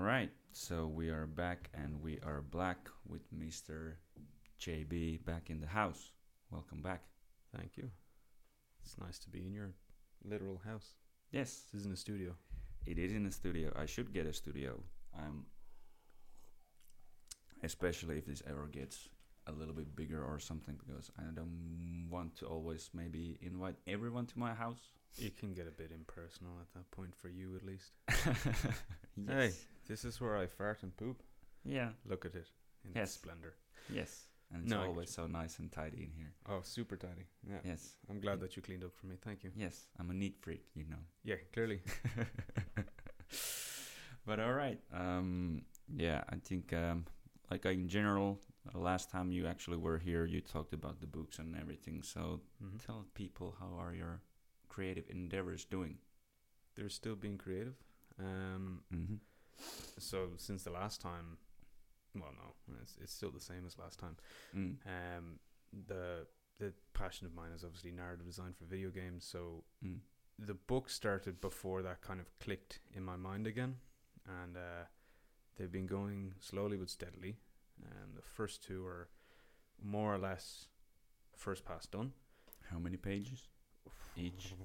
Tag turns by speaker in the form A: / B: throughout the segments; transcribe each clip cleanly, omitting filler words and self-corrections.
A: right, so we are back and we are black with Mr. JB back in the house. Welcome back.
B: Thank you. It's nice to be in your literal house.
A: Yes,
B: This isn't a studio.
A: it is in the studio. I should get a studio. Especially if this ever gets a little bit bigger or something, because I don't want to always maybe invite everyone to my house.
B: It can get a bit impersonal at that point for you, at least.
A: Yes.
B: Hey, this is where I fart and poop.
A: Yeah.
B: Look at it in
A: Yes.
B: its splendor.
A: Yes. And it's
B: No, I
A: always
B: get
A: so nice and tidy in here.
B: Oh, super tidy. Yeah.
A: Yes.
B: I'm glad that you cleaned up for me. Thank you.
A: Yes. I'm a neat freak, you know.
B: Yeah, clearly.
A: But all right. Yeah, I think like in general, last time you actually were here, you talked about the books and everything. So
B: hmm
A: tell people, how are your creative endeavors doing?
B: They're still being creative.
A: Mm-hmm.
B: So since the last time, well, no, it's still the same as last time.
A: Mm.
B: The passion of mine is obviously narrative design for video games. So
A: Mm.
B: the book started before that kind of clicked in my mind again, and they've been going slowly but steadily. The first two are more or less first pass done.
A: How many pages each?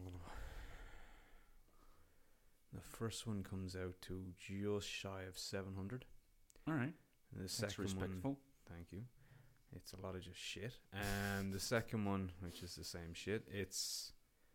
B: The first one comes out to just shy of 700.
A: All right.
B: And the
A: That's
B: second
A: respectful.
B: one, thank you. It's a lot of just shit. The second one, which is the same shit, it's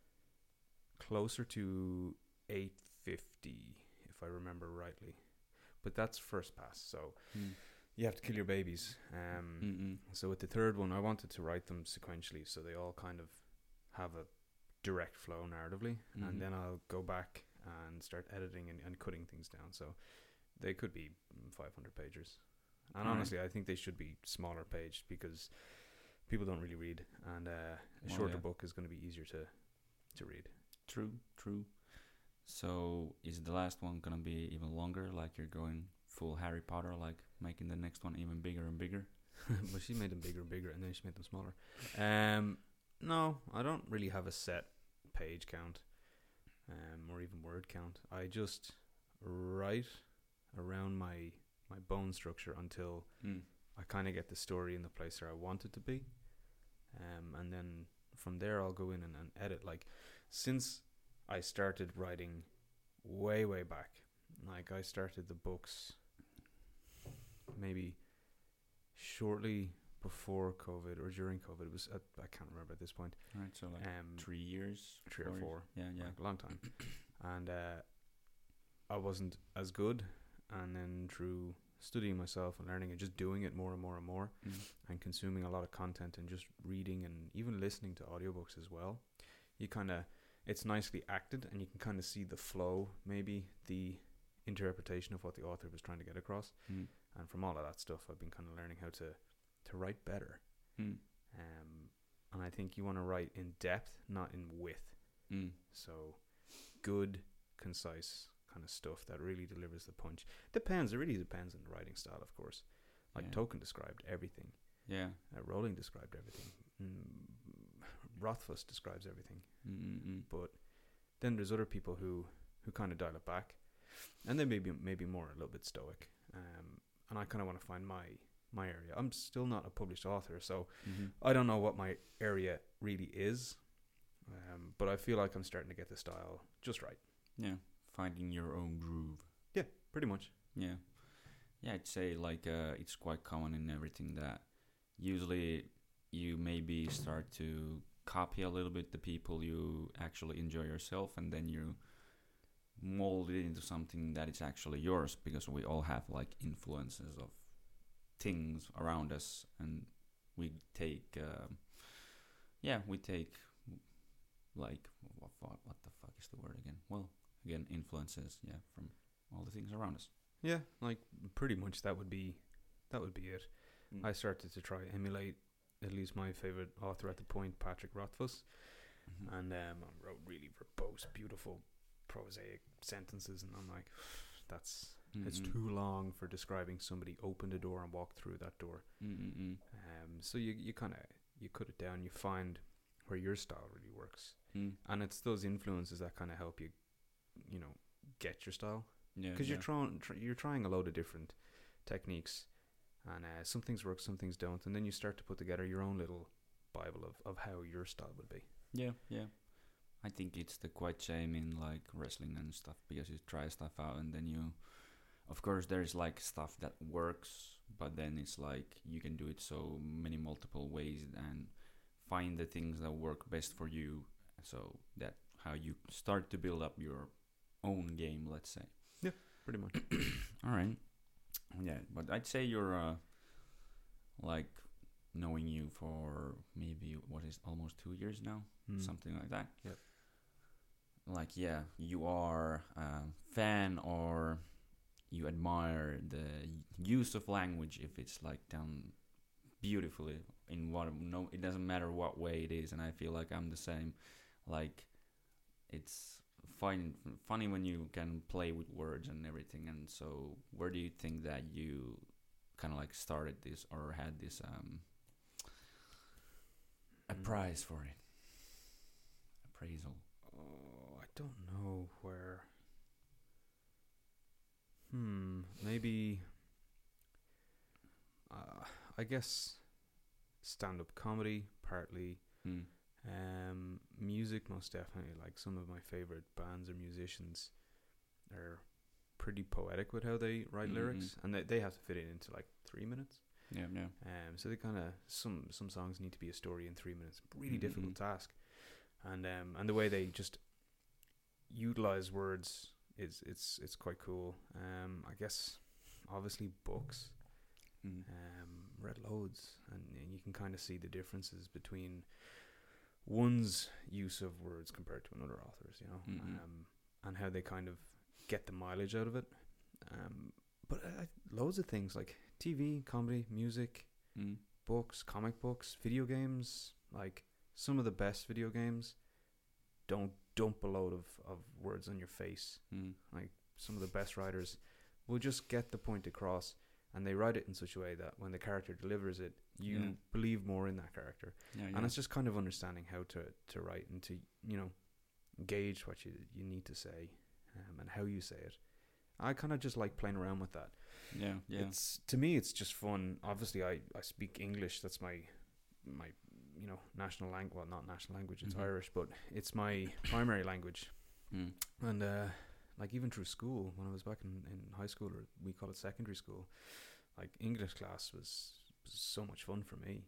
B: closer to 850, if I remember rightly. But that's first pass, so
A: Mm.
B: you have to kill your babies.
A: Mm-mm.
B: So with the third one, I wanted to write them sequentially, so they all kind of have a direct flow narratively,
A: Mhm.
B: and then I'll go back and start editing and cutting things down. So they could be 500 pages. And
A: Alright.
B: honestly, I think they should be smaller paged because people don't really read, and a
A: Well,
B: shorter
A: yeah.
B: book is going to be easier to read.
A: True. So is the last one gonna be even longer? Like you're going full Harry Potter, like making the next one even bigger and bigger?
B: But she made them bigger and bigger, and then she made them smaller. No, I don't really have a set page count, or even word count. I just write around my bone structure until
A: Mm.
B: I kind of get the story in the place where I want it to be, and then from there I'll go in and edit. Like, since I started writing way back, like I started the books maybe shortly before COVID or during COVID. It was I can't remember at this point.
A: All right. So like 3 years,
B: 3 or
A: 4 years?
B: 4,
A: Yeah.
B: like a long time, and I wasn't as good. And then through studying myself and learning and just doing it more and more and more,
A: Mm.
B: and consuming a lot of content and just reading and even listening to audiobooks as well, you kind of, it's nicely acted and you can kind of see the flow, maybe the interpretation of what the author was trying to get across.
A: Mm.
B: And from all of that stuff, I've been kind of learning how to write better.
A: Mm.
B: And I think you want to write in depth, not in width.
A: Mm.
B: So good, concise kind of stuff that really delivers the punch. Depends. It really depends on the writing style, of course. Like
A: Yeah.
B: Tolkien described everything.
A: Yeah.
B: Rowling described everything. Rothfuss describes everything.
A: Mm-mm.
B: But then there's other people who kind of dial it back, and they maybe more a little bit stoic. And I kind of want to find my area. I'm still not a published author, so
A: Mm-hmm.
B: I don't know what my area really is. But I feel like I'm starting to get the style just right.
A: Yeah. Finding your own groove.
B: Yeah, pretty much.
A: Yeah. Yeah, I'd say like it's quite common in everything that usually you maybe start to copy a little bit the people you actually enjoy yourself, and then you mold it into something that is actually yours, because we all have like influences of things around us, and we take like what the fuck is the word again? Well, again, influences, yeah, from all the things around us.
B: Yeah, like pretty much that would be it. I started to try emulate at least my favorite author at the point, Patrick Rothfuss,
A: Mhm.
B: and I wrote really verbose, beautiful, prosaic sentences, and I'm like, it's
A: Mhm.
B: too long for describing somebody opened a door and walked through that door.
A: Mm-mm-mm.
B: So you kind of you cut it down, you find where your style really works,
A: Mm.
B: and it's those influences that kind of help you, get your style.
A: Yeah,
B: because
A: yeah,
B: you're trying a load of different techniques, and some things work, some things don't, and then you start to put together your own little bible of how your style would be.
A: yeah, yeah. I think it's the quite same in like wrestling and stuff because you try stuff out and then you, of course, there's like stuff that works, but then it's like you can do it so many multiple ways and find the things that work best for you. So that how you start to build up your own game, let's say.
B: Yeah, pretty much.
A: All right. Yeah, but I'd say you're like knowing you for maybe what is almost 2 years now, something like that.
B: Yep.
A: Like yeah, you are a fan or you admire the use of language if it's like done beautifully in what no it doesn't matter what way it is, and I feel like I'm the same. Like it's funny when you can play with words and everything. And so where do you think that you kind of like started this or had this a prize for it, appraisal?
B: Oh, I don't know where. Maybe. I guess stand-up comedy partly. Music most definitely. Like some of my favorite bands or musicians are pretty poetic with how they write lyrics, and they have to fit it into like 3 minutes.
A: Yeah, yeah.
B: So they kind of some songs need to be a story in 3 minutes. Really difficult task, and the way they just utilize words is it's quite cool. I guess obviously books. Read loads, and you can kind of see the differences between one's use of words compared to another author's, you know, and how they kind of get the mileage out of it. But loads of things like TV, comedy, music, books, comic books, video games. Like some of the best video games don't dump a load of words on your face. Like some of the best writers will just get the point across, and they write it in such a way that when the character delivers it, you believe more in that character. And it's just kind of understanding how to write and to, you know, gauge what you need to say, and how you say it. I kind of just like playing around with that.
A: Yeah, yeah.
B: It's, to me, it's just fun. Obviously, I speak English. That's my you know, national language. Well, not national language. It's Irish, but it's my primary language. And like even through school, when I was back in high school, or we call it secondary school, like English class was so much fun for me.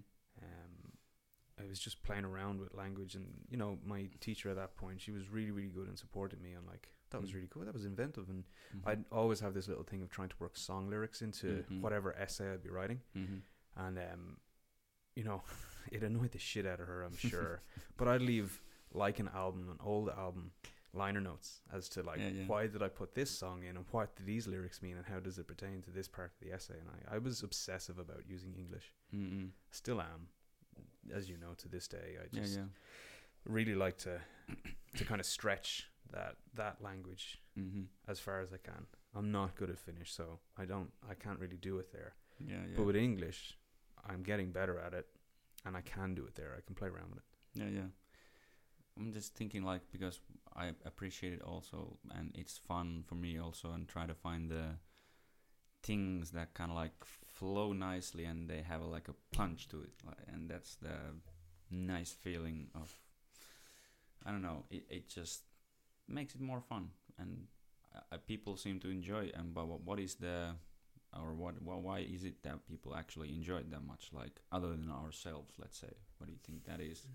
B: I was just playing around with language, and you know, my teacher at that point, she was really, really good and supported me. I'm like, that was really cool. That was inventive, and I'd always have this little thing of trying to work song lyrics into whatever essay I'd be writing, and you know, it annoyed the shit out of her, I'm sure. But I'd leave like an old album, liner notes as to like why did I put this song in, and what do these lyrics mean, and how does it pertain to this part of the essay. And I was obsessive about using English. Still am, as you know, to this day. I just really like to kind of stretch that language as far as I can. I'm not good at Finnish, so I can't really do it there. But with English, I'm getting better at it, and I can do it there. I can play around with it.
A: I'm just thinking, like, because I appreciate it also, and it's fun for me also, and try to find the things that kind of like flow nicely, and they have like a punch to it, and that's the nice feeling of, I don't know, it just makes it more fun, and people seem to enjoy it. And but what is the, or why is it that people actually enjoy it that much, like other than ourselves, let's say? What do you think that is?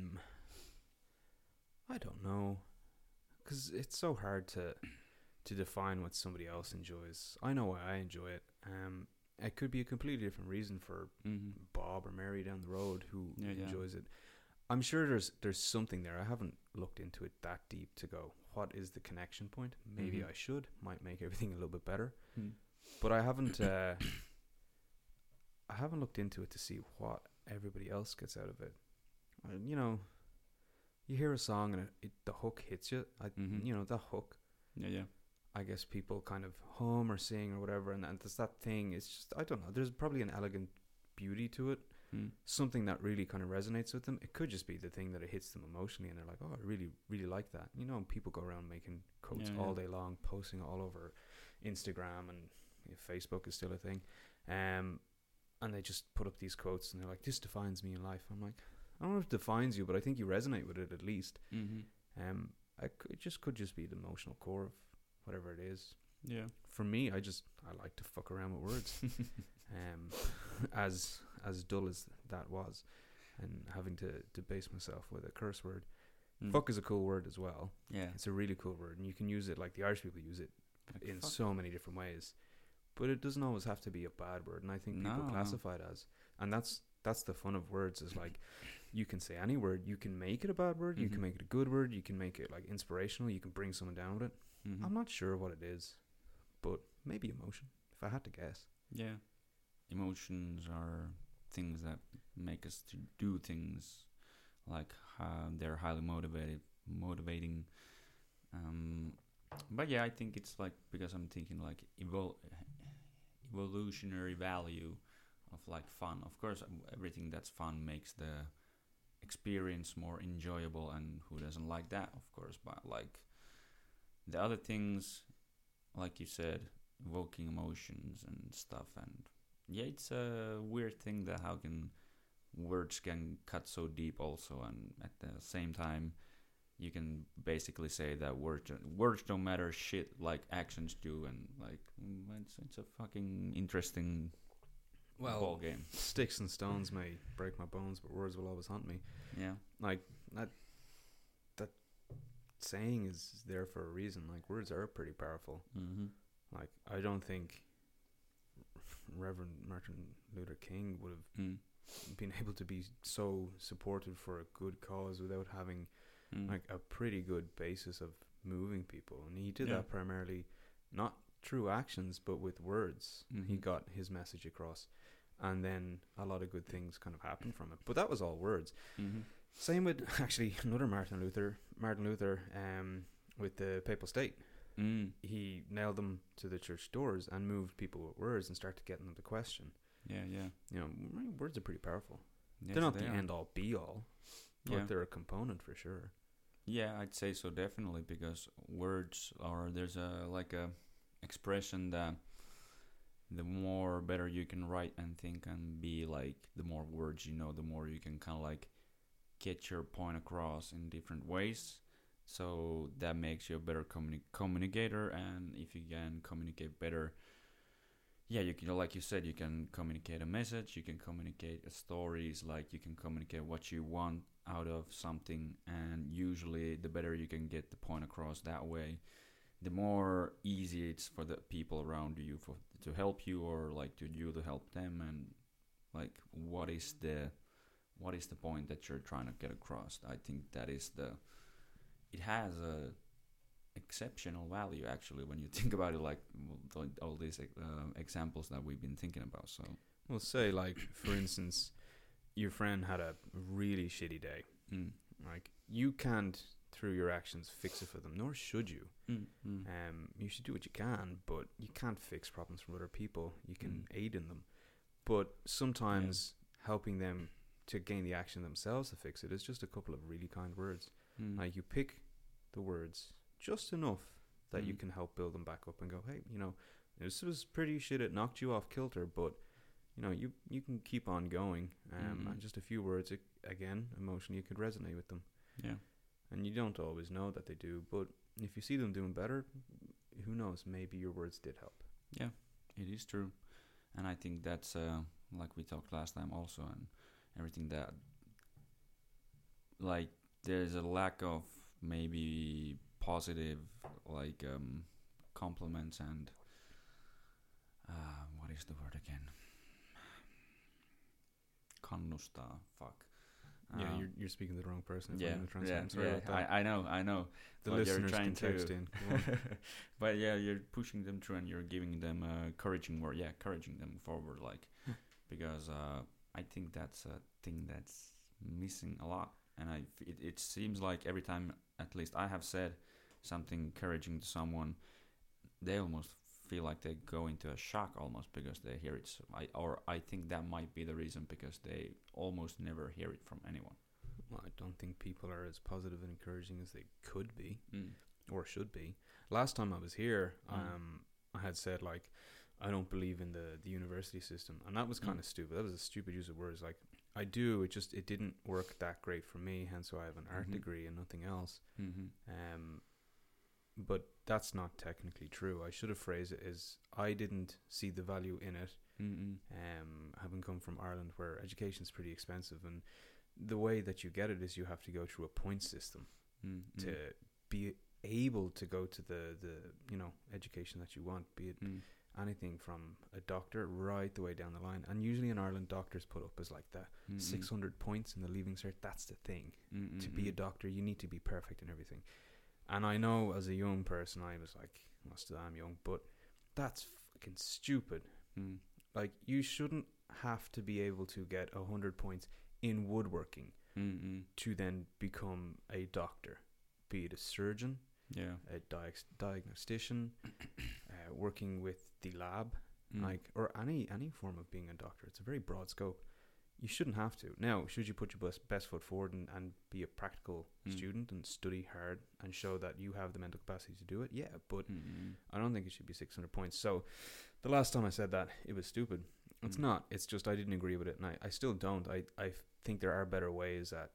B: I don't know, because it's so hard to define what somebody else enjoys. I know why I enjoy it. It could be a completely different reason for Bob or Mary down the road who enjoys it. I'm sure there's something there. I haven't looked into it that deep to go, what is the connection point? Maybe I should. Might make everything a little bit better. But I haven't looked into it to see what everybody else gets out of it. You know, you hear a song and the hook hits you. You know, the hook. I guess people kind of hum or sing or whatever, and there's that thing. It's just, I don't know. There's probably an elegant beauty to it,
A: Mm.
B: something that really kind of resonates with them. It could just be the thing that it hits them emotionally, and they're like, "Oh, I really, really like that." You know, people go around making quotes
A: Yeah,
B: all
A: yeah.
B: day long, posting all over Instagram, and Facebook is still a thing. And they just put up these quotes, and they're like, "This defines me in life." I'm like, I don't know if it defines you, but I think you resonate with it at least.
A: Mm-hmm.
B: It just could just be the emotional core of whatever it is.
A: Yeah.
B: For me, I like to fuck around with words. um, as dull as that was, and having to base myself with a curse word.
A: Mm.
B: Fuck is a cool word as well.
A: Yeah.
B: It's a really cool word, and you can use it like the Irish people use it
A: Like,
B: in
A: fuck.
B: so many different ways. But it doesn't always have to be a bad word, and I think people
A: No,
B: classify it as. And that's the fun of words, is like you can say any word, you can make it a bad word, you can
A: Mhm.
B: make it a good word, you can make it like inspirational, you can bring someone down with it.
A: Mhm.
B: I'm not sure what it is, but maybe emotion, if I had to guess.
A: Yeah. Emotions are things that make us to do things, like they're highly motivating. But yeah, I think it's like, because I'm thinking like evolutionary value of like fun. Of course, everything that's fun makes the experience more enjoyable, and who doesn't like that, of course. But like the other things, like you said, evoking emotions and stuff, and yeah, it's a weird thing that how can words can cut so deep also, and at the same time you can basically say that words don't matter shit like actions do, and like it's a fucking interesting ball game.
B: Sticks and stones may break my bones, but words will always haunt me.
A: Yeah.
B: Like that saying is there for a reason. Like words are pretty powerful.
A: Mm-hmm.
B: Like I don't think Reverend Martin Luther King would have
A: Mm.
B: been able to be so supported for a good cause without having
A: Mm.
B: like a pretty good basis of moving people, and he did
A: Yeah.
B: that primarily not through actions but with words. He
A: Mhm.
B: got his message across, and then a lot of good things kind of happened from it, but that was all words.
A: Mm-hmm.
B: Same with actually another Martin Luther, with the papal state.
A: Mm.
B: He nailed them to the church doors and moved people with words and started getting them to question.
A: Yeah, yeah.
B: You know, words are pretty powerful.
A: Yes,
B: They're not
A: they
B: the
A: are.
B: end all be all, but
A: Yeah.
B: they're a component for sure.
A: Yeah, I'd say so, definitely, because words are, there's a like a expression that the more better you can write and think and be, like the more words you know, the more you can kind of like get your point across in different ways. So that makes you a better communicator, and if you can communicate better, yeah, you can, like you said, you can communicate a message, you can communicate stories, like you can communicate what you want out of something, and usually the better you can get the point across that way, the more easy it's for the people around you to help you, or like to you to help them, and like what is the point that you're trying to get across. I think that is it has a exceptional value, actually, when you think about it, like all these examples that we've been thinking about. So
B: Well, say like for instance, your friend had a really shitty day.
A: mm.
B: Like you can't through your actions fix it for them, nor should you.
A: Mm. Mm.
B: You should do what you can, but you can't fix problems from other people. You can
A: Mm.
B: aid in them, but sometimes helping them to gain the action themselves to fix it is just a couple of really kind words.
A: Mm.
B: Like you pick the words just enough that you
A: Mm.
B: can help build them back up and go, hey, you know, this was pretty shit. It knocked you off kilter, but you know, you can keep on going.
A: Mhm.
B: And just a few words, again, emotionally, you could resonate with them.
A: Yeah.
B: And you don't always know that they do, but if you see them doing better, who knows? Maybe your words did help.
A: Yeah, it is true, and I think that's like we talked last time also, and everything that, like, there's a lack of maybe positive like compliments and what is the word again? Kannustaa. Fuck.
B: Yeah, you're speaking to the wrong person. If
A: Yeah,
B: I'm gonna
A: yeah,
B: I'm sorry about that.
A: I know.
B: The
A: but you're
B: listeners
A: trying
B: can text
A: to-
B: in. Go on.
A: But yeah, you're pushing them through and you're giving them encouraging word. Yeah, encouraging them forward, like, because I think that's a thing that's missing a lot. And it seems like every time, at least I have said something encouraging to someone, they almost feel like they go into a shock almost because they hear it. So I think that might be the reason, because they almost never hear it from anyone.
B: Well, I don't think people are as positive and encouraging as they could be
A: Mm.
B: or should be. Last time I was here,
A: Mm.
B: I had said like I don't believe in the university system, and that was kind
A: Mm.
B: of stupid. That was a stupid use of words. Like I do, it didn't work that great for me. Hence why I have an art
A: Mhm.
B: degree and nothing else.
A: Mm-hmm.
B: But that's not technically true. I should have phrased it as I didn't see the value in it.
A: Mm-hmm.
B: Having come from Ireland, where education's pretty expensive, and the way that you get it is you have to go through a point system
A: Mm-hmm.
B: to be able to go to the education that you want, be it
A: Mm.
B: anything from a doctor right the way down the line. And usually in Ireland, doctors put up as like the
A: Mm-mm.
B: 600 points in the leaving cert. That's the thing.
A: Mm-mm.
B: To be a doctor, you need to be perfect in everything. And I know as a young person, I was like, well, still I'm young, but that's fucking stupid.
A: Mm.
B: Like, you shouldn't have to be able to get 100 points in woodworking
A: Mm-mm.
B: to then become a doctor, be it a surgeon,
A: Yeah.
B: a diagnostician, working with the lab,
A: Mm.
B: like, or any form of being a doctor. It's a very broad scope. You shouldn't have to. Now, should you put your best foot forward and be a practical
A: Mm.
B: student and study hard and show that you have the mental capacity to do it? Yeah, but
A: Mm-mm.
B: I don't think it should be 600 points. So the last time I said that, it was stupid. It's
A: Mm.
B: not. It's just I didn't agree with it, and I still don't. I think there are better ways at,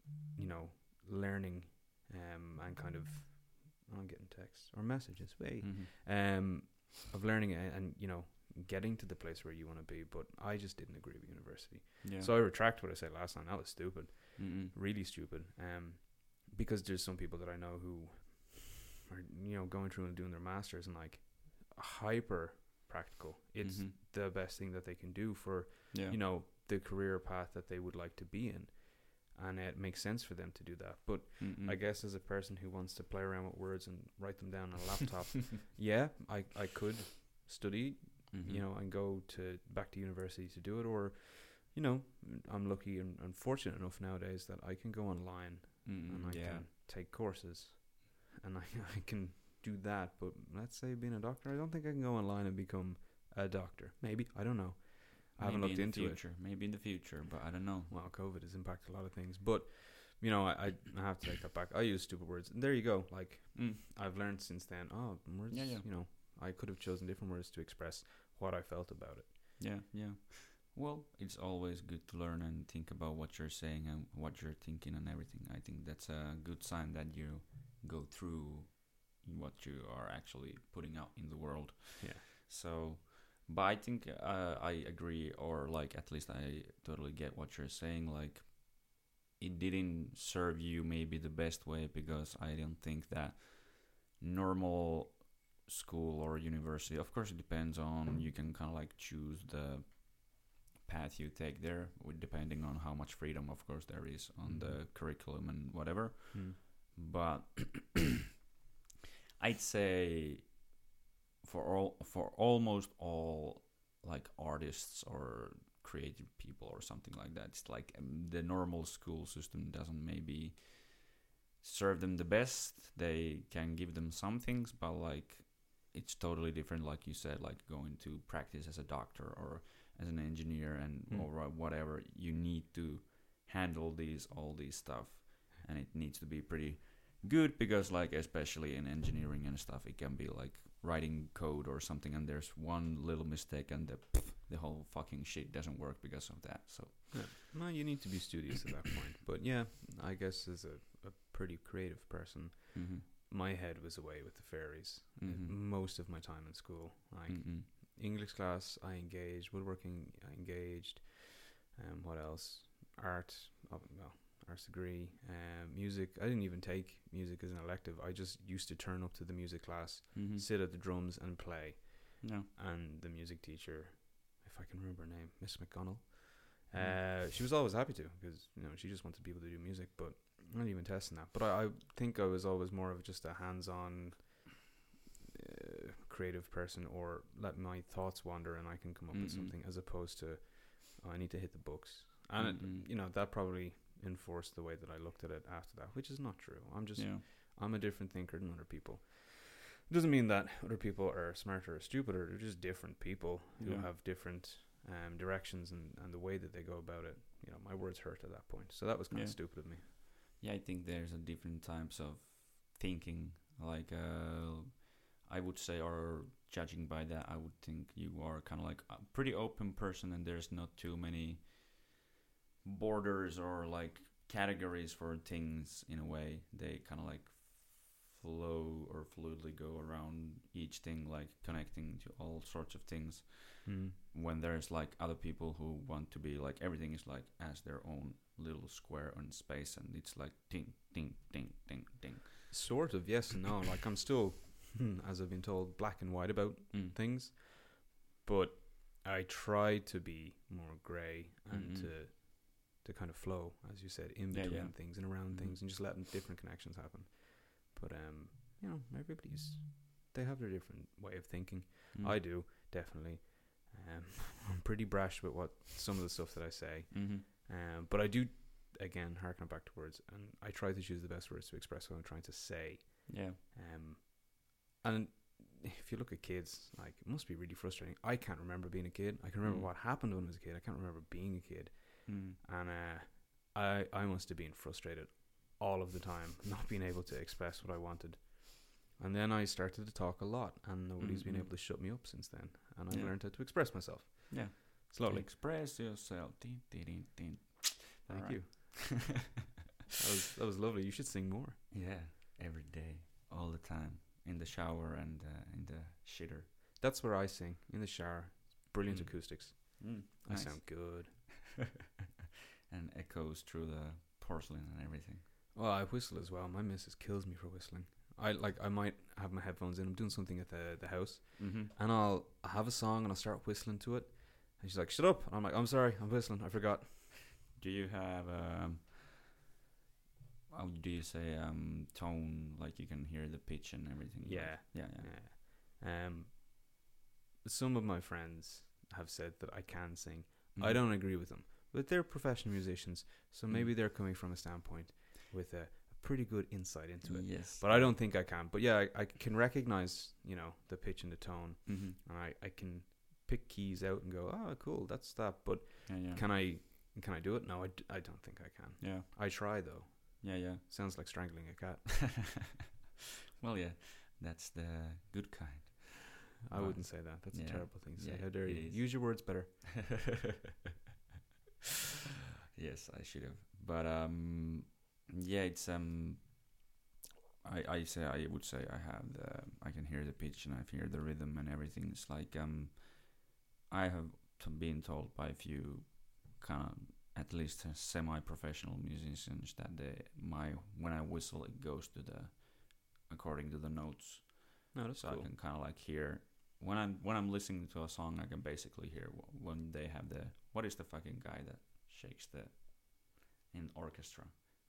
B: learning and kind of, I'm getting texts or messages,
A: Mhm.
B: of learning and getting to the place where you want to be. But I just didn't agree with university.
A: Yeah.
B: So I retract what I said last time. That was stupid.
A: Mm-mm.
B: Really stupid. Because there's some people that I know who are, going through and doing their masters and like hyper practical. It's
A: Mhm.
B: the best thing that they can do for,
A: Yeah.
B: the career path that they would like to be in. And it makes sense for them to do that. But
A: Mm-mm.
B: I guess as a person who wants to play around with words and write them down on a laptop, yeah, I could study,
A: Mhm.
B: and go back to university to do it. Or, I'm lucky and fortunate enough nowadays that I can go online
A: Mm-mm.
B: and I
A: Yeah.
B: can take courses, and I can do that. But let's say being a doctor, I don't think I can go online and become a doctor. Maybe, I don't know. I haven't
A: Maybe
B: looked
A: in
B: into
A: the
B: it.
A: future. Maybe in the future, but I don't know.
B: Well, COVID has impacted a lot of things, but I have to take that back. I use stupid words, and there you go. Like,
A: Mm.
B: I've learned since then. Oh, words.
A: Yeah, yeah.
B: I could have chosen different words to express what I felt about it.
A: Yeah, yeah. Well, it's always good to learn and think about what you're saying and what you're thinking and everything. I think that's a good sign that you go through what you are actually putting out in the world.
B: Yeah.
A: So, but I think I agree, or like at least I totally get what you're saying. Like, it didn't serve you maybe the best way, because I don't think that normal school or university, of course it depends on, you can kind of like choose the path you take there, depending on how much freedom of course there is on the curriculum and whatever. But I'd say for almost all like artists or creative people or something like that, it's like the normal school system doesn't maybe serve them the best. They can give them some things, but like it's totally different, like you said, like going to practice as a doctor or as an engineer and or whatever. You need to handle all these stuff, and it needs to be pretty good, because like especially in engineering and stuff, it can be like writing code or something, and there's one little mistake and the whole fucking shit doesn't work because of that. So
B: Yeah. Well, you need to be studious at that point. But yeah, I guess as a pretty creative person, my head was away with the fairies most of my time in school. Like English class, I engaged. Woodworking, I engaged. What else? Art. Arts degree. Music. I didn't even take music as an elective. I just used to turn up to the music class, sit at the drums and play.
A: Yeah.
B: And the music teacher, if I can remember her name, Miss McConnell, she was always happy to, because she just wanted people to do music. But I'm not even testing that. But I think I was always more of just a hands-on creative person, or let my thoughts wander and I can come up with something, as opposed to I need to hit the books. And that probably enforced the way that I looked at it after that, which is not true. I'm a different thinker than other people. It doesn't mean that other people are smarter or stupider. They're just different people who
A: Yeah.
B: have different directions and the way that they go about it. You know, my words hurt at that point. So that was kind of
A: Yeah.
B: stupid of me.
A: Yeah, I think there's a different types of thinking. Like, I would say, or judging by that, I would think you are kind of like a pretty open person, and there's not too many borders or like categories for things in a way. They kind of like flow or fluidly go around each thing, like connecting to all sorts of things.
B: Mm.
A: When there's like other people who want to be like everything is like as their own little square on space, and it's like ding ding ding ding ding.
B: Sort of, yes and no. Like I'm still, as I've been told, black and white about things, but I try to be more grey and to kind of flow, as you said, in between things and around things, and just letting different connections happen. But you know, they have their different way of thinking. I do definitely. I'm pretty brash with what some of the stuff that I say, but I do, again, harken back to words, and I try to choose the best words to express what I'm trying to say.
A: Yeah.
B: And if you look at kids, like, it must be really frustrating. I can't remember being a kid. I can remember what happened when I was a kid. I can't remember being a kid. And I must have been frustrated all of the time, not being able to express what I wanted. And then I started to talk a lot, and nobody's been able to shut me up since then. And I learned how to express myself.
A: Yeah.
B: Slowly.
A: Express yourself. Din, din, din, din.
B: Thank you. That was lovely. You should sing more.
A: Yeah, every day, all the time, in the shower and in the shitter.
B: That's where I sing, in the shower. Brilliant acoustics. I
A: Nice.
B: sound good.
A: And echoes through the porcelain and everything.
B: Well, I whistle as well. My missus kills me for whistling. I might have my headphones in. I'm doing something at the house, and I'll have a song and I'll start whistling to it, and she's like, "Shut up!" And I'm like, "I'm sorry, I'm whistling. I forgot."
A: Do you have how do you say tone, like you can hear the pitch and everything?
B: Yeah.
A: Yeah.
B: Some of my friends have said that I can sing. I don't agree with them, but they're professional musicians, so maybe they're coming from a standpoint with a pretty good insight into it.
A: Yes.
B: But I don't think I can. But yeah, I can recognize, you know, the pitch and the tone, and I can pick keys out and go, "Oh, cool, that's that." But can I do it? No, I don't think I can.
A: Yeah.
B: I try though.
A: Yeah.
B: Sounds like strangling a cat.
A: Well, yeah, that's the good kind.
B: I wouldn't say that. That's a terrible thing to say.
A: Yeah,
B: How dare you?
A: it is.
B: Use your words better.
A: Yes, I should have. But yeah, it's I would say I can hear the pitch and I hear the rhythm and everything. It's like I have been told by a few kind of at least semi-professional musicians that when I whistle it goes to the according to the notes.
B: No, that's
A: So
B: cool.
A: I can kind of like hear when I'm listening to a song, I can basically hear when they have what is the fucking guy that shakes in orchestra.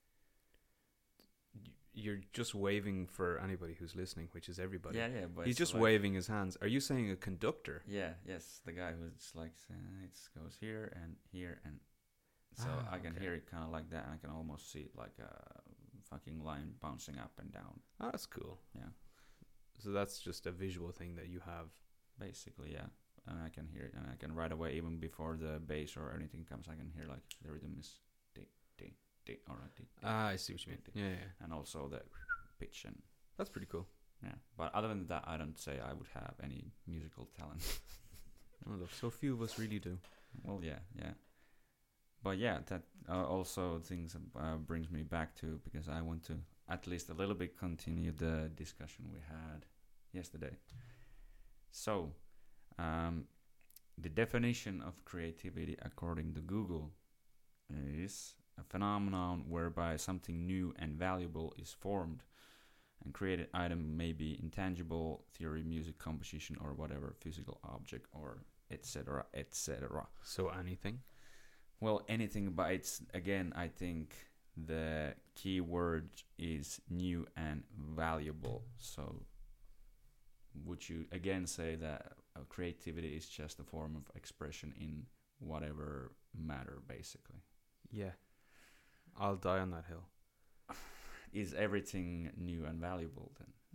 B: You're just waving for anybody who's listening, which is everybody.
A: Yeah, but
B: He's
A: it's
B: just
A: like,
B: waving his hands. Are you saying a conductor?
A: Yeah, yes, the guy who's like it goes here, and so I can
B: okay.
A: hear it kind of like that, and I can almost see it like a fucking line bouncing up and down.
B: Oh, that's cool.
A: Yeah,
B: So that's just a visual thing that you have.
A: basically, yeah, and I can hear it, and I can right away, even before the bass or anything comes, I can hear like the rhythm is all right.
B: I see what you mean. Yeah.
A: And also the pitch and
B: That's pretty cool.
A: yeah. But other than that, I don't say I would have any musical talent.
B: Oh, look, so few of us really do.
A: Well, yeah. But yeah, that also things brings me back to, because I want to at least a little bit continue the discussion we had yesterday. So, the definition of creativity according to Google is a phenomenon whereby something new and valuable is formed, and created item may be intangible, theory, music, composition, or whatever physical object, or etc., etc.
B: So anything?
A: Well, anything, but it's, again, I think the key word is new and valuable. So would you again say that creativity is just a form of expression in whatever matter, basically?
B: Yeah. I'll die on that hill.
A: Is everything new and valuable then?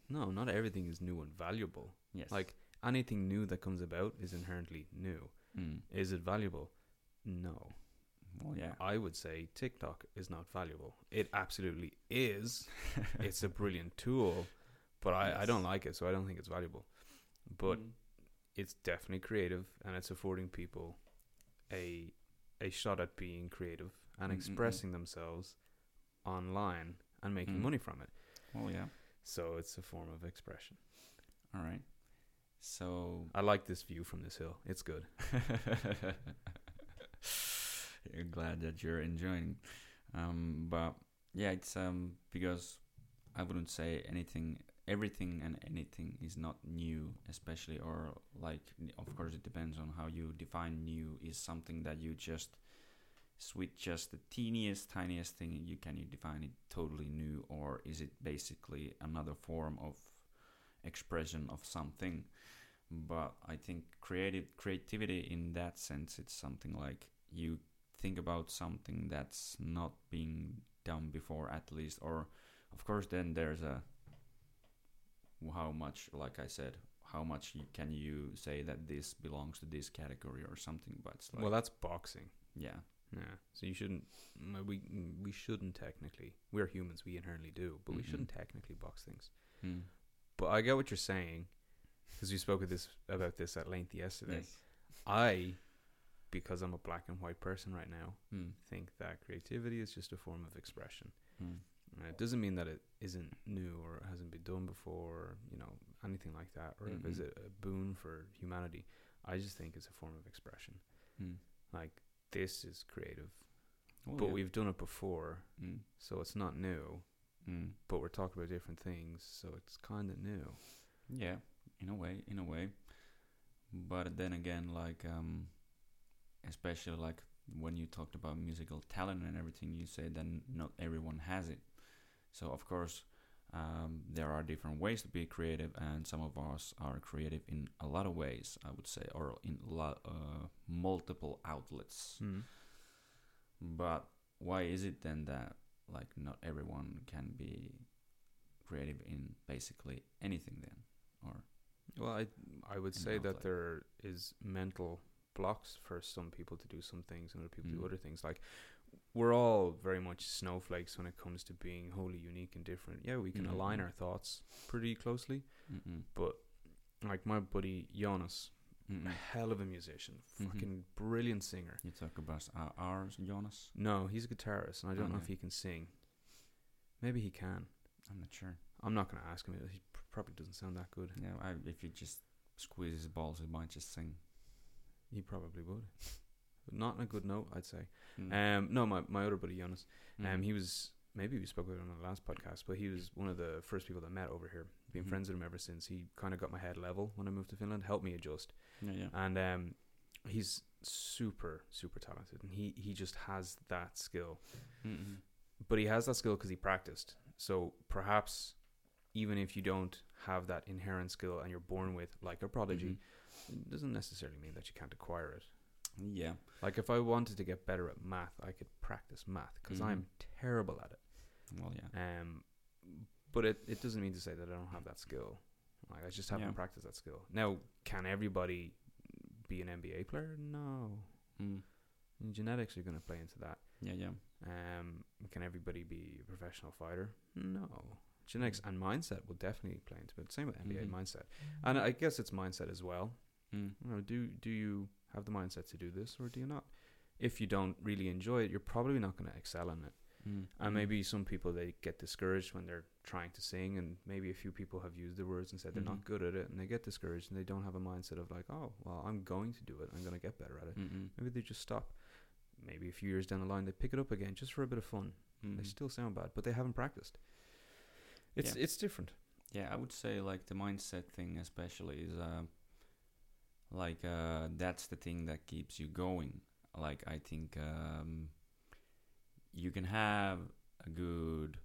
B: no, not everything is new and valuable.
A: Yes.
B: Like anything new that comes about is inherently new. Is it valuable? No.
A: Well, yeah.
B: I would say TikTok is not valuable. It absolutely is. It's a brilliant tool, but I don't like it, so I don't think it's valuable. But it's definitely creative, and it's affording people a shot at being creative and expressing themselves online and making money from it.
A: Well, yeah.
B: So it's a form of expression.
A: All right. So
B: I like this view from this hill. It's good.
A: You're glad that you're enjoying. But yeah, it's because I wouldn't say everything and anything is not new, especially, or like, of course it depends on how you define new. Is something that you just with just the tiniest thing you define it totally new, or is it basically another form of expression of something? But I think creativity in that sense, it's something like you think about something that's not being done before, at least, or of course then there's a how much, like I said, how much can you say that this belongs to this category or something? But it's like,
B: well, that's boxing.
A: Yeah.
B: So you shouldn't. We shouldn't technically. We're humans. We inherently do, but we shouldn't technically box things. But I get what you're saying, because we spoke about this at length yesterday.
A: Yes.
B: Because I'm a black and white person right now, think that creativity is just a form of expression. It doesn't mean that it isn't new or hasn't been done before, or, anything like that, or if it's a boon for humanity. I just think it's a form of expression. Like, this is creative, but we've done it before, so it's not new. But we're talking about different things, so it's kind of new.
A: Yeah, in a way. But then again, like, especially like when you talked about musical talent and everything, you say that not everyone has it. So of course, there are different ways to be creative, and some of us are creative in a lot of ways, I would say, or in multiple outlets. But why is it then that like not everyone can be creative in basically anything then? Or
B: well, I would say that there is mental blocks for some people to do some things and other people to do other things. Like, we're all very much snowflakes when it comes to being wholly unique and different. Yeah, we can align our thoughts pretty closely, but like my buddy Jonas, a hell of a musician, fucking brilliant singer.
A: You talk about ours, Jonas?
B: No, he's a guitarist, and I don't know if he can sing. Maybe he can.
A: I'm not sure.
B: I'm not going to ask him. He probably doesn't sound that good.
A: Yeah, if you just squeeze his balls, he might just sing.
B: He probably would. But not on a good note, I'd say. No, my other buddy Jonas. He was, maybe we spoke about him on the last podcast, but he was one of the first people that I met over here. Been friends with him ever since. He kind of got my head level when I moved to Finland, helped me adjust.
A: Yeah.
B: And he's super, super talented, and he just has that skill. But he has that skill because he practiced. So perhaps even if you don't have that inherent skill and you're born with, like a prodigy, it doesn't necessarily mean that you can't acquire it.
A: Yeah.
B: Like, if I wanted to get better at math, I could practice math, because I'm terrible at it.
A: Well, yeah.
B: But it doesn't mean to say that I don't have that skill. Like, I just haven't practiced that skill. Now, can everybody be an NBA player? No. Genetics are going to play into that.
A: Yeah.
B: Can everybody be a professional fighter? No. Genetics and mindset will definitely play into it. Same with NBA mindset. And I guess it's mindset as well. Do you have the mindset to do this, or do you not? If you don't really enjoy it, you're probably not going to excel in it. And maybe some people, they get discouraged when they're trying to sing, and maybe a few people have used the words and said they're not good at it, and they get discouraged, and they don't have a mindset of like, oh, well, I'm going to do it, I'm going to get better at it. Maybe they just stop. Maybe a few years down the line, they pick it up again just for a bit of fun. They still sound bad, but they haven't practiced. It's different.
A: Yeah, I would say like the mindset thing especially is that's the thing that keeps you going. Like, I think you can have a good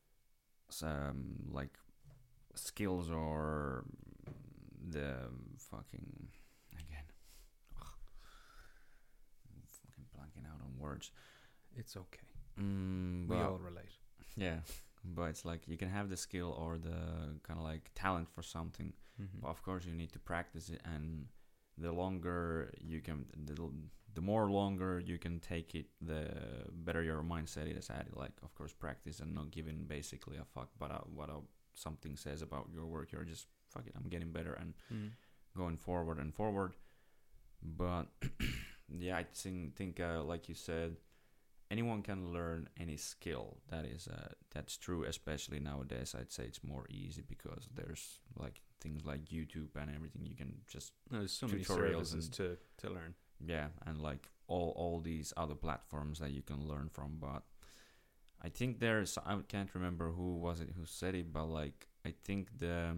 A: like skills, or the fucking blanking out on words.
B: It's okay.
A: We
B: all relate.
A: Yeah, but it's like you can have the skill or the kind of like talent for something, but of course you need to practice it, and the longer you can, the more longer you can take it, the better your mindset is at it. Like, of course, practice and not giving basically a fuck about what something says about your work. You're just, fuck it, I'm getting better and going forward and forward. But yeah, I think like you said, anyone can learn any skill. That's true, especially nowadays. I'd say it's more easy because there's like things like YouTube and everything. You can just
B: there's so many
A: tutorials
B: services to learn.
A: Yeah, and like all these other platforms that you can learn from. But I think I can't remember who was it who said it, but like I think the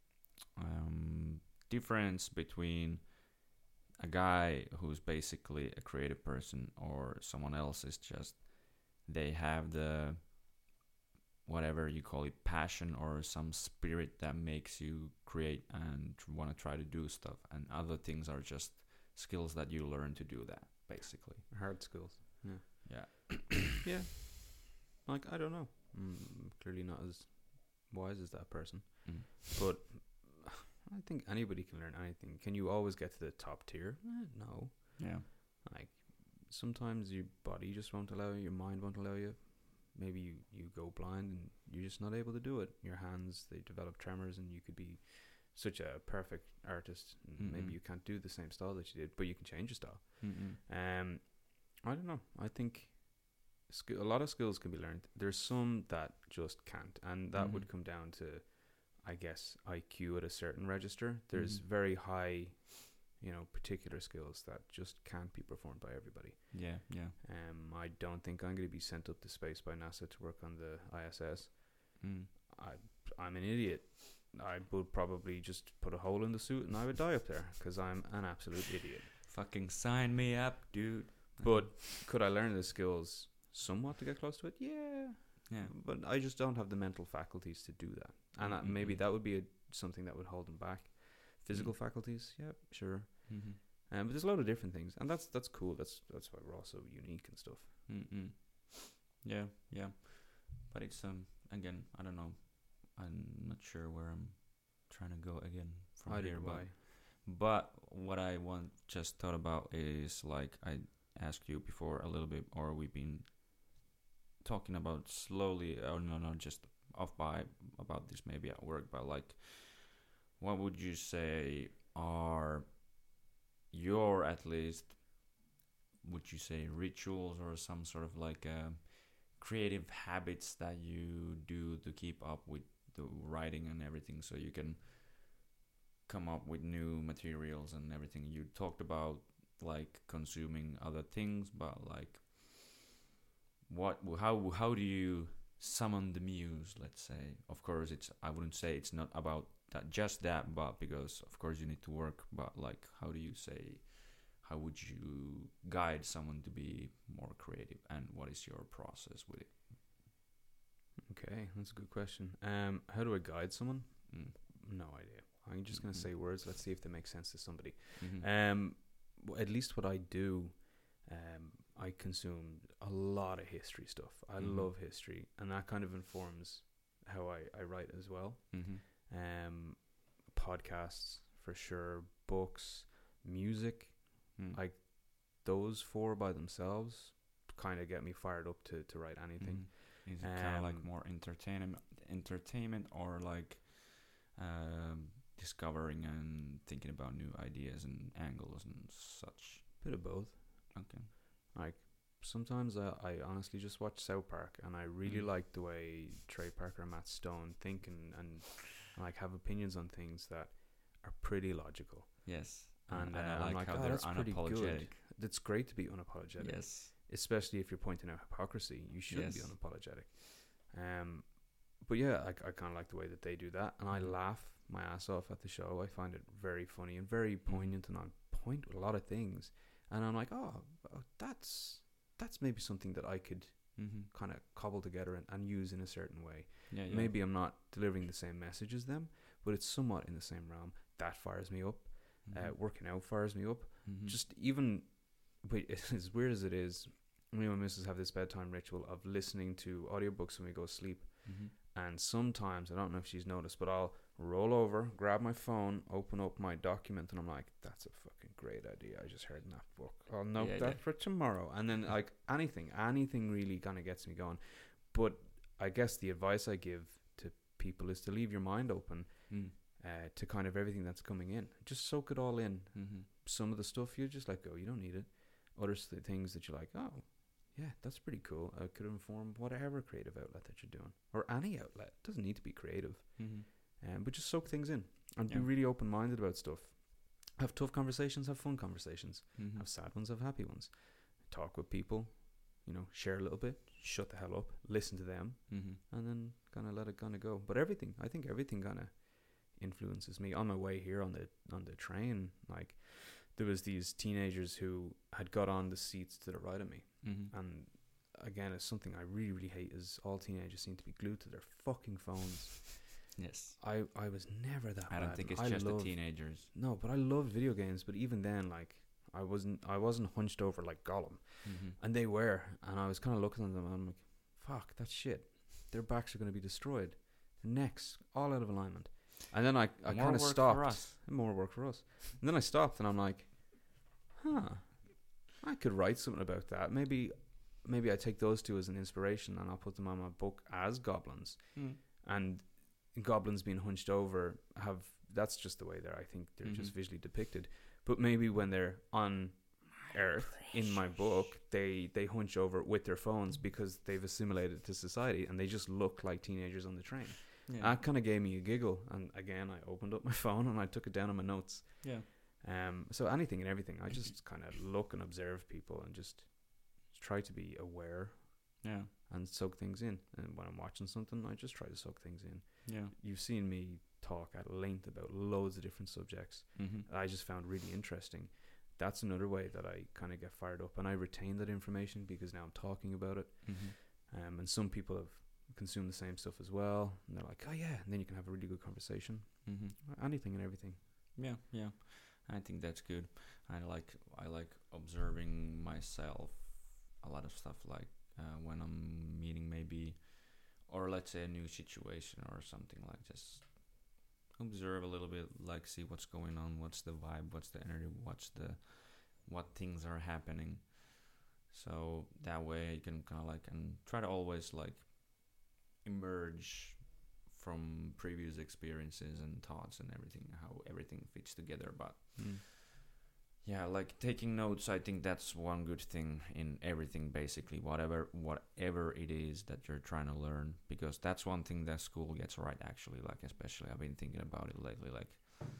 A: difference between a guy who's basically a creative person or someone else is just they have the, whatever you call it, passion or some spirit that makes you create and want to try to do stuff, and other things are just skills that you learn to do that, basically.
B: Hard skills.
A: Yeah.
B: Yeah. Like, I don't know. Clearly not as wise as that person. But I think anybody can learn anything. Can you always get to the top tier? No.
A: Yeah.
B: Like, sometimes your body just won't allow you, your mind won't allow you. Maybe you go blind and you're just not able to do it. Your hands, they develop tremors, and you could be such a perfect artist. Maybe you can't do the same style that you did, but you can change your style. I don't know. I think a lot of skills can be learned. There's some that just can't, and that would come down to, I guess, IQ at a certain register. There's very high, particular skills that just can't be performed by everybody.
A: Yeah.
B: I don't think I'm going to be sent up to space by NASA to work on the ISS. I'm an idiot. I would probably just put a hole in the suit and I would die up there because I'm an absolute idiot.
A: Fucking sign me up, dude.
B: But could I learn the skills somewhat to get close to it? Yeah. But I just don't have the mental faculties to do that. And maybe that would be something that would hold them back. Physical faculties, yeah, sure. But there's a lot of different things, and that's cool. That's why we're all so unique and stuff.
A: Yeah. But it's again, I don't know. I'm not sure where I'm trying to go again from here. But what I just thought about is, like, I asked you before a little bit, or we've been talking about slowly, or no, just off by about this maybe at work, but like, what would you say are your, at least, would you say rituals or some sort of like creative habits that you do to keep up with the writing and everything, so you can come up with new materials and everything? You talked about like consuming other things, but like, how do you summon the muse, let's say? Of course, I wouldn't say it's not about that, but because of course you need to work, but like, how would you guide someone to be more creative, and what is your process with it?
B: Okay, that's a good question. How do I guide someone? No idea. I'm just going to say words. Let's see if they make sense to somebody. At least what I do, I consume a lot of history stuff. I love history, and that kind of informs how I write as well. Podcasts for sure, books, music, like those four by themselves kind of get me fired up to write anything.
A: Is it kind of like more entertainment or like discovering and thinking about new ideas and angles and such?
B: Bit of both.
A: Okay.
B: Like, sometimes I honestly just watch South Park, and I really like the way Trey Parker and Matt Stone think and like have opinions on things that are pretty logical.
A: Yes.
B: And
A: I like how
B: oh,
A: they're
B: that's pretty
A: unapologetic.
B: good. It's great to be unapologetic.
A: Yes.
B: Especially if you're pointing out hypocrisy, you should be unapologetic. But yeah, I kind of like the way that they do that, and I laugh my ass off at the show. I find it very funny and very poignant, and on point with a lot of things. And I'm like, oh, that's maybe something that I could kind of cobble together and use in a certain way.
A: Yeah.
B: Maybe I'm not delivering the same message as them, but it's somewhat in the same realm. That fires me up. Working out fires me up. Just even, as weird as it is, me and my missus have this bedtime ritual of listening to audiobooks when we go to sleep.
A: Mm-hmm.
B: And sometimes, I don't know if she's noticed, but I'll roll over, grab my phone, open up my document, and I'm like, that's a fucking great idea I just heard in that book. I'll note that for tomorrow. And then, like, anything really kind of gets me going. But I guess the advice I give to people is to leave your mind open to kind of everything that's coming in. Just soak it all in.
A: Mm-hmm.
B: Some of the stuff you just let go. You don't need it. Other things that you're like, oh, yeah, that's pretty cool. I could inform whatever creative outlet that you're doing, or any outlet. It doesn't need to be creative.
A: Mm-hmm.
B: But just soak things in and be really open-minded about stuff. Have tough conversations, have fun conversations.
A: Mm-hmm.
B: Have sad ones, have happy ones. Talk with people, share a little bit, shut the hell up, listen to them,
A: Mm-hmm.
B: and then kind of let it kind of go. But I think everything kind of influences me. On my way here on the train, like, there was these teenagers who had got on the seats to the right of me.
A: Mm-hmm.
B: And again, it's something I really, really hate is all teenagers seem to be glued to their fucking phones.
A: Yes.
B: I was never that bad.
A: I don't think it's just the teenagers.
B: No, but I loved video games. But even then, like, I wasn't hunched over like Gollum.
A: Mm-hmm.
B: And they were. And I was kind of looking at them and I'm like, fuck, that's shit. Their backs are going to be destroyed. Their necks, all out of alignment. And then I kind of stopped. More work for us. And then I stopped and I'm like, I could write something about that. Maybe I take those two as an inspiration and I'll put them on my book as goblins. And goblins being hunched over that's just the way I think they're just visually depicted. But maybe when they're on Earth in my book, they hunch over with their phones because they've assimilated to society and they just look like teenagers on the train. Yeah. That kind of gave me a giggle, and again I opened up my phone and I took it down on my notes. So anything and everything, I just kind of look and observe people and just try to be aware and soak things in. And when I'm watching something, I just try to soak things in. You've seen me talk at length about loads of different subjects that I just found really interesting. That's another way that I kind of get fired up, and I retain that information because now I'm talking about it. And some people have consumed the same stuff as well, and they're like, oh yeah, and then you can have a really good conversation. Anything and everything.
A: I think that's good. I like observing myself. A lot of stuff, like when I'm meeting maybe, or let's say a new situation or something, like just observe a little bit, like see what's going on, what's the vibe, what's the energy, what things are happening. So that way you can kind of like, and try to always like emerge from previous experiences and thoughts and everything, how everything fits together. But yeah, like taking notes, I think that's one good thing in everything, basically, whatever it is that you're trying to learn, because that's one thing that school gets right, actually. Like, especially I've been thinking about it lately, like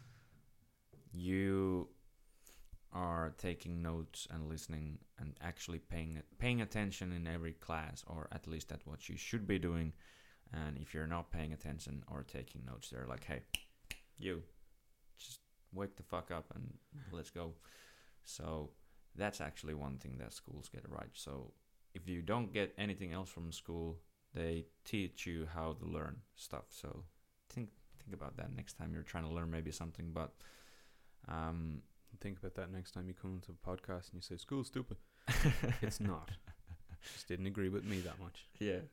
A: you are taking notes and listening and actually paying attention in every class, or at least that's what you should be doing. And if you're not paying attention or taking notes, they're like, hey, you just wake the fuck up and let's go. So that's actually one thing that schools get right. So if you don't get anything else from school, they teach you how to learn stuff. So think about that next time you're trying to learn maybe something. But
B: think about that next time you come into a podcast and you say school's stupid. It's not. Just didn't agree with me that much.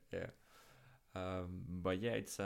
A: But yeah, it's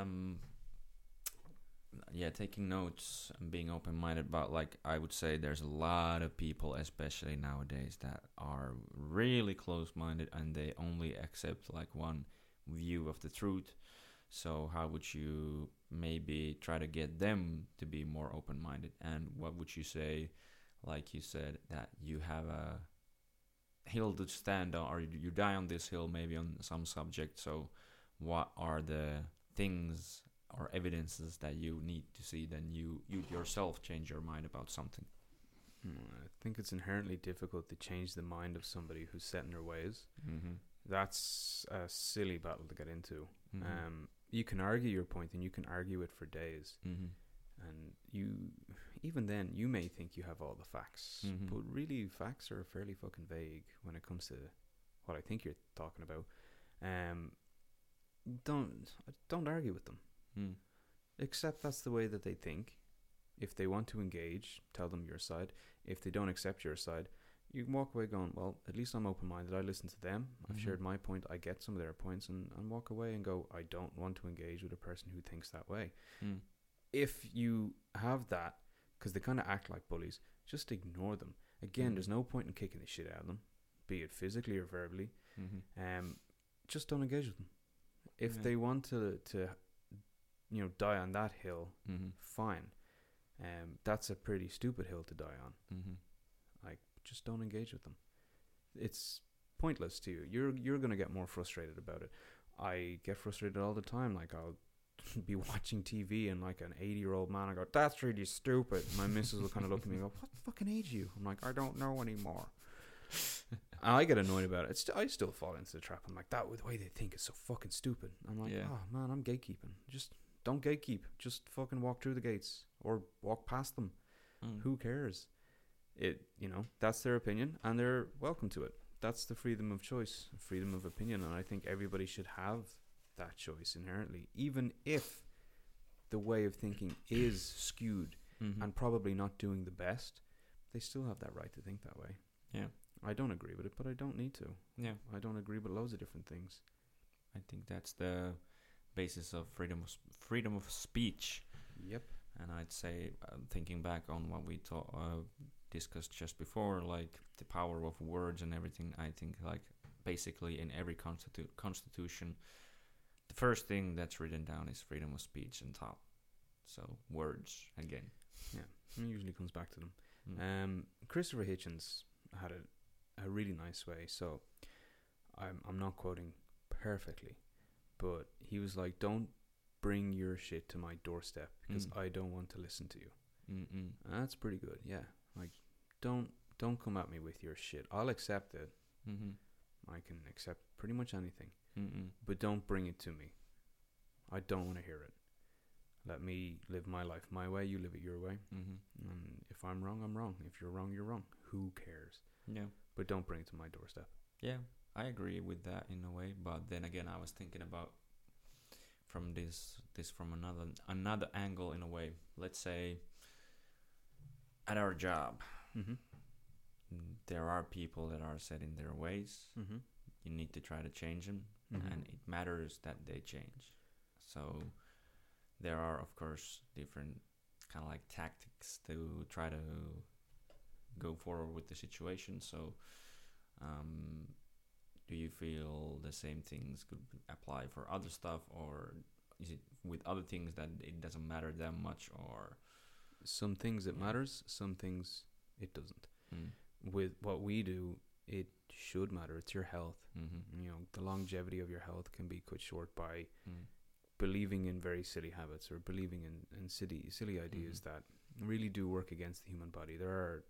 A: taking notes and being open-minded. But like I would say, there's a lot of people, especially nowadays, that are really close-minded and they only accept like one view of the truth. So how would you maybe try to get them to be more open-minded? And what would you say, like you said, that you have a hill to stand on, or you die on this hill maybe on some subject. So what are the things or evidences that you need to see, then you yourself change your mind about something?
B: I think it's inherently difficult to change the mind of somebody who's set in their ways. That's a silly battle to get into. You can argue your point and you can argue it for days. And even then you may think you have all the facts, but really facts are fairly fucking vague when it comes to what I think you're talking about. Don't argue with them. Accept that's the way that they think. If they want to engage, tell them your side. If they don't accept your side, you can walk away going, well, at least I'm open-minded. I listen to them. I've
A: Mhm.
B: shared my point. I get some of their points, and walk away and go, I don't want to engage with a person who thinks that way.
A: Mm.
B: If you have that, because they kind of act like bullies, just ignore them. Again,
A: Mhm.
B: there's no point in kicking the shit out of them, be it physically or verbally.
A: Mhm.
B: Just don't engage with them. If
A: Yeah.
B: they want to die on that hill,
A: Mhm.
B: fine. That's a pretty stupid hill to die on.
A: Mhm.
B: Like, just don't engage with them. It's pointless to you. You're gonna get more frustrated about it. I get frustrated all the time. Like, I'll be watching TV and like an 80-year-old man, I go, that's really stupid. My missus will kind of look at me and go, what fucking age are you? I'm like, I don't know anymore. And I get annoyed about it. I still fall into the trap. I'm like, the way they think is so fucking stupid. I'm like,
A: Yeah.
B: oh man, I'm gatekeeping. Just don't gatekeep. Just fucking walk through the gates or walk past them.
A: Mm.
B: Who cares? That's their opinion and they're welcome to it. That's the freedom of choice, freedom of opinion, and I think everybody should have that choice inherently, even if the way of thinking is skewed
A: Mhm.
B: and probably not doing the best. They still have that right to think that way.
A: Yeah.
B: I don't agree with it, but I don't need to.
A: Yeah.
B: I don't agree with loads of different things.
A: I think that's the basis of freedom of speech.
B: Yep.
A: And I'd say, thinking back on what we discussed just before, like the power of words and everything, I think like basically in every constitution, the first thing that's written down is freedom of speech and thought. So words again.
B: Yeah, it usually comes back to them.
A: Mm.
B: Christopher Hitchens had a really nice way. So I'm not quoting perfectly, but he was like, don't bring your shit to my doorstep because I don't want to listen to you.
A: Mm-mm.
B: And that's pretty good. Yeah, like don't come at me with your shit. I'll accept it.
A: Mm-hmm.
B: I can accept pretty much anything,
A: Mm-mm.
B: but don't bring it to me. I don't want to hear it. Let me live my life my way. You live it your way.
A: Mm-hmm.
B: And if I'm wrong, I'm wrong. If you're wrong, you're wrong. Who cares?
A: Yeah.
B: But don't bring it to my doorstep.
A: Yeah, I agree with that in a way, but then again, I was thinking about from this from another angle in a way. Let's say at our job,
B: Mm-hmm.
A: there are people that are set in their ways.
B: Mm-hmm.
A: You need to try to change them,
B: Mm-hmm.
A: and it matters that they change. So there are, of course, different kind of like tactics to try to go forward with the situation. So do you feel the same things could apply for other stuff, or is it with other things that it doesn't matter that much, or
B: Some things it
A: Yeah.
B: matters, some things it doesn't.
A: mm.
B: With what we do, it should matter. It's your health.
A: Mm-hmm.
B: The longevity of your health can be cut short by
A: Mm.
B: believing in very silly habits or believing in silly ideas that really do work against the human body. There are,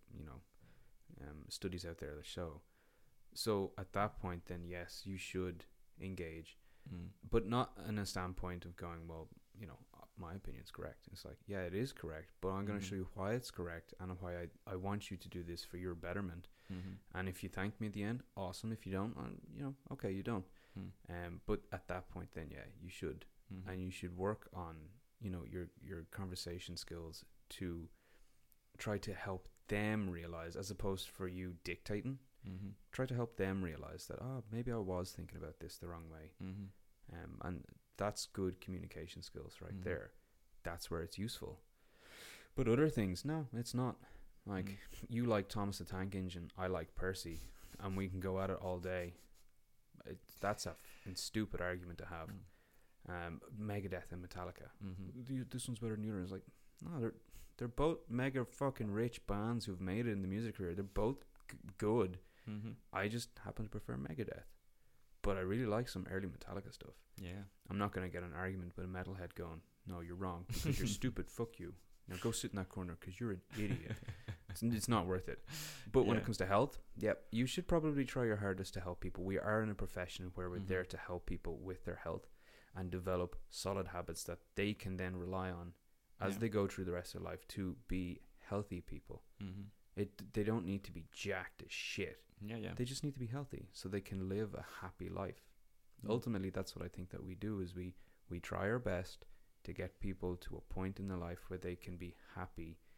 B: studies out there that show. So at that point, then yes, you should engage,
A: Mm.
B: but not in a standpoint of going, well, my opinion's correct. It's like, yeah, it is correct, but I'm going to
A: Mhm.
B: show you why it's correct and why I want you to do this for your betterment.
A: Mm-hmm.
B: And if you thank me at the end, awesome. If you don't, okay, you don't.
A: Mm.
B: But at that point, then yeah, you should,
A: Mm-hmm.
B: and you should work on your conversation skills to try to help them realize, as opposed for you dictating.
A: Mm-hmm.
B: Try to help them realize that maybe I was thinking about this the wrong way,
A: Mm-hmm.
B: and that's good communication skills right
A: Mhm.
B: there. That's where it's useful. But other things, no, it's not. Like,
A: Mm.
B: you like Thomas the Tank Engine, I like Percy, and we can go at it all day. That's a stupid argument to have. Megadeth and Metallica.
A: Mm-hmm.
B: This one's better than the other. It's like, no, they're both mega fucking rich bands who've made it in the music career. They're both good.
A: Mm-hmm.
B: I just happen to prefer Megadeth, but I really like some early Metallica stuff.
A: Yeah.
B: I'm not going to get an argument with a metalhead going, no, you're wrong because you're stupid. Fuck you. Now go sit in that corner because you're an idiot. It's not worth it. But when it
A: Yeah.
B: comes to health, yep, you should probably try your hardest to help people. We are in a profession where we're
A: Mhm.
B: there to help people with their health and develop solid habits that they can then rely on as
A: Yeah.
B: they go through the rest of their life to be healthy people.
A: Mm-hmm.
B: They don't need to be jacked as shit.
A: Yeah, yeah.
B: They just need to be healthy so they can live a happy life.
A: Mm.
B: Ultimately, that's what I think that we do is we try our best to get people to a point in their life where they can be happy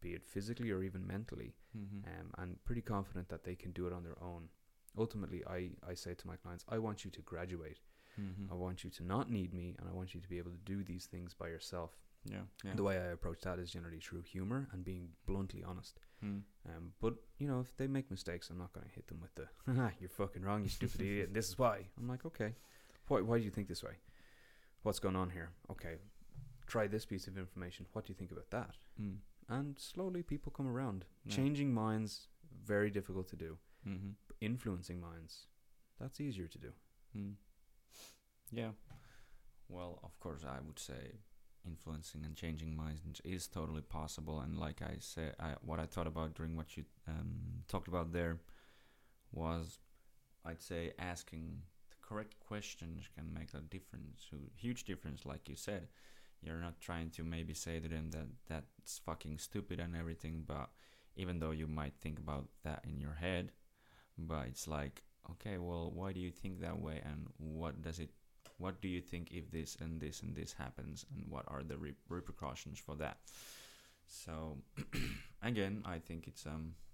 B: be it physically or even mentally,
A: Mm-hmm.
B: and pretty confident that they can do it on their own. Ultimately, I say to my clients, I want you to graduate.
A: Mm-hmm.
B: I want you to not need me, and I want you to be able to do these things by yourself.
A: Yeah. Yeah.
B: The way I approach that is generally through humor and being bluntly honest.
A: Mm.
B: But you know, if they make mistakes, I'm not going to hit them with the "you're fucking wrong, you stupid idiot, and this is why." I'm like, okay, why do you think this way? What's going on here? Okay, try this piece of information. What do you think about that?
A: Mm.
B: And slowly, people come around.
A: Yeah.
B: Changing minds, very difficult to do.
A: Mm-hmm.
B: Influencing minds, that's easier to do.
A: Mm. Yeah. Well, of course, I would say influencing and changing minds is totally possible. And like I said, what I thought about during what you talked about there was, I'd say, asking the correct questions can make a difference, a huge difference. Like you said, you're not trying to maybe say to them that that's fucking stupid and everything, but even though you might think about that in your head, but it's like, okay, well, why do you think that way, and what do you think if this and this and this happens, and what are the repercussions for that? So again, I think it's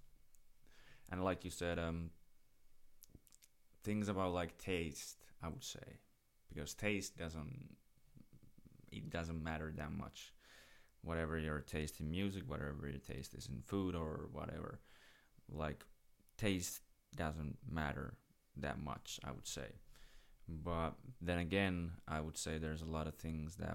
A: and like you said, things about like taste, I would say, because taste doesn't matter that much. Whatever your taste in music, whatever your taste is in food or whatever, like taste doesn't matter that much, I would say. But then again, I would say there's a lot of things that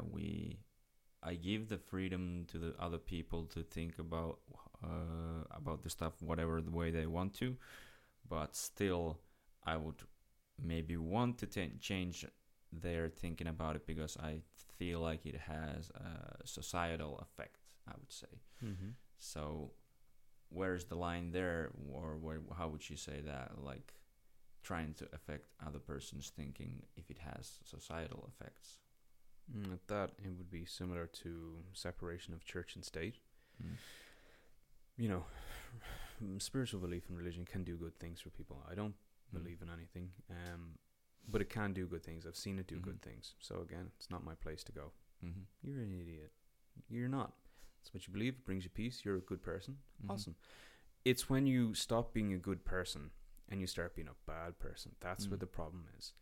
A: I give the freedom to the other people to think about the stuff whatever the way they want to, but still I would maybe want to change their thinking about it, because I feel like it has a societal effect, I would say.
B: Mm-hmm.
A: So where's the line there, or how would you say that, like trying to affect other person's thinking if it has societal effects?
B: That it would be similar to separation of church and state.
A: Mm.
B: You know, spiritual belief and religion can do good things for people. I don't believe in anything, but it can do good things. I've seen it do good things. So again, it's not my place to go, you're an idiot. You're not. It's what you believe. It brings you peace. You're a good person. Awesome. It's when you stop being a good person and you start being a bad person. That's where the problem is.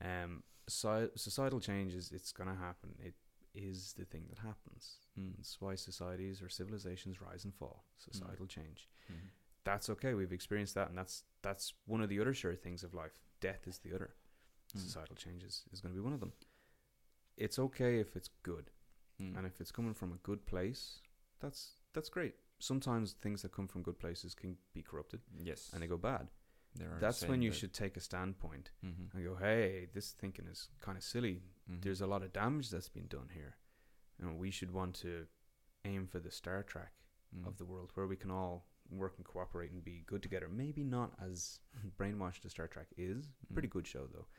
B: Societal changes, it's going to happen. It is the thing that happens. That's why societies or civilizations rise and fall. Societal change. That's okay. We've experienced that, and that's one of the other sure things of life. Death is the other. Societal changes is going to be one of them. It's okay if it's good, and if it's coming from a good place, that's great. Sometimes things that come from good places can be corrupted,
A: yes,
B: and they go bad. That's when you should take a standpoint and go, hey, this thinking is kind of silly. There's a lot of damage that's been done here, and we should want to aim for the Star Trek of the world, where we can all work and cooperate and be good together. Maybe not as brainwashed as Star Trek is. Pretty good show though.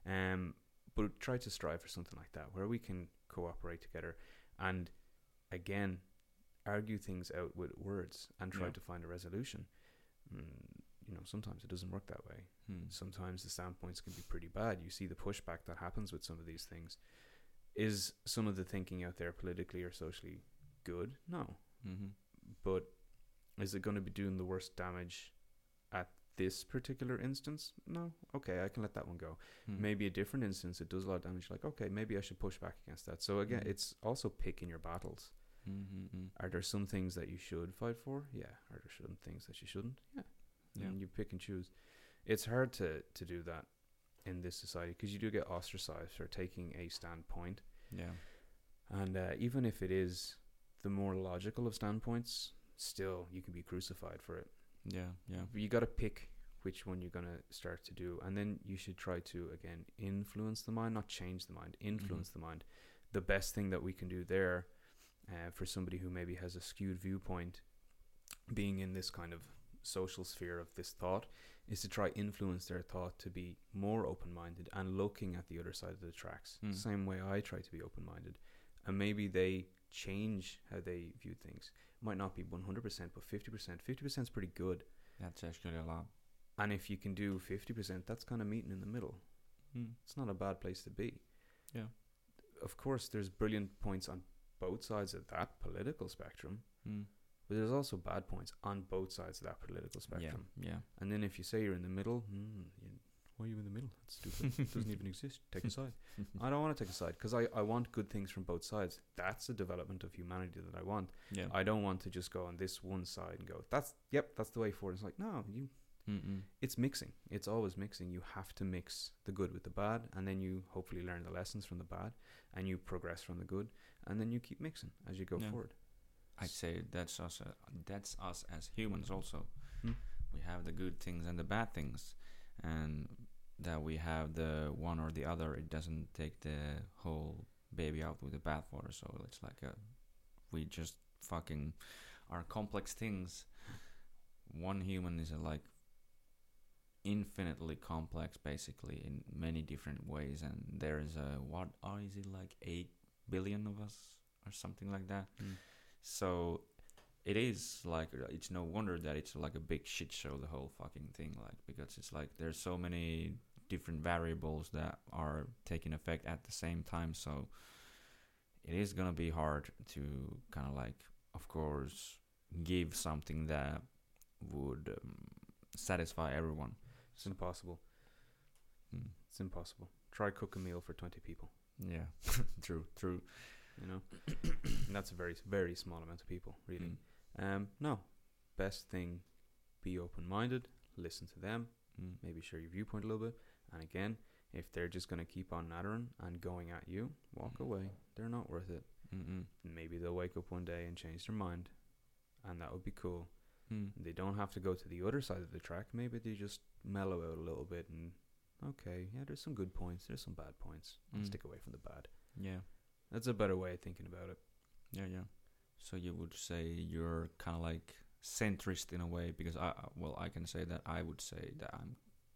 B: But try to strive for something like that, where we can cooperate together and again argue things out with words and try to find a resolution. You know, sometimes it doesn't work that way. Sometimes the standpoints can be pretty bad. You see the pushback that happens with some of these things. Is some of the thinking out there politically or socially good? No. But is it going to be doing the worst damage at this particular instance? No. Okay, I can let that one go. Maybe a different instance, it does a lot of damage. Like, okay, maybe I should push back against that. So again, it's also picking your battles. Are there some things that you should fight for? Yeah. Are there some things that you shouldn't? Yeah. And you pick and choose. It's hard to do that in this society, because you do get ostracized for taking a standpoint.
A: Yeah.
B: And even if it is the more logical of standpoints, still you can be crucified for it.
A: Yeah.
B: You got to pick which one you're going to start to do, and then you should try to again influence the mind, not change the mind, influence the mind. The best thing that we can do there for somebody who maybe has a skewed viewpoint, being in this kind of social sphere of this thought, is to try influence their thought to be more open-minded and looking at the other side of the tracks. Same way I try to be open-minded, and maybe they change how they view things. Might not be 100%, but 50% is pretty good.
A: That's actually a lot.
B: And if you can do 50%, that's kind of meeting in the middle. It's not a bad place to be.
A: Yeah.
B: Of course, there's brilliant points on both sides of that political spectrum. but there's also bad points on both sides of that political spectrum.
A: Yeah.
B: And then if you say you're in the middle, why are you in the middle? That's stupid. It doesn't even exist. Take a side. I don't want to take a side because I want good things from both sides. That's a development of humanity that I want.
A: Yeah.
B: I don't want to just go on this one side and go, that's the way forward. It's like, no, it's mixing. It's always mixing. You have to mix the good with the bad, and then you hopefully learn the lessons from the bad, and you progress from the good, and then you keep mixing as you go forward.
A: I'd say that's us as humans also.
B: Hmm?
A: We have the good things and the bad things, and that we have the one or the other. It doesn't take the whole baby out with the bathwater. So it's like we just fucking are complex things. One human is like infinitely complex, basically, in many different ways, and there's is it like 8 billion of us or something like that. So it is like, it's no wonder that it's like a big shit show, the whole fucking thing, like, because it's like there's so many different variables that are taking effect at the same time. So it is gonna be hard to kind of like, of course, give something that would satisfy everyone.
B: It's impossible. It's impossible. Try cook a meal for 20 people.
A: Yeah. True.
B: You know, and that's a very, very small amount of people, really. No, best thing, be open-minded, listen to them, maybe share your viewpoint a little bit, and again, if they're just going to keep on nattering and going at you, walk away. They're not worth it. Maybe they'll wake up one day and change their mind, and that would be cool. They don't have to go to the other side of the track. Maybe they just mellow out a little bit and, okay, yeah, there's some good points, there's some bad points. I'll stick away from the bad.
A: Yeah.
B: That's a better way of thinking about it.
A: Yeah. So you would say you're kind of like centrist in a way, because I can say that I would say that I'm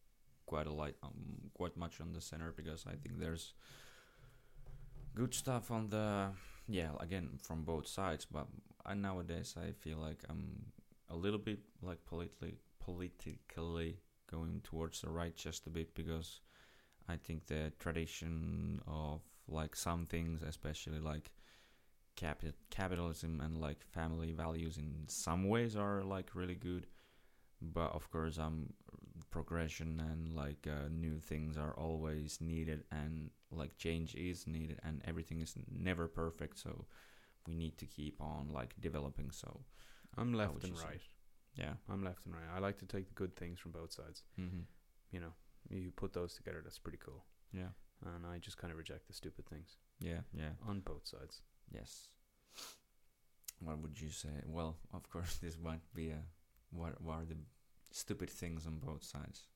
A: quite much on the center, because I think there's good stuff on the, again, from both sides, but nowadays I feel like I'm a little bit like politically going towards the right just a bit, because I think the tradition of like some things, especially like capitalism and like family values, in some ways are like really good, but of course progression and like new things are always needed, and like change is needed, and everything is never perfect, so we need to keep on like developing. So
B: I'm left and right.
A: Yeah,
B: I'm left and right. I like to take the good things from both sides. You know, you put those together, that's pretty cool.
A: Yeah.
B: And I just kind of reject the stupid things.
A: Yeah.
B: On both sides.
A: Yes. What would you say? Well, of course, this might be what are the stupid things on both sides?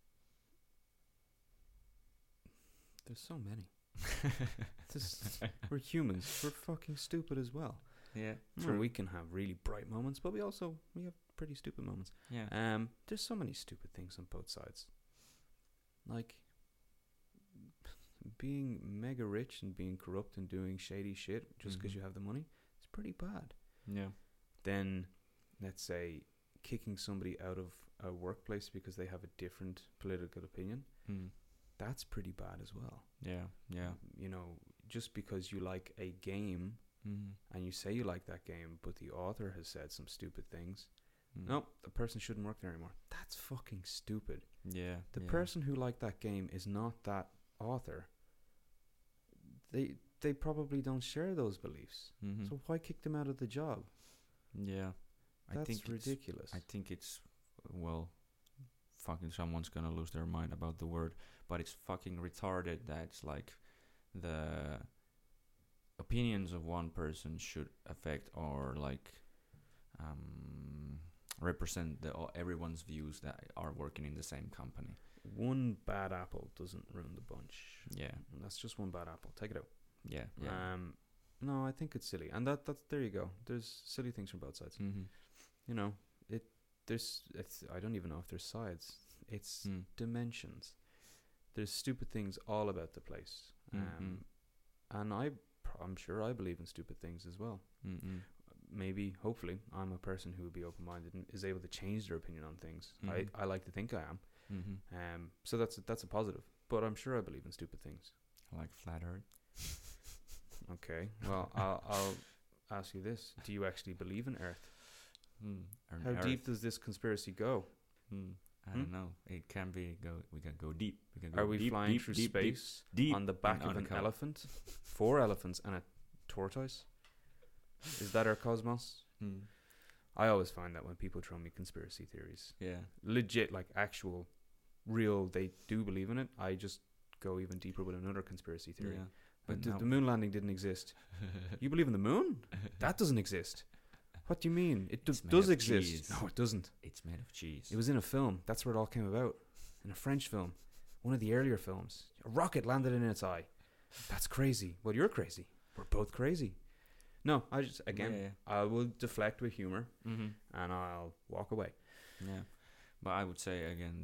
B: There's so many. We're humans. We're fucking stupid as well.
A: Yeah,
B: true. We can have really bright moments, but we have pretty stupid moments.
A: Yeah.
B: There's so many stupid things on both sides. Like being mega rich and being corrupt and doing shady shit just because you have the money, it's pretty bad.
A: Yeah.
B: Then, let's say, kicking somebody out of a workplace because they have a different political opinion, that's pretty bad as well.
A: Yeah.
B: You know, just because you like a game and you say you like that game, but the author has said some stupid things, no, the person shouldn't work there anymore. That's fucking stupid.
A: Yeah.
B: The person who liked that game is not that author. They probably don't share those beliefs. So why kick them out of the job?
A: Yeah.
B: That's ridiculous.
A: I think it's, well, fucking someone's gonna lose their mind about the word, but it's fucking retarded that it's like the opinions of one person should affect or like represent everyone's views that are working in the same company.
B: One bad apple doesn't ruin the bunch.
A: Yeah.
B: And that's just one bad apple. Take it out.
A: Yeah.
B: No, I think it's silly. And that's there you go. There's silly things from both sides. You know, I don't even know if there's sides. It's dimensions. There's stupid things all about the place. And I'm sure I believe in stupid things as well. Maybe, hopefully, I'm a person who would be open-minded and is able to change their opinion on things. I like to think I am. So that's a positive. But I'm sure I believe in stupid things.
A: Like flat earth.
B: Okay. Well, I'll ask you this: do you actually believe in Earth?
A: On
B: How deep
A: Earth.
B: does this conspiracy go?
A: I don't know. It can be we can go deep. We can go
B: Are we
A: deep,
B: flying
A: deep,
B: through
A: deep,
B: space
A: deep
B: on the back
A: in
B: of an
A: undercover.
B: elephant? 4 elephants and a tortoise? Is that our cosmos? I always find that when people throw me conspiracy theories,
A: Yeah.
B: legit, like actual, real, they do believe in it, I just go even deeper with another conspiracy theory.
A: Yeah.
B: But
A: But
B: the moon landing didn't exist. You believe in the moon? That doesn't exist. What do you mean? It
A: It's made
B: does
A: of
B: exist.
A: cheese.
B: No, it doesn't.
A: It's made of cheese.
B: It was in a film. That's where it all came about. In a French film. One of the earlier films. A rocket landed in its eye. That's crazy. Well, you're crazy. We're both crazy. No, I just, again,
A: Yeah.
B: I will deflect with humor
A: Mm-hmm.
B: and I'll walk away.
A: Yeah, but I would say again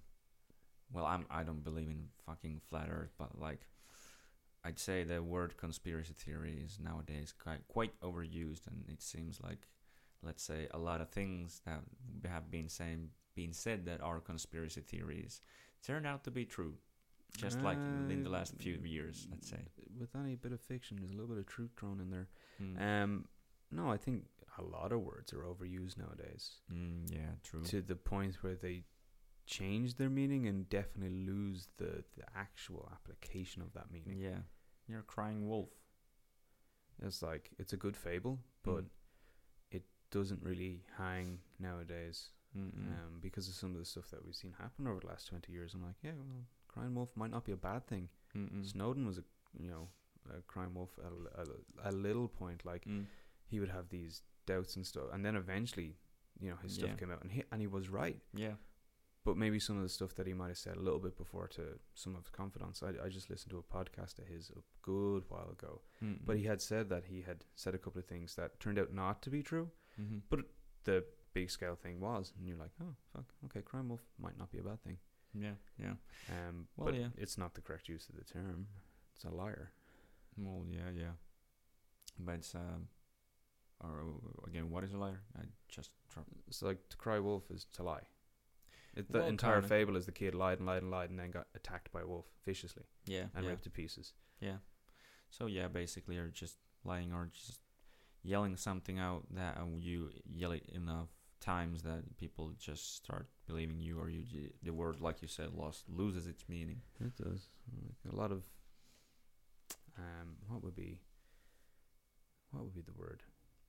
A: I don't believe in fucking flat Earth, but like I'd say the word conspiracy theory is nowadays quite overused, and it seems like, let's say, a lot of things that have been said that are conspiracy theories turned out to be true, just like in the last few years, let's say.
B: With any bit of fiction, there's a little bit of truth thrown in there.
A: Mm.
B: No, I think a lot of words are overused nowadays
A: Yeah, true.
B: to the point where they change their meaning and definitely lose the actual application of that meaning.
A: Yeah, you're a crying wolf.
B: It's like, it's a good fable, but it doesn't really hang nowadays because of some of the stuff that we've seen happen over the last 20 years. I'm like, yeah, well, crying wolf might not be a bad thing. Snowden was a crying wolf at a little point. Like, he would have these doubts and stuff, and then eventually, his stuff came out, and he was right.
A: Yeah.
B: But maybe some of the stuff that he might have said a little bit before to some of his confidants. I just listened to a podcast of his a good while ago, but he had said that he had said a couple of things that turned out not to be true. But the big scale thing was, and you're like, oh fuck, okay, crime wolf might not be a bad thing.
A: Yeah. Well,
B: but
A: yeah.
B: it's not the correct use of the term. It's a liar.
A: Well, yeah. But it's or again, what is a liar? I just
B: It's like to cry wolf is to lie. The
A: Well,
B: entire
A: kinda.
B: fable is the kid lied and then got attacked by a wolf viciously and
A: yeah.
B: ripped to pieces.
A: Yeah. So yeah, basically, you're just lying or just yelling something out that you yell it enough times that people just start believing you, or the word, like you said, loses its meaning.
B: It does. Like a lot of what would be the word?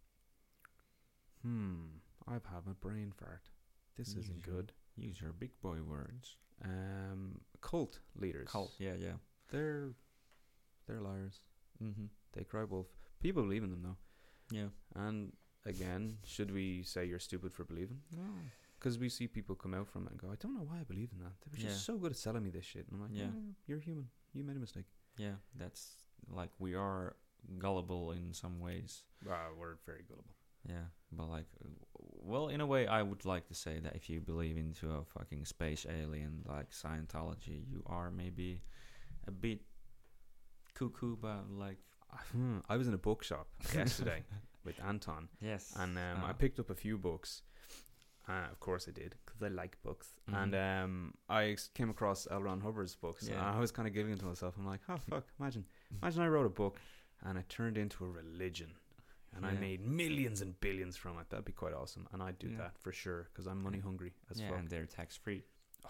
B: I've had a brain fart. This isn't good.
A: Use your big boy words.
B: Cult leaders.
A: Yeah.
B: They're liars.
A: Mm-hmm.
B: They cry wolf. People believe in them though.
A: Yeah.
B: And again, should we say you're stupid for believing? No. Because we see people come out from it and go, I don't know why I believe in that. They were just so good at selling me this shit. And I'm like,
A: Yeah.
B: You're human. You made a mistake.
A: Yeah, that's like, we are gullible in some ways.
B: We're very gullible.
A: Yeah, but like, well, in a way, I would like to say that if you believe into a fucking space alien like Scientology, you are maybe a bit cuckoo, but like,
B: I was in a bookshop yesterday with Anton.
A: yes,
B: And I picked up a few books. Of course I did, because I like books.
A: Mhm.
B: And I came across L. Ron Hubbard's books.
A: Yeah.
B: And I was kind of giggling to myself. I'm like, oh, fuck, imagine I wrote a book and it turned into a religion. And I
A: Yeah.
B: made millions and billions from it. That'd be quite awesome. And I'd do
A: Yeah.
B: that for sure, because I'm money hungry as
A: yeah,
B: fuck.
A: and they're tax free.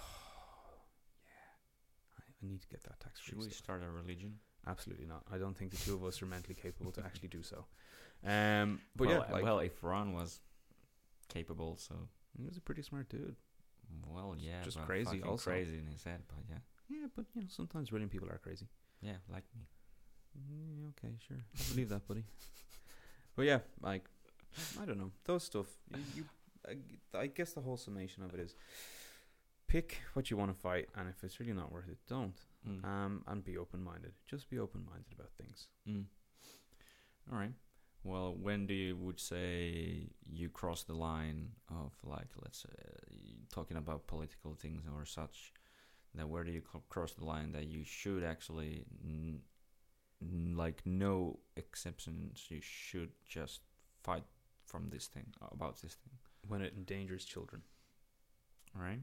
B: I need to get that tax free
A: Should we
B: stuff.
A: start a religion?
B: Absolutely not. I don't think the two of us are mentally capable to actually do so. But
A: well,
B: yeah, like,
A: well, if Ron was capable, so
B: he was a pretty smart dude.
A: well, yeah,
B: just
A: but
B: crazy
A: fucking
B: also.
A: crazy in his head, but yeah,
B: Yeah, but sometimes brilliant people are crazy.
A: yeah, like me.
B: Okay, sure. I believe that, buddy. But yeah, like, I don't know. Those stuff. I guess the whole summation of it is pick what you want to fight, and if it's really not worth it, don't. And be open-minded. Just be open-minded about things.
A: All right. Well, when do you would say you cross the line of, like, let's say, talking about political things or such, that where do you cross the line that you should actually, like, no exceptions, you should just fight from this thing, about this thing?
B: When it endangers children.
A: All right.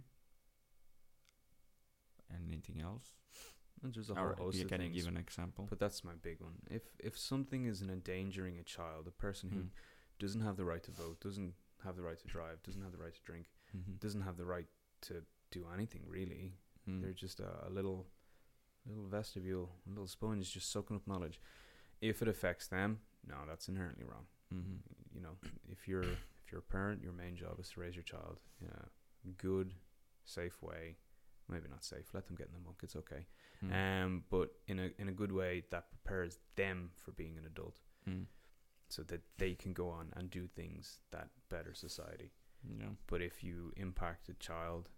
A: Anything else?
B: And there's a whole host of
A: can you
B: things.
A: give an example?
B: But that's my big one. If something is endangering a child, a person who doesn't have the right to vote, doesn't have the right to drive, doesn't have the right to drink,
A: Mm-hmm.
B: doesn't have the right to do anything really.
A: Mm.
B: They're just a little vestibule, a little sponge just soaking up knowledge. If it affects them, no, that's inherently wrong.
A: Mm-hmm.
B: You know, if you're a parent, your main job is to raise your child in a good, safe way. Maybe not safe. Let them get in the muck. It's okay.
A: Mm.
B: But in a good way that prepares them for being an adult,
A: Mm.
B: so that they can go on and do things that better society.
A: Yeah.
B: But if you impact a child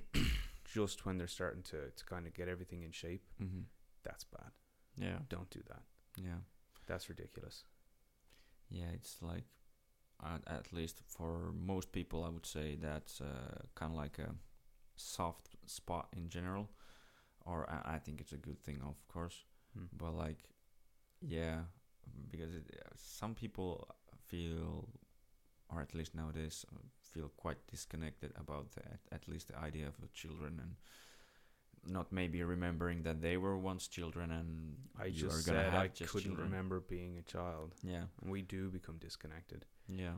B: just when they're starting to kind of get everything in shape,
A: Mm-hmm.
B: that's bad.
A: Yeah.
B: Don't do that.
A: Yeah.
B: That's ridiculous.
A: Yeah, it's like, at least for most people, I would say that's kind of like a soft spot in general. Or I think it's a good thing, of course. But like, yeah, because some people feel, or at least nowadays, feel quite disconnected about at least the idea of children, and not maybe remembering that they were once children, and
B: I
A: you
B: just
A: are gonna
B: said
A: have
B: I
A: just
B: couldn't
A: children.
B: remember being a child,
A: Yeah,
B: and we do become disconnected.
A: yeah,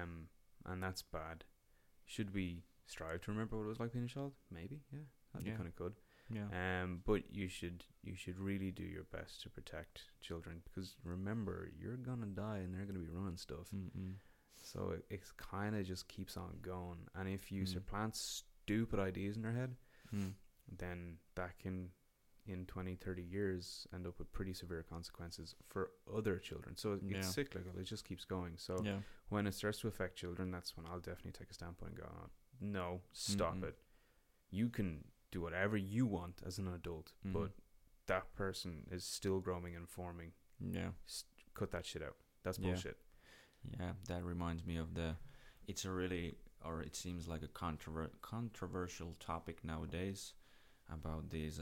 B: And that's bad. Should we strive to remember what it was like being a child? Maybe, yeah, that'd be
A: Yeah.
B: kind of good.
A: yeah,
B: But you should really do your best to protect children, because remember, you're gonna die and they're gonna be running stuff.
A: Mm-mm.
B: So it kind of just keeps on going. And if you
A: Mm.
B: supplant stupid ideas in their head,
A: Mm.
B: then that can, in 20, 30 years, end up with pretty severe consequences for other children. So
A: Yeah.
B: it's cyclical. It just keeps going. So
A: Yeah.
B: when it starts to affect children, that's when I'll definitely take a standpoint and go, oh, no, stop
A: Mm-mm.
B: it. You can do whatever you want as an adult,
A: Mhm.
B: but that person is still growing and forming.
A: Yeah.
B: Cut that shit out. That's
A: Yeah.
B: bullshit.
A: Yeah, that reminds me of it's a really, or it seems like a controversial topic nowadays about these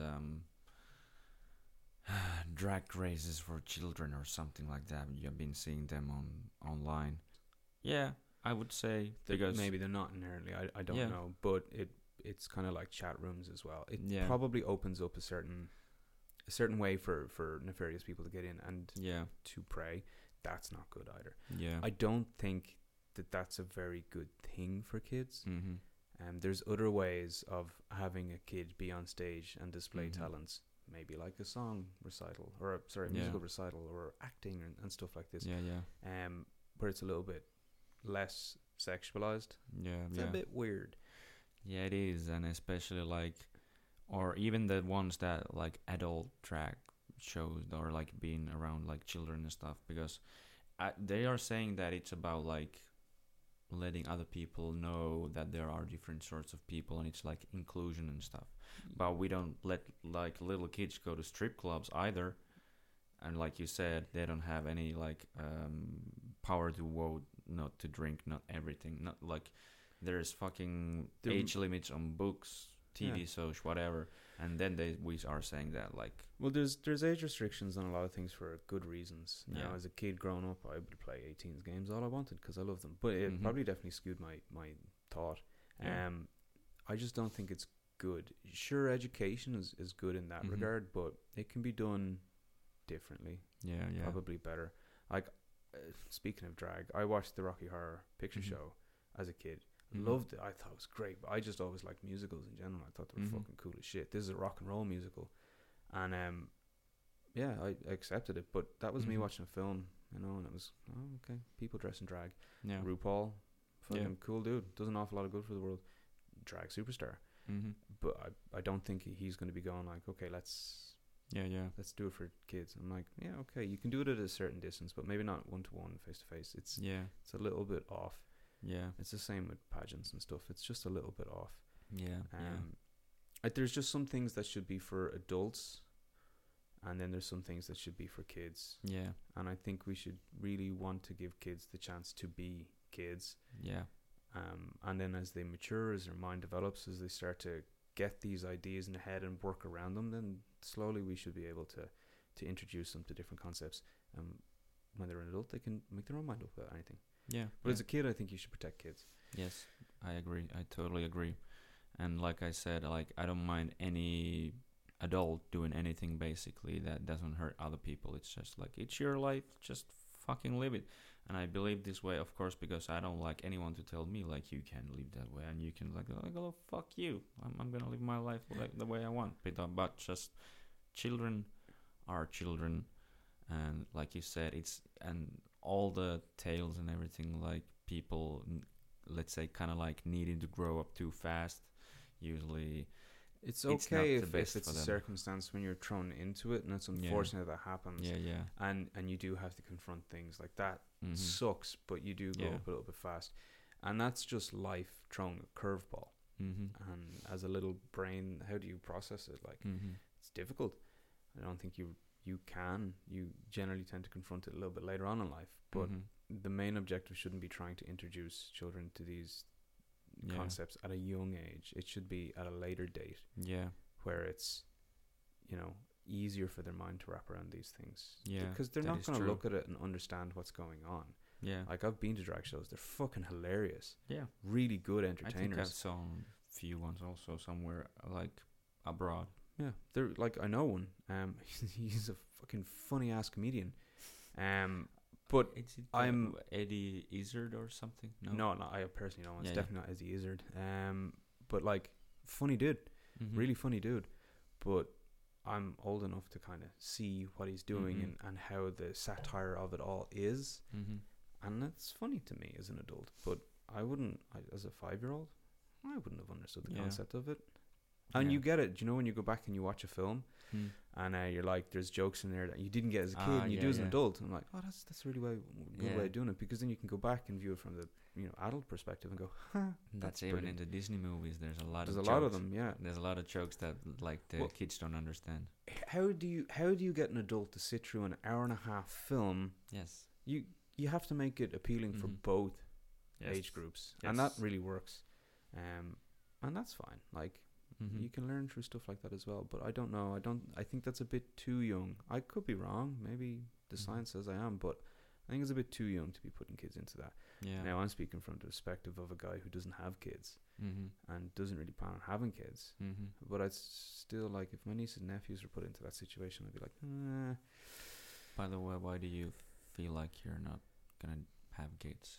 A: drag races for children or something like that. You've been seeing them online. Yeah, I would say because
B: Maybe they're not inherently. I don't
A: Yeah.
B: know, but it's kind of like chat rooms as well. It
A: Yeah.
B: probably opens up a certain way for nefarious people to get in and
A: yeah,
B: to prey. That's not good either.
A: yeah,
B: I don't think that that's a very good thing for kids.
A: mm-hmm.
B: There's other ways of having a kid be on stage and display
A: Mhm.
B: talents, maybe like a song recital, or a
A: Yeah.
B: musical recital, or acting and stuff like this.
A: Yeah, yeah,
B: Where it's a little bit less sexualized.
A: yeah,
B: It's
A: yeah.
B: a bit weird.
A: Yeah, it is, and especially like, or even the ones that like adult drag shows or like being around like children and stuff, because they are saying that it's about like letting other people know that there are different sorts of people, and it's like inclusion and stuff. But we don't let like little kids go to strip clubs either, and like you said, they don't have any like power to vote, not to drink, not everything, not like there's fucking
B: The-
A: age limits on books, TV
B: Yeah.
A: shows, whatever, and then we are saying that like
B: Well, there's age restrictions on a lot of things for good reasons. You know,
A: Yeah.
B: as a kid growing up, I would play 18s games all I wanted because I loved them. But it
A: Mhm.
B: probably definitely skewed my thought.
A: Yeah.
B: I just don't think it's good. Sure, education is good in that
A: Mhm.
B: regard, but it can be done differently,
A: yeah, yeah,
B: probably better. Like, speaking of drag, I watched the Rocky Horror Picture
A: Mhm.
B: Show as a kid.
A: Mhm.
B: Loved it. I thought it was great, but I just always liked musicals in general. I thought they were
A: Mhm.
B: fucking cool as shit. This is a rock and roll musical, and yeah, I accepted it. But that was me
A: Mhm.
B: watching a film, you know, and it was okay. People dress in drag.
A: yeah.
B: RuPaul, fucking
A: Yeah.
B: cool dude. Does an awful lot of good for the world. Drag superstar.
A: Mm-hmm.
B: But I don't think he's going to be going like, okay, let's
A: Yeah.
B: do it for kids. I'm like, yeah, okay, you can do it at a certain distance, but maybe not 1-to-1, face to face. It's
A: Yeah.
B: a little bit off.
A: Yeah.
B: It's the same with pageants and stuff. It's just a little bit off.
A: Yeah. Yeah.
B: There's just some things that should be for adults, and then there's some things that should be for kids.
A: Yeah.
B: And I think we should really want to give kids the chance to be kids.
A: Yeah.
B: And then as they mature, as their mind develops, as they start to get these ideas in their head and work around them, then slowly we should be able to introduce them to different concepts. When they're an adult, they can make their own mind up about anything.
A: Yeah.
B: But as a kid, I think you should protect kids.
A: Yes, I agree. I totally agree. And like I said, like I don't mind any adult doing anything basically that doesn't hurt other people. It's just like it's your life, just fucking live it. And I believe this way, of course, because I don't like anyone to tell me like you can live that way and you can like oh fuck you. I'm gonna live my life like the way I want. But just children are children, and like you said, it's and all the tales and everything like people, let's say, kind of like needing to grow up too fast. Usually,
B: It's
A: it's not
B: okay
A: the
B: if
A: best
B: it's
A: for
B: a
A: them.
B: circumstance when you're thrown into it, and it's unfortunate that happens.
A: Yeah.
B: And you do have to confront things like that.
A: Mm-hmm.
B: Sucks, but you do go
A: Yeah.
B: up a little bit fast, and that's just life throwing a curveball.
A: Mm-hmm.
B: And as a little brain, how do you process it? Like,
A: Mm-hmm.
B: it's difficult. I don't think you can. You generally tend to confront it a little bit later on in life, but
A: Mm-hmm.
B: the main objective shouldn't be trying to introduce children to these
A: Yeah.
B: concepts at a young age. It should be at a later date
A: Yeah.
B: where it's, easier for their mind to wrap around these things.
A: Yeah,
B: Because they're
A: that
B: not
A: is
B: going to
A: true.
B: look at it and understand what's going on.
A: Yeah.
B: Like, I've been to drag shows. They're fucking hilarious.
A: Yeah.
B: Really good
A: I think I've
B: entertainers.
A: saw few ones also somewhere like abroad.
B: Yeah. They're like, I know one. He's a fucking funny ass comedian. But
A: Is it
B: I'm-
A: Eddie Izzard or something?
B: no, I personally don't. It's
A: Yeah,
B: definitely not Izzy Izzard. But like, funny dude.
A: Mhm.
B: Really funny dude. But I'm old enough to kind of see what he's doing
A: Mhm.
B: and how the satire of it all is.
A: Mhm.
B: And it's funny to me as an adult. But as a 5-year-old, I wouldn't have understood the
A: Yeah.
B: concept of it. And
A: Yeah.
B: you get it. Do you know when you go back and you watch a film
A: Mm.
B: and you're like, there's jokes in there that you didn't get as a kid
A: Ah,
B: and you
A: yeah,
B: do as an
A: yeah.
B: adult. I'm like, oh, that's a really good
A: Yeah.
B: way of doing it, because then you can go back and view it from the adult perspective and go, huh,
A: That's
B: that's
A: even
B: brilliant.
A: in the Disney movies. There's a lot
B: There's
A: of
B: a lot of
A: jokes.
B: them, yeah.
A: There's a lot of jokes that like the
B: Well-
A: kids don't understand.
B: How do you get an adult to sit through an hour and a half film?
A: Yes.
B: You have to make it appealing for
A: Mhm.
B: both
A: Yes.
B: age groups, and that
A: Yes.
B: really works. And that's fine. Like,
A: Mhm.
B: you can learn through stuff like that as well. But I don't know. I think that's a bit too young. I could be wrong. Maybe the
A: Mhm.
B: science says I am, but I think it's a bit too young to be putting kids into that.
A: Yeah.
B: Now, I'm speaking from the perspective of a guy who doesn't have kids
A: Mhm.
B: and doesn't really plan on having kids.
A: Mhm.
B: But I'd still like, if my nieces and nephews were put into that situation, I'd be like,
A: By the way, why do you feel like you're not gonna have kids?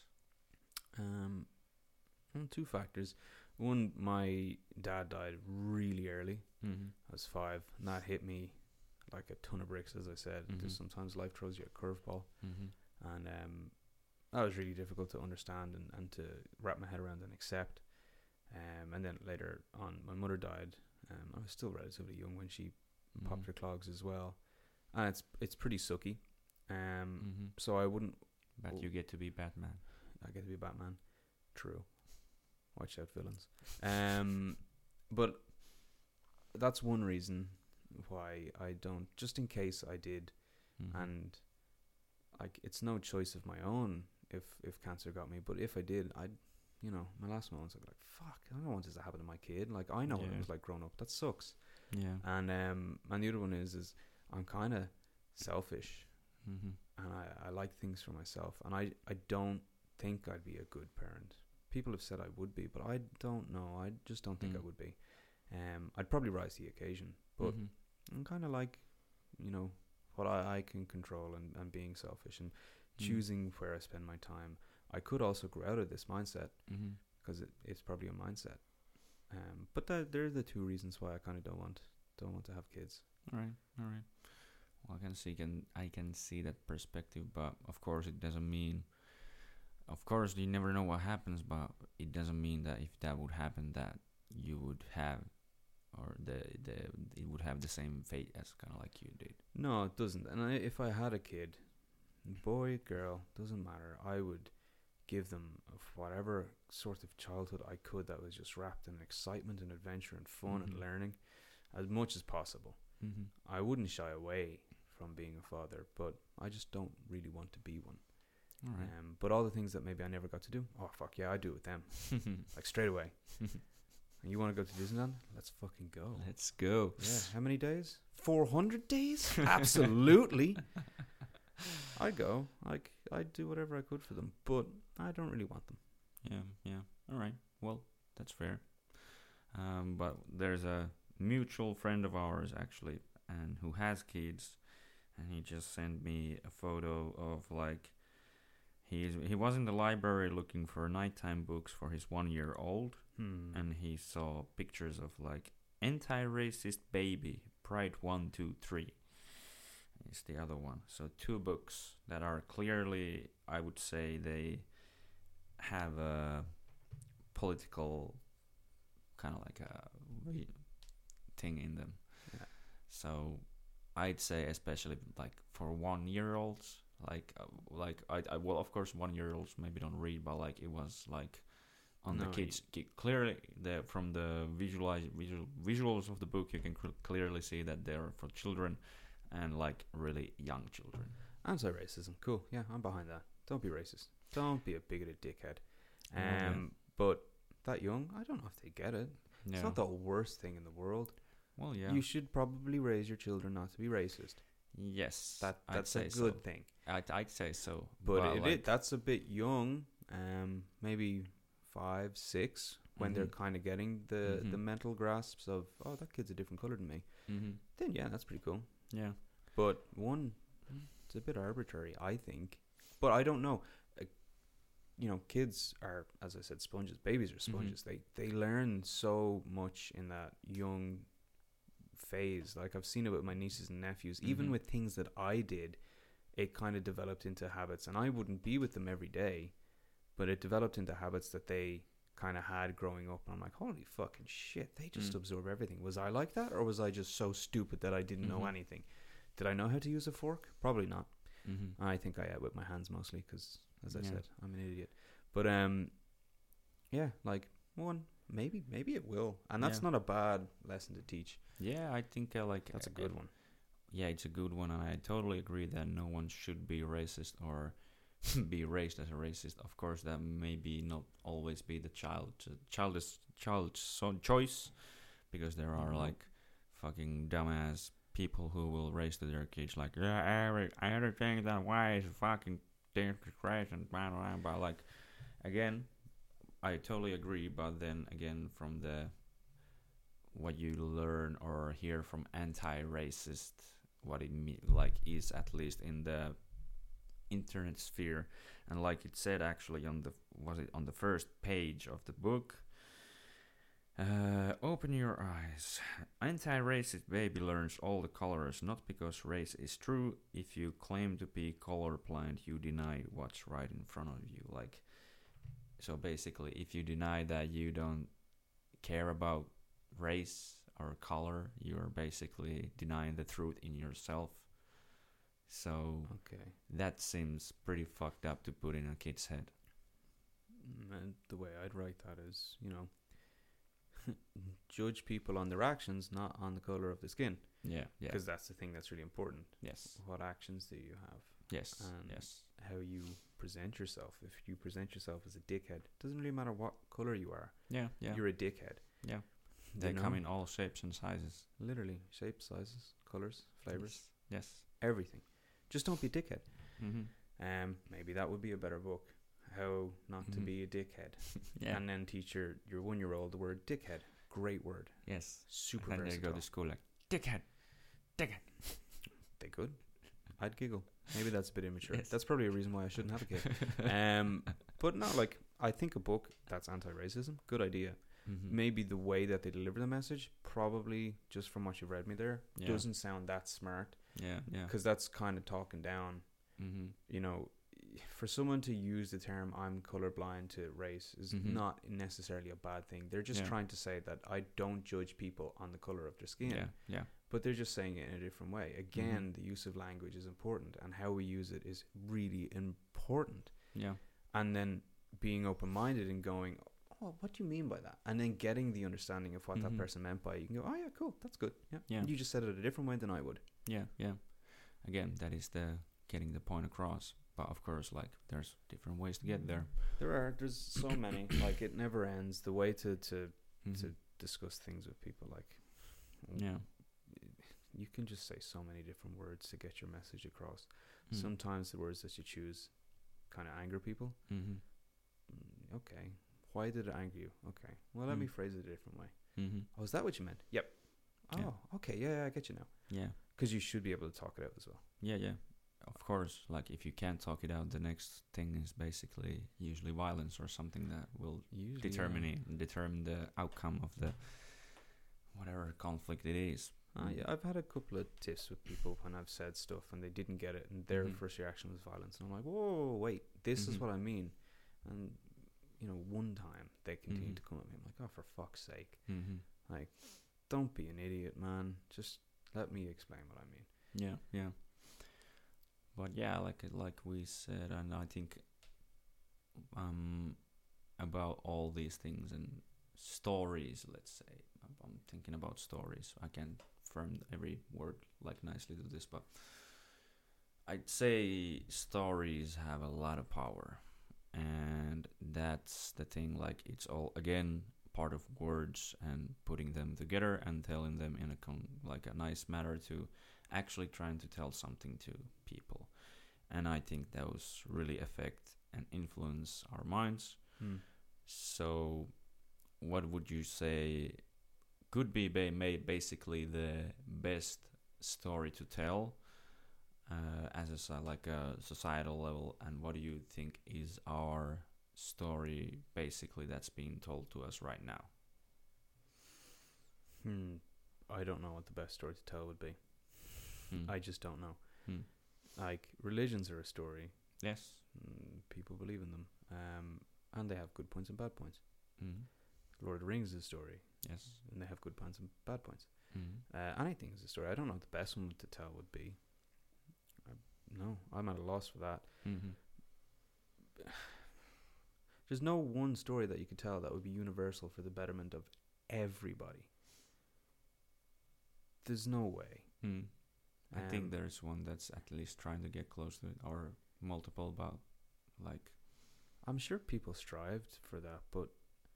B: Two factors. One, my dad died really early.
A: Mhm.
B: I was 5, and that hit me like a ton of bricks, as I said.
A: Mhm.
B: Just sometimes life throws you a curveball.
A: Mhm.
B: And that was really difficult to understand and to wrap my head around and accept. And then later on, my mother died. I was still relatively young when she popped her clogs as well. And it's pretty sucky.
A: Mhm.
B: So I wouldn't...
A: But you get to be Batman.
B: I get to be Batman. True. Watch out, villains. But that's one reason why I don't, just in case I did.
A: Mhm.
B: And like, it's no choice of my own if cancer got me, but if I did, I'd, my last moments I'd be like, fuck, I don't want this to happen to my kid. Like, I know what it
A: Yeah.
B: was like growing up. That sucks.
A: Yeah.
B: And the other one is I'm kind of selfish,
A: Mhm.
B: and I like things for myself, and I don't think I'd be a good parent. People have said I would be, but I don't know. I just don't think I
A: Mm.
B: would be. I'd probably rise to the occasion, but
A: Mhm.
B: I'm kind of like, what I can control and being selfish and
A: Mm.
B: choosing where I spend my time. I could also grow out of this mindset,
A: Mhm.
B: because it's probably a mindset. But they're the two reasons why I kind of don't want to have kids.
A: All right. Well, I can see that perspective, but of course it doesn't mean. Of course, you never know what happens, but it doesn't mean that if that would happen, that you would have, or it would have the same fate as kind of like you did.
B: No, it doesn't. And if I had a kid, boy, girl, doesn't matter, I would give them whatever sort of childhood I could that was just wrapped in excitement and adventure and fun and
A: Mhm.
B: learning as much as possible.
A: Mhm.
B: I wouldn't shy away from being a father, but I just don't really want to be one.
A: All right.
B: But all the things that maybe I never got to do, oh fuck yeah, I do it with them, like straight away. And you want to go to Disneyland? Let's fucking go.
A: Let's go.
B: Yeah, how many days? 400 days? Absolutely. I'd go. Like, I'd do whatever I could for them, but I don't really want them.
A: Yeah. All right. Well, that's fair. But there's a mutual friend of ours actually, and who has kids, and he just sent me a photo of like he was in the library looking for nighttime books for his 1-year-old, and he saw pictures of like anti-racist baby Pride 1, 2, 3 is the other one. So 2 books that are clearly, I would say, they have a political kind of like a thing in them.
B: Yeah.
A: So I'd say, especially like for 1-year-olds, like I well, of course 1-year-olds maybe don't read, but like it was like on the kids clearly from the visuals of the book you can clearly see that they're for children and like really young children.
B: Anti-racism, cool. Yeah, I'm behind that. Don't be racist. Don't be a bigoted dickhead.
A: Yeah.
B: But that young, I don't know if they get it.
A: Yeah.
B: It's not the worst thing in the world.
A: Well, yeah.
B: You should probably raise your children not to be racist.
A: Yes,
B: that's a good thing.
A: I'd say so.
B: But that's a bit young. Maybe 5, 6 when they're kind of getting the mental grasps of, oh, that kid's a different color than me. Then yeah, that's pretty cool.
A: Yeah.
B: But it's a bit arbitrary, I think. But I don't know. Kids are, as I said, sponges. Babies are sponges. They learn so much in that young phase. Like I've seen it with my nieces and nephews. Even with things that I did, it kind of developed into habits. And I wouldn't be with them every day, but it developed into habits that they kind of had growing up. And I'm like, holy fucking shit, they just absorb everything. Was I like that, or was I just so stupid that I didn't know anything? Did I know how to use a fork? Probably not. I think I ate with my hands mostly because, as I said, I'm an idiot. But yeah, like maybe it will, and that's not a bad lesson to teach.
A: Yeah, I think
B: that's a good one.
A: Yeah, it's a good one, and I totally agree that no one should be racist or be raised as a racist. Of course, that maybe not always be the child's choice, because there are like fucking dumbass people who will raise to their kids like, yeah, everything that way is fucking disgrace and blah blah blah. But like, again, I totally agree. But then again, from what you learn or hear from anti-racist, what it is at least in the internet sphere, and like it said actually on the first page of the book. Open your eyes. Anti-racist baby learns all the colors, not because race is true. If you claim to be colorblind, you deny what's right in front of you. Like, so basically, if you deny that you don't care about race or color, you're basically denying the truth in yourself. So that seems pretty fucked up to put in a kid's head.
B: And the way I'd write that is, judge people on their actions, not on the color of the skin.
A: Yeah.
B: Because that's the thing that's really important.
A: Yes.
B: What actions do you have?
A: Yes.
B: And
A: yes.
B: how you present yourself. If you present yourself as a dickhead, doesn't really matter what color you are.
A: Yeah.
B: You're a dickhead.
A: Yeah. They come in all shapes and sizes.
B: Literally, shapes, sizes, colors, flavors.
A: Yes.
B: Everything. Just don't be a dickhead. Maybe that would be a better book. How not to be a dickhead.
A: Yeah.
B: And then teach your 1-year-old the word dickhead. Great word.
A: Yes.
B: Super
A: and
B: versatile.
A: They go to school like, dickhead.
B: They could. I'd giggle. Maybe that's a bit immature.
A: Yes.
B: That's probably a reason why I shouldn't have a kid. But no, like, I think a book that's anti-racism, good idea. Maybe the way that they deliver the message, probably just from what you've read me there, doesn't sound that smart.
A: Yeah.
B: Because that's kind of talking down. For someone to use the term "I'm colorblind" to race is not necessarily a bad thing. They're just trying to say that I don't judge people on the color of their skin.
A: Yeah.
B: But they're just saying it in a different way. Again, the use of language is important, and how we use it is really important.
A: Yeah.
B: And then being open-minded and going, oh, what do you mean by that? And then getting the understanding of what that person meant by it. You can go, oh yeah, cool, that's good. Yeah. You just said it a different way than I would.
A: Yeah. Again, that is the getting the point across. But of course, like, there's different ways to get there.
B: There's so many. Like, it never ends. The way to discuss things with people, like, you can just say so many different words to get your message across. Sometimes the words that you choose kind of anger people. Okay, why did it anger you? Okay, well, let me phrase it a different way. Oh, is that what you meant? Yep. Oh, okay, yeah, I get you now.
A: Yeah.
B: Because you should be able to talk it out as well.
A: Yeah. of course, like if you can't talk it out, the next thing is basically usually violence or something that will determine the outcome of the whatever conflict it is.
B: Yeah, I've had a couple of tiffs with people when I've said stuff and they didn't get it, and their first reaction was violence, and I'm like, whoa, wait, this is what I mean. And one time they continued to come at me. I'm like, oh, for fuck's sake, like, don't be an idiot, man. Just let me explain what I mean.
A: Yeah. But yeah, like we said, and I think about all these things and stories. Let's say I'm thinking about stories. I can't firm every word like nicely to this, but I'd say stories have a lot of power, and that's the thing. Like, it's all again part of words and putting them together and telling them in a nice manner to actually trying to tell something to people. And I think those really affect and influence our minds. So what would you say could be basically the best story to tell as a societal level, and what do you think is our story basically that's being told to us right now?
B: I don't know what the best story to tell would be. I just don't know. Like, religions are a story.
A: Yes.
B: People believe in them. And they have good points and bad points. Lord of the Rings is a story.
A: Yes.
B: And they have good points and bad points. Anything is a story. I don't know what the best one to tell would be. No, I'm at a loss for that. There's no one story that you could tell that would be universal for the betterment of everybody. There's no way.
A: I think there's one that's at least trying to get close to it, or multiple, about like...
B: I'm sure people strived for that, but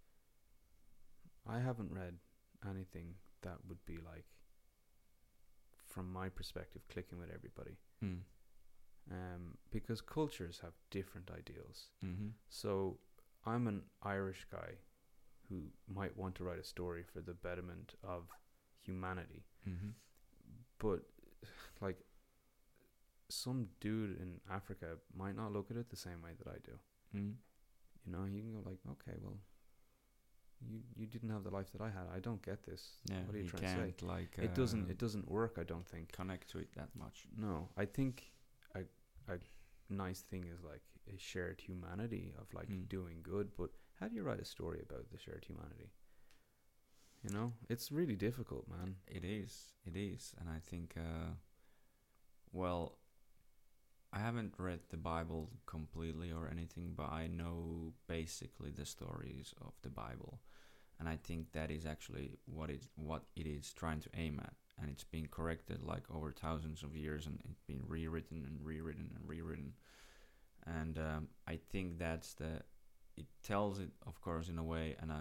B: I haven't read anything that would be like, from my perspective, clicking with everybody. Because cultures have different ideals. So I'm an Irish guy who might want to write a story for the betterment of humanity, but like, some dude in Africa might not look at it the same way that I do. You can go like, okay, well, you didn't have the life that I had. I don't get this. What are you trying to say?
A: Like,
B: it doesn't work, I don't think.
A: Connect to it that much.
B: No, I think a nice thing is like a shared humanity of like doing good. But how do you write a story about the shared humanity? It's really difficult, man.
A: It is, and I think, well, I haven't read the Bible completely or anything, but I know basically the stories of the Bible, and I think that is actually what it is trying to aim at, and it's been corrected like over thousands of years, and it's been rewritten and rewritten and rewritten, and I think it tells it, of course, in a way, and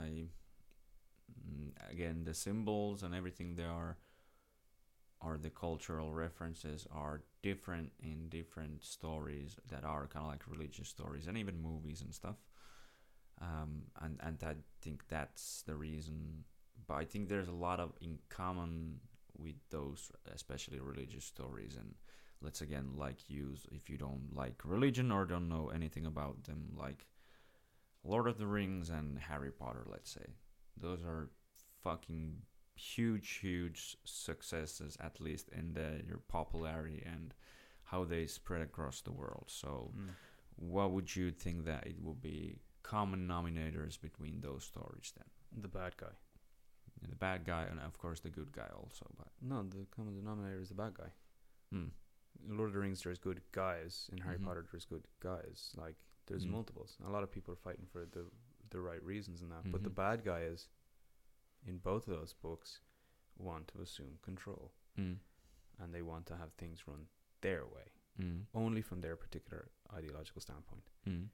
A: again, the symbols and everything there are the cultural references are different in different stories that are kind of like religious stories and even movies and stuff. And I think that's the reason. But I think there's a lot of in common with those, especially religious stories. And let's again use, if you don't like religion or don't know anything about them, like Lord of the Rings and Harry Potter, let's say. Those are fucking huge successes, at least in their popularity and how they spread across the world. So what would you think that it would be common denominators between those stories then?
B: The bad guy.
A: The bad guy, and of course the good guy also. But
B: no, the common denominator is the bad guy. In Lord of the Rings there's good guys. In Harry Potter there's good guys. Like, there's multiples. A lot of people are fighting for the right reasons in that. But the bad guy is, in both of those books, want to assume control. And they want to have things run their way. Only from their particular ideological standpoint.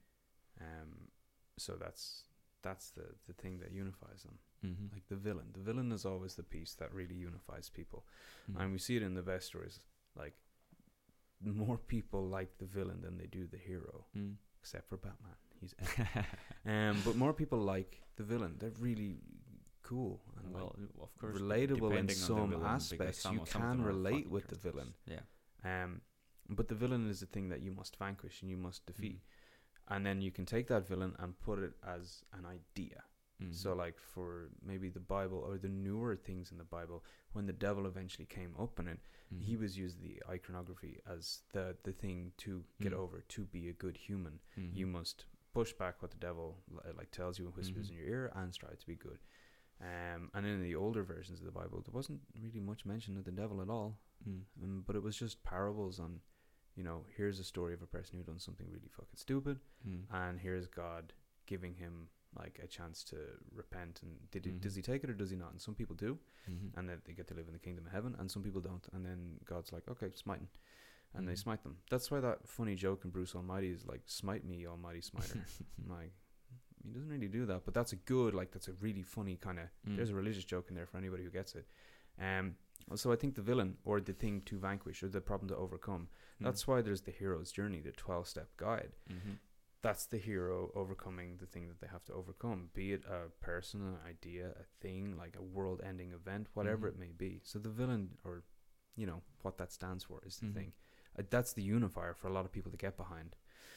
B: So that's the thing that unifies them. Like the villain. The villain is always the piece that really unifies people. And we see it in the best stories. Like, more people like the villain than they do the hero. Except for Batman. He's but more people like the villain. They're really cool and
A: of course,
B: relatable in some aspects. You can relate with the villain. But the villain is the thing that you must vanquish and you must defeat. And then you can take that villain and put it as an idea. So like for maybe the Bible or the newer things in the Bible, when the devil eventually came up in it, he was used the iconography as the thing to get over, to be a good human. You must push back what the devil like tells you and whispers in your ear and strive to be good. And in the older versions of the Bible, there wasn't really much mention of the devil at all. But it was just parables on, you know, here's a story of a person who done something really fucking stupid, and here's God giving him like a chance to repent. And does he take it or does he not? And some people do, and then they get to live in the kingdom of heaven, and some people don't. And then God's like, okay, smite him. And they smite them. That's why that funny joke in Bruce Almighty is like, smite me, almighty smiter. Like, he doesn't really do that, but that's a good, like, that's a really funny kind of, there's a religious joke in there for anybody who gets it. So I think the villain, or the thing to vanquish, or the problem to overcome, that's why there's the hero's journey, the 12-step guide. That's the hero overcoming the thing that they have to overcome, be it a person, an idea, a thing, like a world-ending event, whatever it may be. So the villain, or, you know, what that stands for is the thing. That's the unifier for a lot of people to get behind.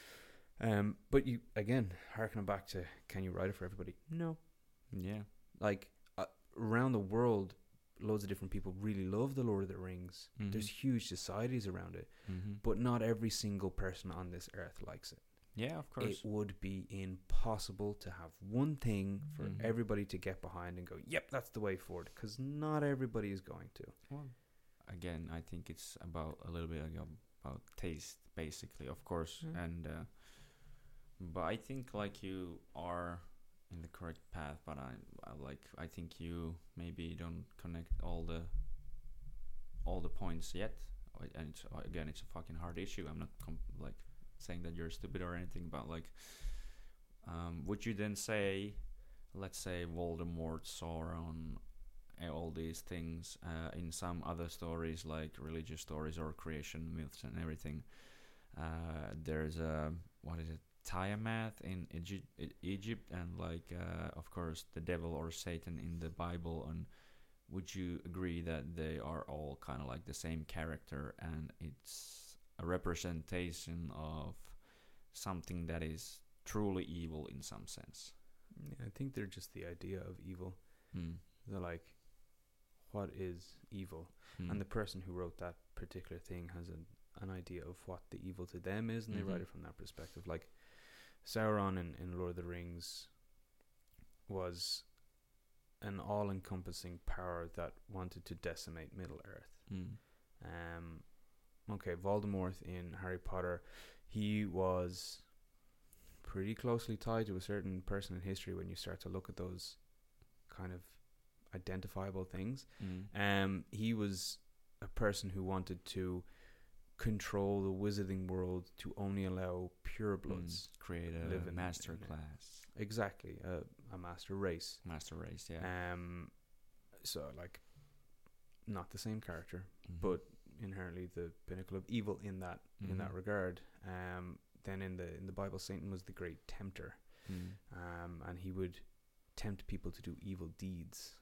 B: But you, again, harkening back to, can you write it for everybody? No.
A: Yeah.
B: Like, around the world, loads of different people really love the Lord of the Rings. There's huge societies around it, but not every single person on this earth likes it.
A: Yeah, of course.
B: It would be impossible to have one thing for everybody to get behind and go, yep, that's the way forward, because not everybody is going to.
A: Well, again, I think it's about a little bit about taste, basically, of course. And but I think like you are in the correct path, but I think you maybe don't connect all the points yet. And it's a fucking hard issue. I'm not like saying that you're stupid or anything, but like, would you then say, let's say Voldemort, Sauron, all these things in some other stories, like religious stories or creation myths and everything, there's a, what is it, Tiamat in Egypt, and like of course the devil or Satan in the Bible. And would you agree that they are all kind of like the same character, and it's a representation of something that is truly evil in some sense?
B: Yeah, I think they're just the idea of evil. They're like, what is evil? And the person who wrote that particular thing has an idea of what the evil to them is, and they write it from that perspective. Like Sauron in Lord of the Rings was an all-encompassing power that wanted to decimate Middle-earth. Okay, Voldemort in Harry Potter, he was pretty closely tied to a certain person in history when you start to look at those kind of identifiable things. He was a person who wanted to control the wizarding world to only allow pure bloods
A: create a master class.
B: Exactly, a master race.
A: Yeah.
B: So like, not the same character, but inherently the pinnacle of evil in that regard. Then in the Bible, Satan was the great tempter, and he would tempt people to do evil deeds.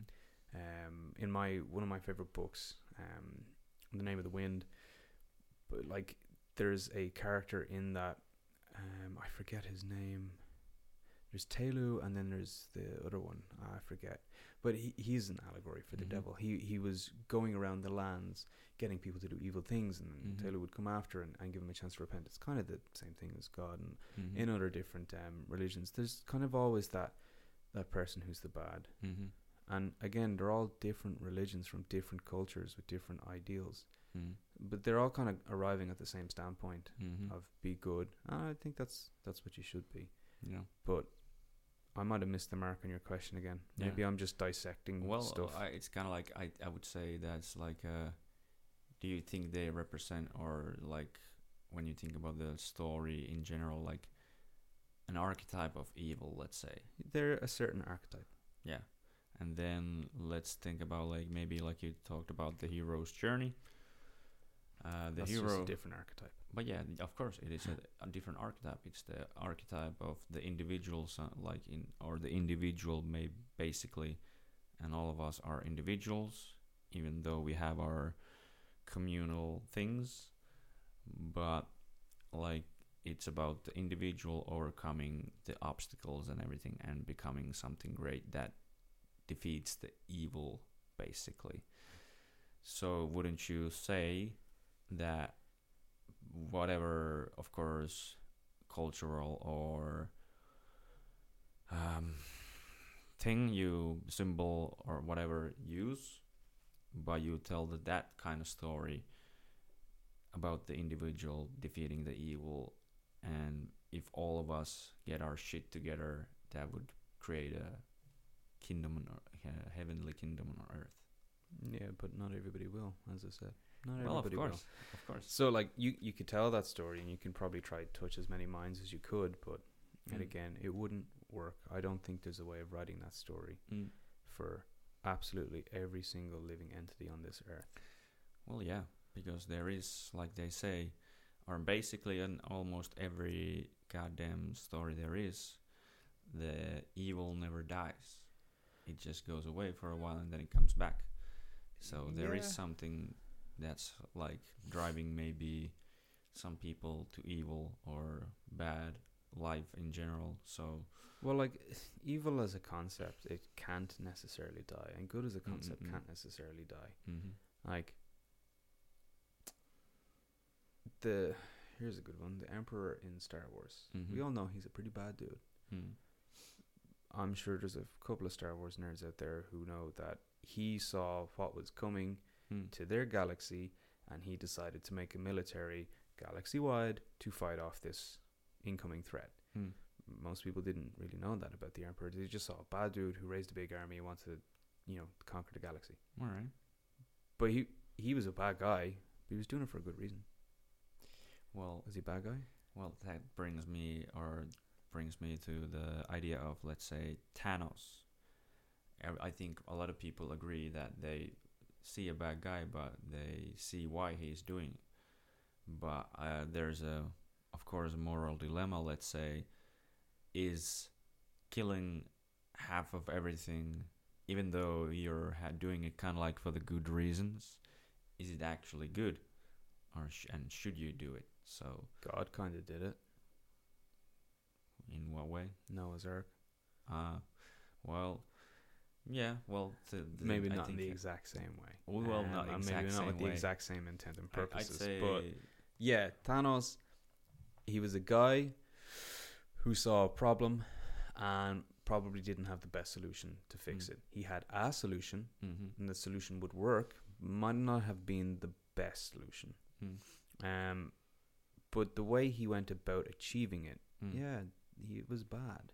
B: In one of my favorite books, The Name of the Wind, but like there's a character in that, I forget his name. There's Telu, and then there's the other one, I forget. But he's an allegory for the devil. He was going around the lands getting people to do evil things, and Telu would come after and give him a chance to repent. It's kind of the same thing as God, and in other different religions, there's kind of always that person who's the bad. And again, they're all different religions from different cultures with different ideals. But they're all kind of arriving at the same standpoint of be good. I think that's what you should be.
A: Yeah.
B: But I might have missed the mark on your question again. Maybe I'm just dissecting stuff.
A: It's kind of like I would say that's like, do you think they represent, or like when you think about the story in general, like an archetype of evil, let's say?
B: They're a certain archetype.
A: Yeah. And then let's think about like maybe like you talked about the hero's journey.
B: That's
A: hero,
B: just a different archetype.
A: But yeah, of course, it is a different archetype. It's the archetype of the individuals, or the individual, basically, and all of us are individuals, even though we have our communal things. but like it's about the individual overcoming the obstacles and everything and becoming something great that defeats the evil, basically. So wouldn't you say that whatever, of course, cultural or um, thing you symbol or whatever use, but you tell that kind of story about the individual defeating the evil, and if all of us get our shit together, that would create a kingdom, a heavenly kingdom on earth.
B: Yeah, but not everybody will, as I said. Not
A: Well, of
B: everybody
A: course, of course.
B: So, like, you could tell that story, and you can probably try to touch as many minds as you could, but and again, it wouldn't work. I don't think there's a way of writing that story for absolutely every single living entity on this earth.
A: Well, yeah, because there is, like they say, or basically in almost every goddamn story there is, the evil never dies. It just goes away for a while and then it comes back. So there is something that's like driving maybe some people to evil or bad life in general. So
B: well, like, evil as a concept, it can't necessarily die, and good as a concept can't necessarily die. Like, here's a good one: the Emperor in Star Wars. We all know he's a pretty bad dude. I'm sure there's a couple of Star Wars nerds out there who know that he saw what was coming to their galaxy, and he decided to make a military galaxy-wide to fight off this incoming threat. Most people didn't really know that about the Emperor. They just saw a bad dude who raised a big army and wanted to, conquer the galaxy.
A: All right.
B: But he was a bad guy, but he was doing it for a good reason.
A: Well,
B: was he a bad guy?
A: Well, that brings me to the idea of, let's say, Thanos. I think a lot of people agree that they see a bad guy, but they see why he's doing it. But there's of course, a moral dilemma, let's say. Is killing half of everything, even though you're doing it kind of like for the good reasons, is it actually good? Or and should you do it? So
B: God kind of did it.
A: In what way?
B: Noah's Ark.
A: Well, yeah. Well,
B: maybe not in the exact same way.
A: Well, not exact
B: maybe
A: same
B: not with
A: way.
B: the exact same intent and purposes.
A: I'd say,
B: but yeah, Thanos. He was a guy who saw a problem and probably didn't have the best solution to fix it. He had a solution, and the solution would work. Might not have been the best solution. But the way he went about achieving it, he was bad.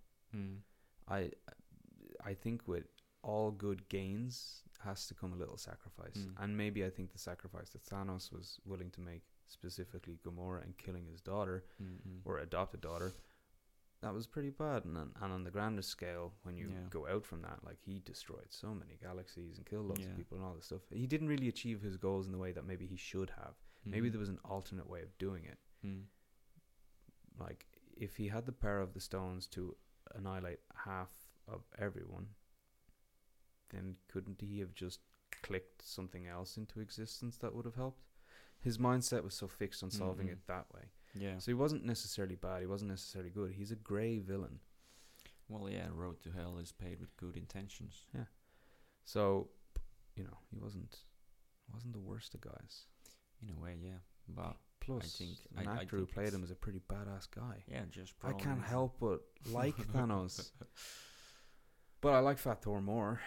B: I think with all good gains has to come a little sacrifice. And maybe I think the sacrifice that Thanos was willing to make, specifically Gamora and killing his daughter, or adopted daughter, that was pretty bad. And on the grander scale, when you go out from that, like, he destroyed so many galaxies and killed lots of people and all this stuff. He didn't really achieve his goals in the way that maybe he should have. Maybe there was an alternate way of doing it. Like, if he had the power of the stones to annihilate half of everyone, then couldn't he have just clicked something else into existence that would have helped? His mindset was so fixed on solving it that way. Yeah. So he wasn't necessarily bad. He wasn't necessarily good. He's a grey villain.
A: Well, yeah, road to hell is paved with good intentions.
B: Yeah. So, he wasn't the worst of guys.
A: In a way, yeah. But
B: plus,
A: I think
B: an actor who played him is a pretty badass guy.
A: Yeah, just
B: I can't help but like Thanos. But I like Fat Thor more.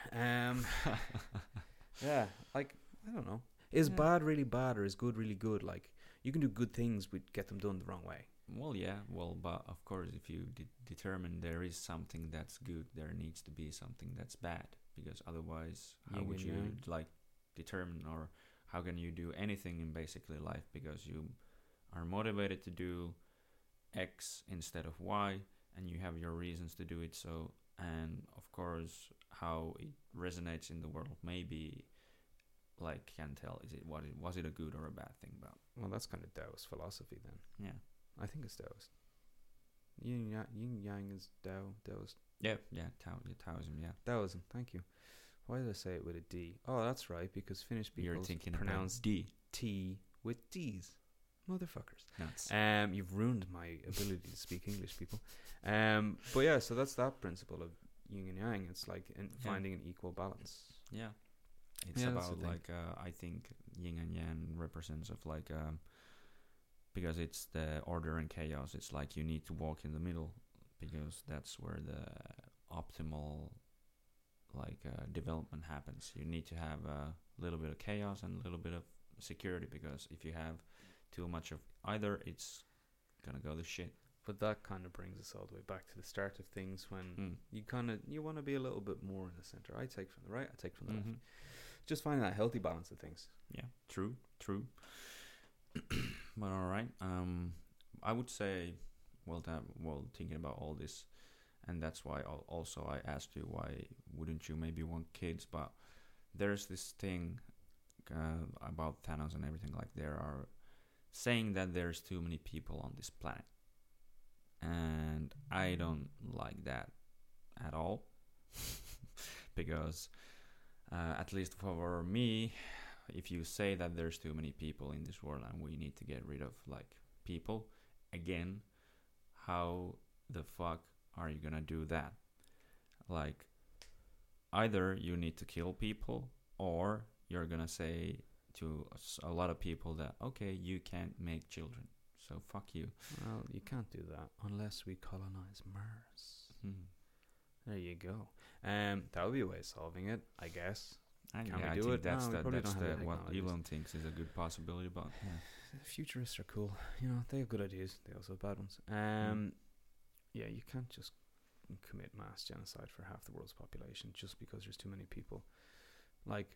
B: Yeah, like, I don't know. Is bad really bad, or is good really good? Like, you can do good things but get them done the wrong way.
A: Well, yeah. Well, but of course, if you determine there is something that's good, there needs to be something that's bad. Because otherwise, how would you determine, or how can you do anything in basically life? Because you are motivated to do X instead of Y, and you have your reasons to do it. So, and of course, how it resonates in the world, maybe. Like, can't tell, was it a good or a bad thing? But
B: well, that's kind of Taoist philosophy then.
A: Yeah,
B: I think it's Taoist. Yin Yang is Taoist.
A: Yeah, Taoism. Yeah,
B: Taoism. Thank you. Why did I say it with a D? Oh, that's right, because Finnish people pronounce
A: D
B: T with D's. motherfuckers.
A: Nuts.
B: You've ruined my ability to speak English, people. But yeah, so that's that principle of yin and yang. It's like finding an equal balance.
A: Yeah. It's
B: Yeah, that's
A: about
B: the thing.
A: like I think yin and yang represents of like because it's the order and chaos. It's like you need to walk in the middle because that's where the optimal like development happens. You need to have a little bit of chaos and a little bit of security, because if you have too much of either, it's gonna go to shit.
B: But that kind of brings us all the way back to the start of things when
A: Mm.
B: you want to be a little bit more in the center. I take from the right, I take from the left.
A: Mm-hmm.
B: Just finding that healthy balance of things.
A: Yeah, true. But all right, I would say, well, thinking about all this, and that's why also I asked you why wouldn't you maybe want kids? But there's this thing about Thanos and everything. Like there are saying that there's too many people on this planet, and I don't like that at all, because at least for me, if you say that there's too many people in this world and we need to get rid of like people, again, how the fuck are you gonna do that? Like, either you need to kill people, or you're gonna say to a lot of people that okay, you can't make children, so fuck you.
B: Well, you can't do that unless we colonize Mars.
A: Hmm.
B: There you go. That would be a way of solving it, I guess.
A: And
B: Can
A: yeah,
B: we
A: I
B: do
A: think
B: it?
A: that's
B: No, we probably don't have the
A: what
B: technologies.
A: Elon thinks is a good possibility, but yeah.
B: Futurists are cool. You know, they have good ideas. They also have bad ones. Yeah, you can't just commit mass genocide for half the world's population just because there's too many people. Like,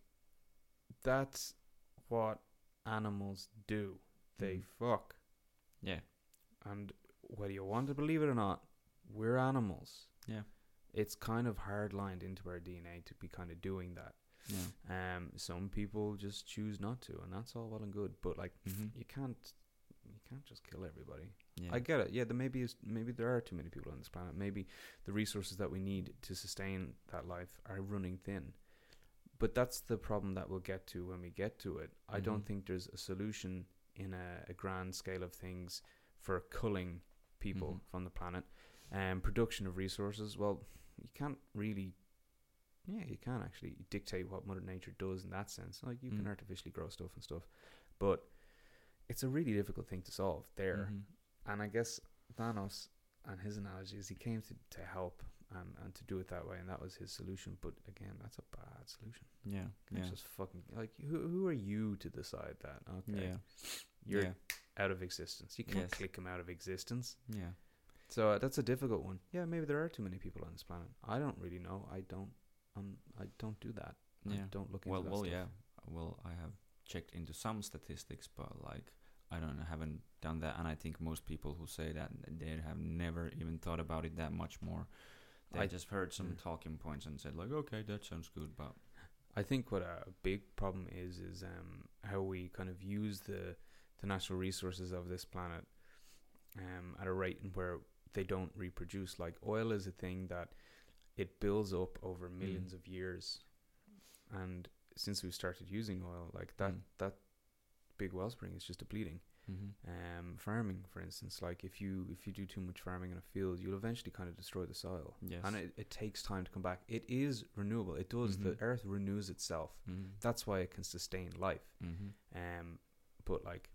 B: that's what animals do. They fuck.
A: Yeah.
B: And whether you want to believe it or not, we're animals.
A: Yeah.
B: It's kind of hard lined into our DNA to be kind of doing that.
A: Yeah.
B: Some people just choose not to, and that's all well and good. But like,
A: Mm-hmm.
B: you can't just kill everybody.
A: Yeah.
B: I get it. Yeah, maybe there are too many people on this planet. Maybe the resources that we need to sustain that life are running thin. But that's the problem that we'll get to when we get to it. I don't
A: Mhm.
B: think there's a solution in a grand scale of things for culling people
A: Mhm.
B: from the planet. Production of resources, well, you can't really... Yeah, you can actually dictate what Mother Nature does in that sense. Like, you can
A: Mm.
B: artificially grow stuff and stuff. But it's a really difficult thing to solve there.
A: Mhm.
B: And I guess Thanos and his analogy is he came to help and to do it that way, and that was his solution. But again, that's a bad solution.
A: Yeah.
B: It's
A: Yeah.
B: just fucking like, who are you to decide that? Okay,
A: Yeah.
B: you're
A: Yeah.
B: out of existence. You can't
A: Yes.
B: click him out of existence.
A: Yeah.
B: So that's a difficult one. Yeah, maybe there are too many people on this planet. I don't really know. I don't do that.
A: Yeah.
B: I don't look into
A: Well,
B: that
A: well,
B: stuff.
A: yeah. Well, I have checked into some statistics, but like I haven't done that, and I think most people who say that they have never even thought about it that much more. They
B: I-
A: just heard some
B: mm.
A: talking points and said like, okay, that sounds good, but
B: I think what a big problem is how we kind of use the natural resources of this planet at a rate in where they don't reproduce. Like, oil is a thing that it builds up over millions of years, and since we started using oil, like that big wellspring is just depleting. Farming, for instance, like if you do too much farming in a field, you'll eventually kind of destroy the soil.
A: yes,
B: And it takes time to come back. It is renewable. It does. The
A: Mhm.
B: earth renews itself. That's why it can sustain life. But like,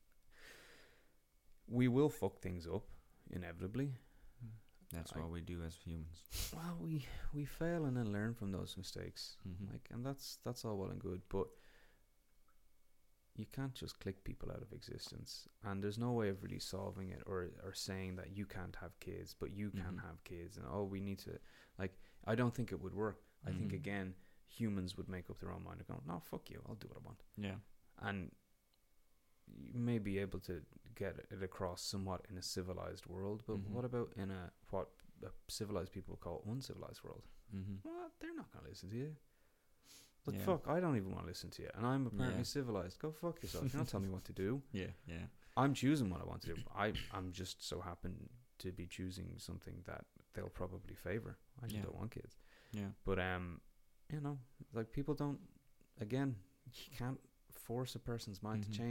B: we will fuck things up inevitably.
A: That's
B: I-
A: what we do as humans.
B: Well, we fail and then learn from those mistakes. Like, and that's all well and good, but you can't just click people out of existence. And there's no way of really solving it or saying that you can't have kids, but you can
A: Mhm.
B: have kids. And we need to, like, I don't think it would work. I think
A: Mhm.
B: again, humans would make up their own mind and go, no, fuck you, I'll do what I want.
A: Yeah.
B: And you may be able to get it across somewhat in a civilized world, but
A: Mhm.
B: what about in what civilized people call uncivilized world?
A: Mm-hmm.
B: Well, they're not going to listen to you. But
A: Yeah.
B: fuck, I don't even want to listen to you. And I'm apparently
A: Yeah.
B: civilized. Go fuck yourself. You don't tell me what to do.
A: Yeah. Yeah.
B: I'm choosing what I want to do. I'm just so happen to be choosing something that they'll probably favor. I just
A: Yeah.
B: don't want kids.
A: Yeah.
B: But like, people don't, again, you can't force a person's mind
A: Mhm.
B: to change.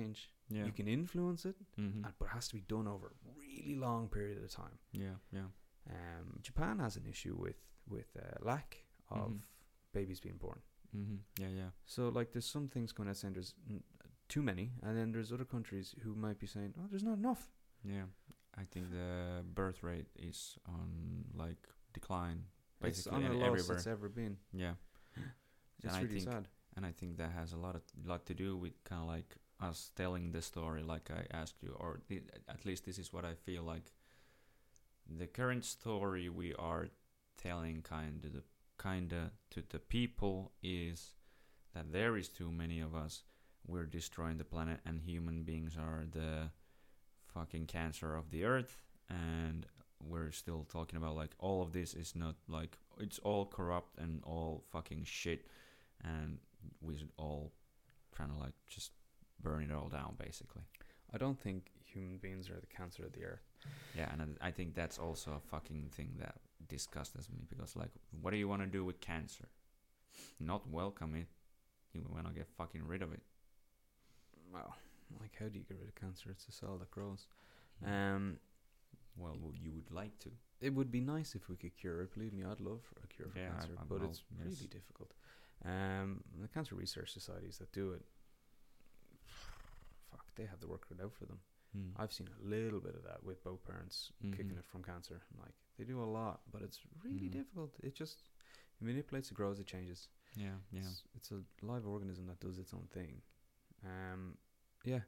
A: Yeah.
B: You can influence it,
A: Mm-hmm.
B: but it has to be done over a really long period of time.
A: Yeah. Yeah.
B: Japan has an issue with lack of
A: Mhm.
B: babies being born.
A: Mm-hmm. Yeah. Yeah.
B: So like, there's some things going out saying there's too many, and then there's other countries who might be saying, oh, there's not enough.
A: Yeah. I think the birth rate is on like decline
B: It's
A: basically
B: on the lowest
A: everywhere.
B: it's ever been.
A: Yeah.
B: It's
A: And I
B: really
A: think
B: sad.
A: and I think that has a lot to do with kind of like us telling the story, like I asked you, or at least this is what I feel like. The current story we are telling kinda to the people is that there is too many of us. We're destroying the planet, and human beings are the fucking cancer of the earth. And we're still talking about like all of this is not like it's all corrupt and all fucking shit, and we should all trying to like just burn it all down basically.
B: I don't think human beings are the cancer of the earth.
A: Yeah, and I think that's also a fucking thing that disgusts me, because like, what do you want to do with cancer? Not welcome it. You want to get fucking rid of it.
B: Well, like, how do you get rid of cancer? It's a cell that grows.
A: Well, you would like to.
B: It would be nice if we could cure it. Believe me, I'd love a cure for cancer, but it's really difficult. The cancer research societies that do it, fuck, they have the work cut out for them. I've seen a little bit of that with both parents kicking it from cancer. Like, they do a lot, but it's really difficult. It just manipulates, it grows, it changes.
A: Yeah, yeah.
B: It's a live organism that does its own thing. Yeah,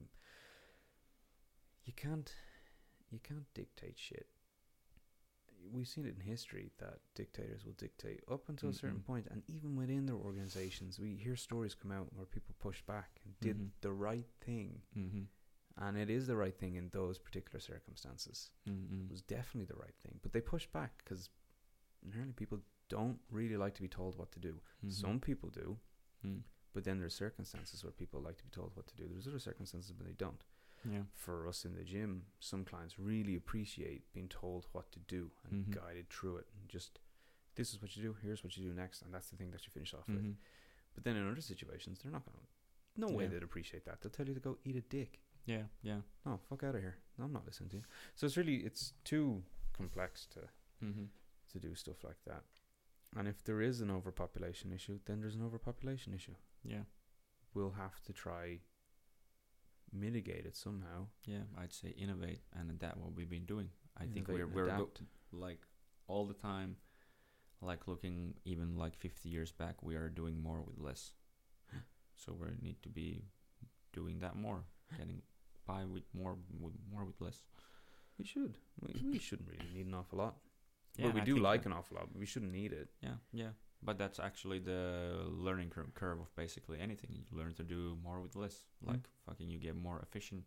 B: you can't dictate shit. We've seen it in history that dictators will dictate up until a certain point, and even within their organizations, we hear stories come out where people pushed back and did the right thing. And it is the right thing in those particular circumstances. It was definitely the right thing. But they pushed back because inherently people don't really like to be told what to do. Some people do, but then there's circumstances where people like to be told what to do. There's other circumstances where they don't.
A: Yeah.
B: For us in the gym, some clients really appreciate being told what to do and guided through it. And just, this is what you do, here's what you do next, and that's the thing that you finish off with. But then in other situations, they're not going to, no way they'd appreciate that. They'll tell you to go eat a dick.
A: Yeah, yeah.
B: No, fuck out of here. No, I'm not listening to you. So it's too complex to do stuff like that. And if there is an overpopulation issue, then there's an overpopulation issue.
A: Yeah.
B: We'll have to try mitigate it somehow.
A: Yeah, I'd say innovate and adapt what we've been doing. I think
B: Innovate
A: we're
B: and adapt.
A: like all the time, like looking even like 50 years back, we are doing more with less. So we need to be doing that more, getting by with more with less.
B: We should. We shouldn't really need an awful lot.
A: Yeah,
B: Well, we
A: I
B: do
A: think
B: like
A: that-
B: an awful lot, but we shouldn't need it.
A: Yeah, yeah. But that's actually the learning curve of basically anything. You learn to do more with less. Like fucking, you get more efficient.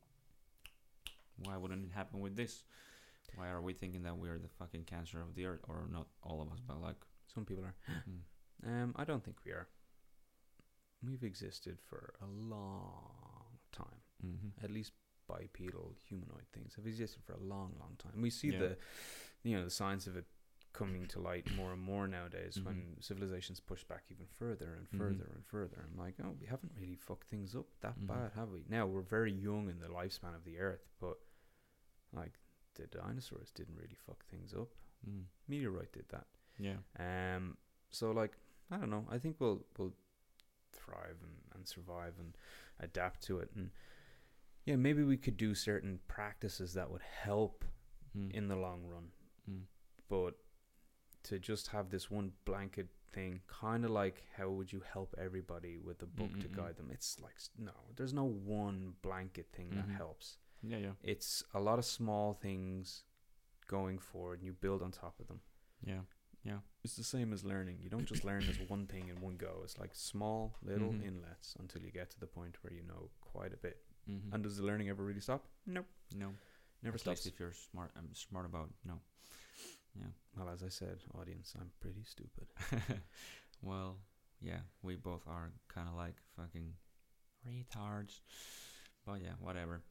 A: Why wouldn't it happen with this? Why are we thinking that we are the fucking cancer of the earth? Or not all of us, but like
B: Some people are. I don't think we are. We've existed for a long time. At least bipedal humanoid things have existed for a long, long time. We see the signs of it coming to light more and more nowadays when civilizations push back even further and further and further. I'm like, oh, we haven't really fucked things up that bad, have we? Now, we're very young in the lifespan of the earth, but like, the dinosaurs didn't really fuck things up. Meteorite did that.
A: Yeah.
B: So like, I don't know. I think we'll thrive and survive and adapt to it. And yeah, maybe we could do certain practices that would help in the long run. But to just have this one blanket thing, kind of like how would you help everybody with a book to guide them? It's like, no, there's no one blanket thing that helps.
A: Yeah, yeah.
B: It's a lot of small things going forward, and you build on top of them.
A: Yeah, yeah.
B: It's the same as learning. You don't just learn as one thing in one go. It's like small little inlets until you get to the point where you know quite a bit. And does the learning ever really stop? Nope.
A: No.
B: Never
A: At
B: stops.
A: least if you're smart, I'm smart about no. Yeah.
B: Well, as I said, audience, I'm pretty stupid.
A: Well, yeah, we both are kind of like fucking retards. But yeah, whatever.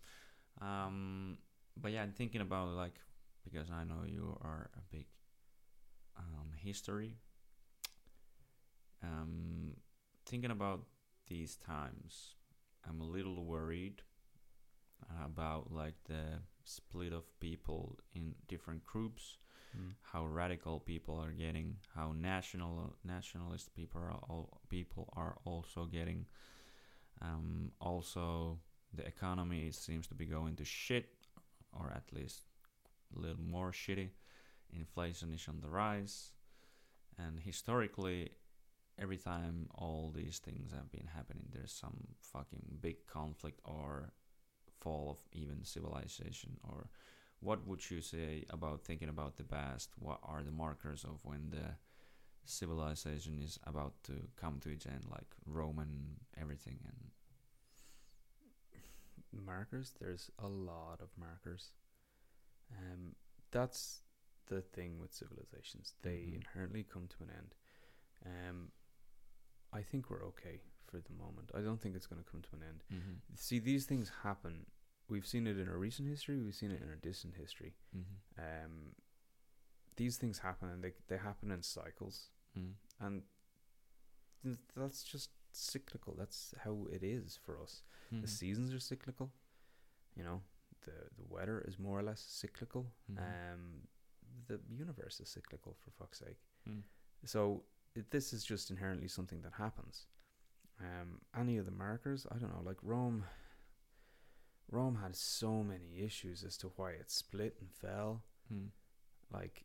A: But yeah, I'm thinking about like, because I know you are a big history. Thinking about these times, I'm a little worried about like the split of people in different groups, how radical people are getting, how nationalist people are also getting. Also, the economy seems to be going to shit, or at least a little more shitty. Inflation is on the rise, and historically, every time all these things have been happening, there's some fucking big conflict or fall of even civilization. Or what would you say about thinking about the past? What are the markers of when the civilization is about to come to its end, like Roman everything? And
B: markers, there's a lot of markers. That's the thing with civilizations, they inherently come to an end. I think we're okay for the moment. I don't think it's going to come to an end. See, these things happen. We've seen it in our recent history, we've seen it in our distant history. These things happen, and they happen in cycles. And that's just cyclical. That's how it is for us. The seasons are cyclical. You know, the weather is more or less cyclical. The universe is cyclical, for fuck's sake. So this is just inherently something that happens. Any of the markers, I don't know, like Rome had so many issues as to why it split and fell. Like,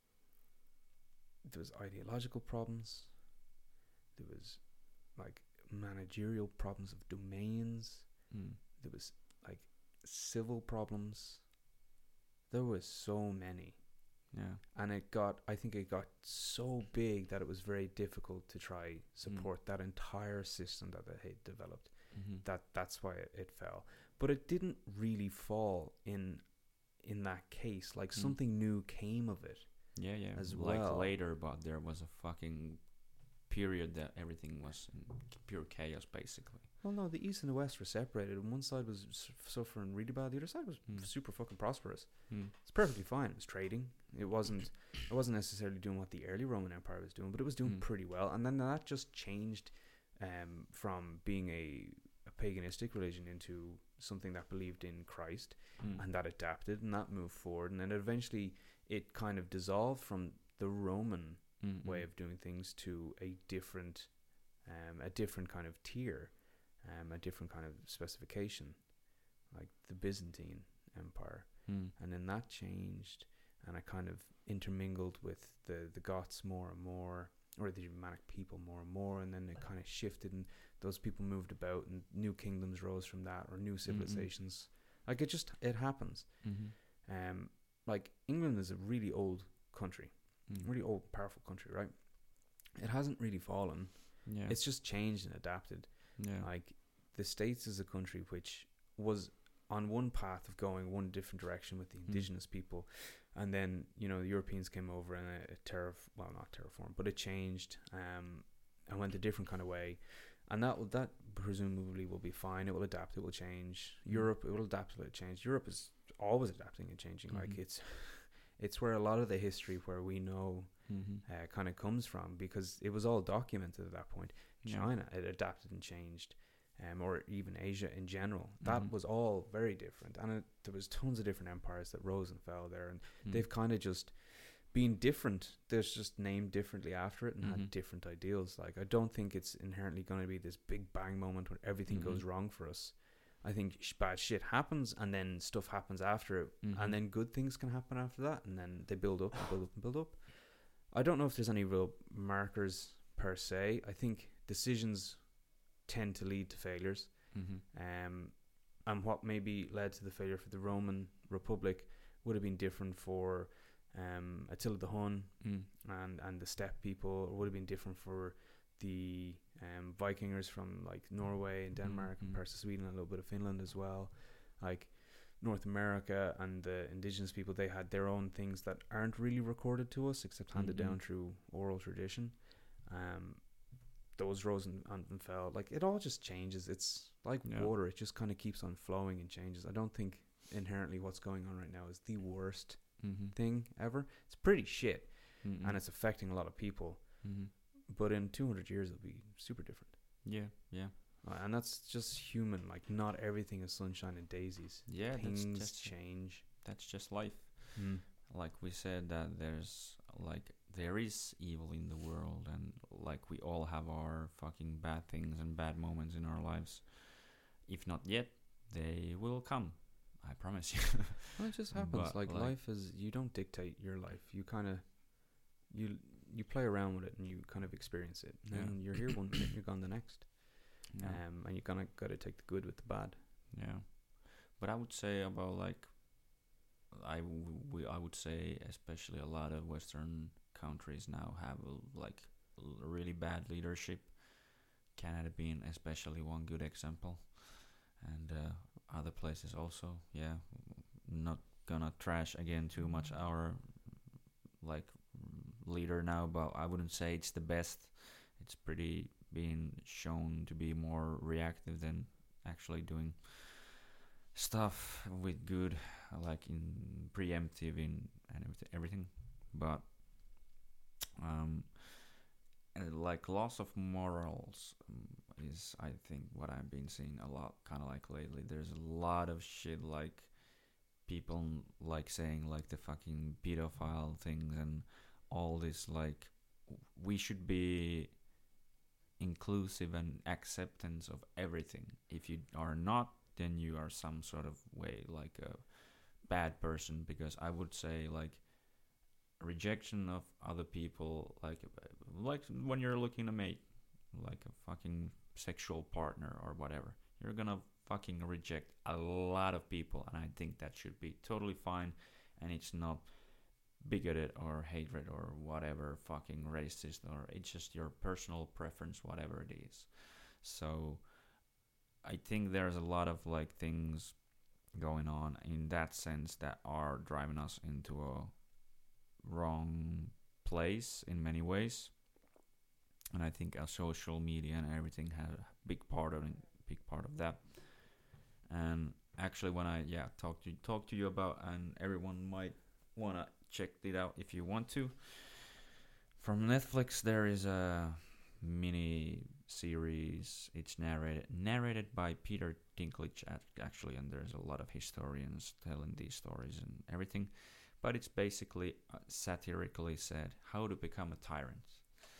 B: there was ideological problems, there was like managerial problems of domains, there was like civil problems. There was so many. And I think it got so big that it was very difficult to try support that entire system that they had developed. That's why it fell. But it didn't really fall in that case. Like, something new came of it. As well.
A: Like later, but there was a fucking period that everything was in pure chaos, basically.
B: Well, no, the East and the West were separated, and one side was suffering really bad. The other side was super fucking prosperous. It's perfectly fine. It was trading. It wasn't necessarily doing what the early Roman Empire was doing, but it was doing pretty well. And then that just changed from being a paganistic religion into something that believed in Christ, and that adapted and that moved forward. And then eventually it kind of dissolved from the Roman way of doing things to a different kind of tier. A different kind of specification, like the Byzantine Empire. And then that changed, and it kind of intermingled with the Goths more and more, or the Germanic people more and more, and then it kind of shifted, and those people moved about, and new kingdoms rose from that, or new civilizations. Like, it happens. Like, England is a really old country, really old, powerful country, right? It hasn't really fallen. It's just changed and adapted. Like, the States is a country which was on one path of going one different direction with the indigenous people, and then, you know, the Europeans came over and not terraformed, but it changed and went a different kind of way, and that presumably will be fine. It will adapt, it will change. Europe, it will adapt, it will change. Europe is always adapting and changing. Like, it's where a lot of the history where we know kind of comes from, because it was all documented at that point. China, it adapted and changed, or even Asia in general. That was all very different, and there was tons of different empires that rose and fell there, and they've kind of just been different. There's just named differently after it and had different ideals. Like, I don't think it's inherently going to be this big bang moment when everything goes wrong for us. I think bad shit happens, and then stuff happens after it, and then good things can happen after that, and then they build up and build up and build up. I don't know if there's any real markers per se. I think decisions tend to lead to failures. And what maybe led to the failure for the Roman Republic would have been different for Attila the Hun and the steppe people, or would have been different for the Vikingers from like Norway and Denmark and parts of Sweden and a little bit of Finland as well. Like, North America and the indigenous people, they had their own things that aren't really recorded to us except handed down through oral tradition. Those rose and fell. Like, it all just changes. It's like water. It just kind of keeps on flowing and changes. I don't think inherently what's going on right now is the worst thing ever. It's pretty shit, and it's affecting a lot of people. But in 200 years, it'll be super different.
A: Yeah.
B: And that's just human. Like, not everything is sunshine and daisies.
A: Yeah,
B: Things change.
A: that's just life.
B: Mm.
A: Like we said, that there is evil in the world, and like we all have our fucking bad things and bad moments in our lives. If not yet, they will come. I promise you.
B: Well, it just happens.
A: But,
B: Like, life is, you don't dictate your life. You kind of, you play around with it and you kind of experience it. And then you're here one minute, you're gone the next.
A: Yeah.
B: And you kind of got to take the good with the bad.
A: Yeah, but I would say about like I would say especially a lot of Western countries now have like really bad leadership. Canada being especially one good example, and other places also. Yeah, not gonna trash again too much our like leader now, but I wouldn't say it's the best. It's pretty being shown to be more reactive than actually doing stuff with good, like in preemptive in and everything. But like loss of morals is, I think, what I've been seeing a lot, kind of like lately. There's a lot of shit like people like saying like the fucking pedophile things and all this, like we should be inclusive and acceptance of everything. If you are not, then you are some sort of way like a bad person, because I would say like rejection of other people, like when you're looking to mate, like a fucking sexual partner or whatever, you're gonna fucking reject a lot of people, and I think that should be totally fine, and it's not bigoted or hatred or whatever, fucking racist, or it's just your personal preference, whatever it is. So I think there's a lot of like things going on in that sense that are driving us into a wrong place in many ways, and I think our social media and everything had a big part of that. And actually, when I talk to you about, and everyone might wanna check it out if you want to, from Netflix, there is a mini series. It's narrated by Peter Dinklage actually, and there's a lot of historians telling these stories and everything. But it's basically satirically said how to become a tyrant.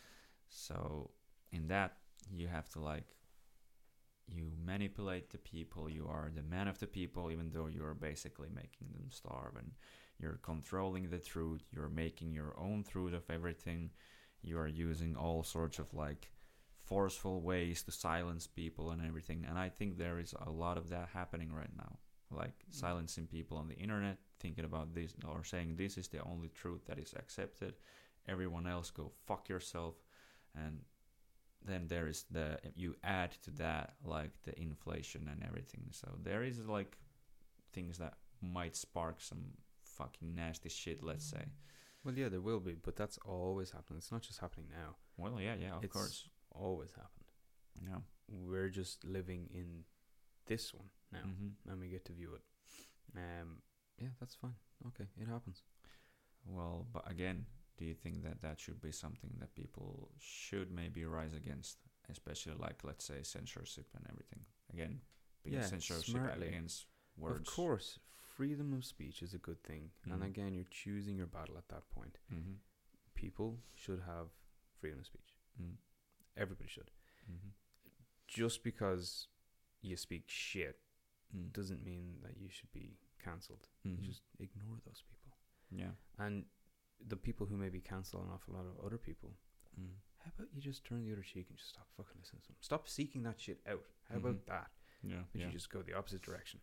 A: So in that, you have to like, you manipulate the people, you are the man of the people, even though you're basically making them starve, and you're controlling the truth, you're making your own truth of everything, you are using all sorts of like forceful ways to silence people and everything. And I think there is a lot of that happening right now, like silencing people on the internet, thinking about this or saying this is the only truth that is accepted, everyone else go fuck yourself. And then there is you add to that like the inflation and everything. So there is like things that might spark some fucking nasty shit, let's say.
B: Well, yeah, there will be, but that's always happening. It's not just happening now.
A: Well, yeah, of
B: it's
A: course.
B: Always happened.
A: Yeah.
B: We're just living in this one now,
A: Mm-hmm.
B: and we get to view it. Yeah, that's fine. Okay, it happens.
A: Well, but again, do you think that that should be something that people should maybe rise against, especially like, let's say, censorship and everything? Again, being censorship
B: smartly.
A: Against words.
B: Of course, freedom of speech is a good thing.
A: Mm-hmm.
B: And again, you're choosing your battle at that point.
A: Mm-hmm.
B: People should have freedom of speech.
A: Mm-hmm.
B: Everybody should.
A: Mm-hmm.
B: Just because you speak shit doesn't mean that you should be cancelled.
A: Mm-hmm.
B: You just ignore those people.
A: Yeah.
B: And the people who maybe cancel an awful lot of other people, how about you just turn the other cheek and just stop fucking listening to them? Stop seeking that shit out. How about that?
A: Yeah.
B: You just go the opposite direction.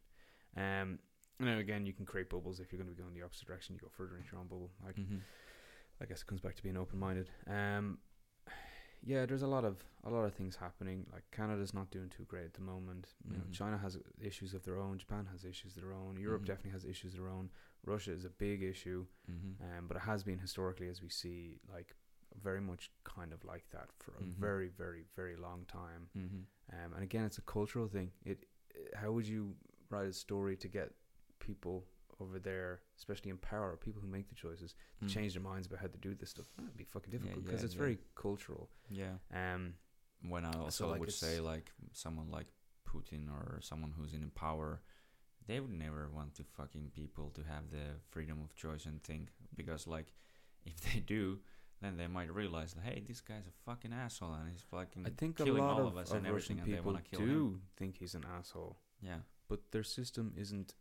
B: Now again, you can create bubbles. If you're going to be going the opposite direction, you go further into your own bubble. Like, I guess it comes back to being open-minded. Yeah, there's a lot of things happening. Like, Canada's not doing too great at the moment. You know, China has issues of their own. Japan has issues of their own. Europe definitely has issues of their own. Russia is a big issue, but it has been historically, as we see, like very much kind of like that for a very, very, very long time. And again, it's a cultural thing. How would you write a story to get people over there, especially in power, people who make the choices, to change their minds about how to do this stuff? That'd be fucking difficult because it's very cultural.
A: Yeah. when I
B: So,
A: also
B: like,
A: would
B: it's
A: say like someone like Putin or someone who's in power, they would never want to fucking people to have the freedom of choice and think, because like if they do, then they might realize that, hey, this guy's a fucking asshole and he's fucking
B: I think a
A: killing
B: lot
A: all of us and
B: Russian
A: everything, and they
B: people
A: want to kill
B: do
A: him.
B: think he's an asshole,
A: Yeah,
B: but their system isn't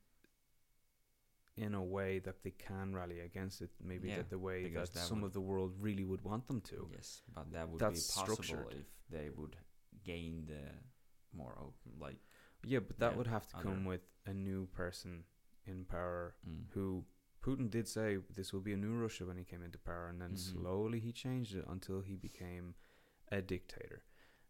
B: in a way that they can rally against it. Maybe
A: Yeah,
B: that the way
A: because
B: that
A: that
B: some
A: would-
B: of the world really would want them to.
A: yes, but that would
B: That's
A: be possible
B: structured.
A: if they would gain the more open, like
B: Yeah, but that
A: Yeah,
B: would have to come
A: other-
B: with a new person in power
A: mm,
B: who Putin did say this will be a new Russia when he came into power, and then
A: Mhm.
B: slowly he changed it until he became a dictator.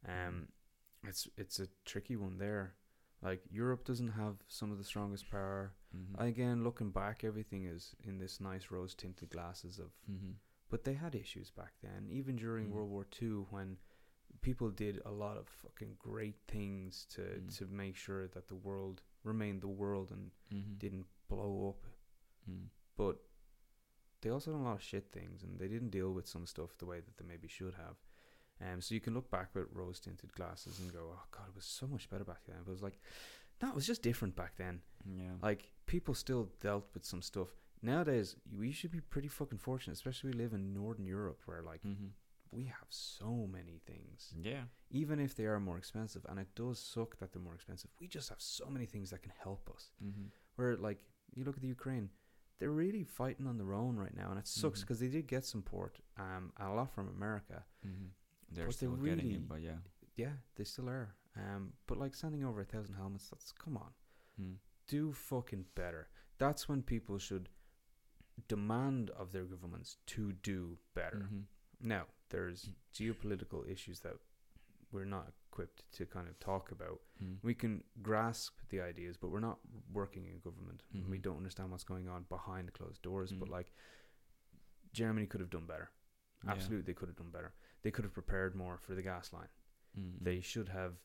B: It's a tricky one there. Like, Europe doesn't have some of the strongest power.
A: mhm,
B: Again, looking back, everything is in this nice rose tinted glasses of,
A: mhm,
B: but they had issues back then. Even during
A: Mm.
B: World War II, when people did a lot of fucking great things to make sure that the world remained the world and
A: mhm,
B: didn't blow up.
A: mm,
B: But they also done a lot of shit things, and they didn't deal with some stuff the way that they maybe should have. So you can look back with rose tinted glasses and go, "Oh God, it was so much better back then." But it was like, no, it was just different back then.
A: yeah,
B: Like, people still dealt with some stuff. Nowadays, we should be pretty fucking fortunate, especially we live in Northern Europe, where like
A: mhm,
B: we have so many things,
A: yeah,
B: even if they are more expensive. And it does suck that they're more expensive. We just have so many things that can help us.
A: mhm,
B: Where, like, you look at the Ukraine, they're really fighting on their own right now, and it sucks
A: Mhm.
B: because they did get support, a lot from America.
A: mhm. They're
B: But they
A: still getting
B: really-
A: it, but yeah,
B: Yeah, they still are. But like sending over 1,000 helmets, that's, come on,
A: mm,
B: do fucking better. That's when people should demand of their governments to do better.
A: mhm,
B: Now, there's geopolitical issues that we're not equipped to kind of talk about.
A: mm,
B: We can grasp the ideas, but we're not working in government. And we
A: Mhm.
B: don't understand what's going on behind closed doors. But
A: Mm.
B: like, Germany could have done better.
A: yeah,
B: Absolutely, they could have done better. They could have prepared more for the gas line.
A: mm,
B: They should have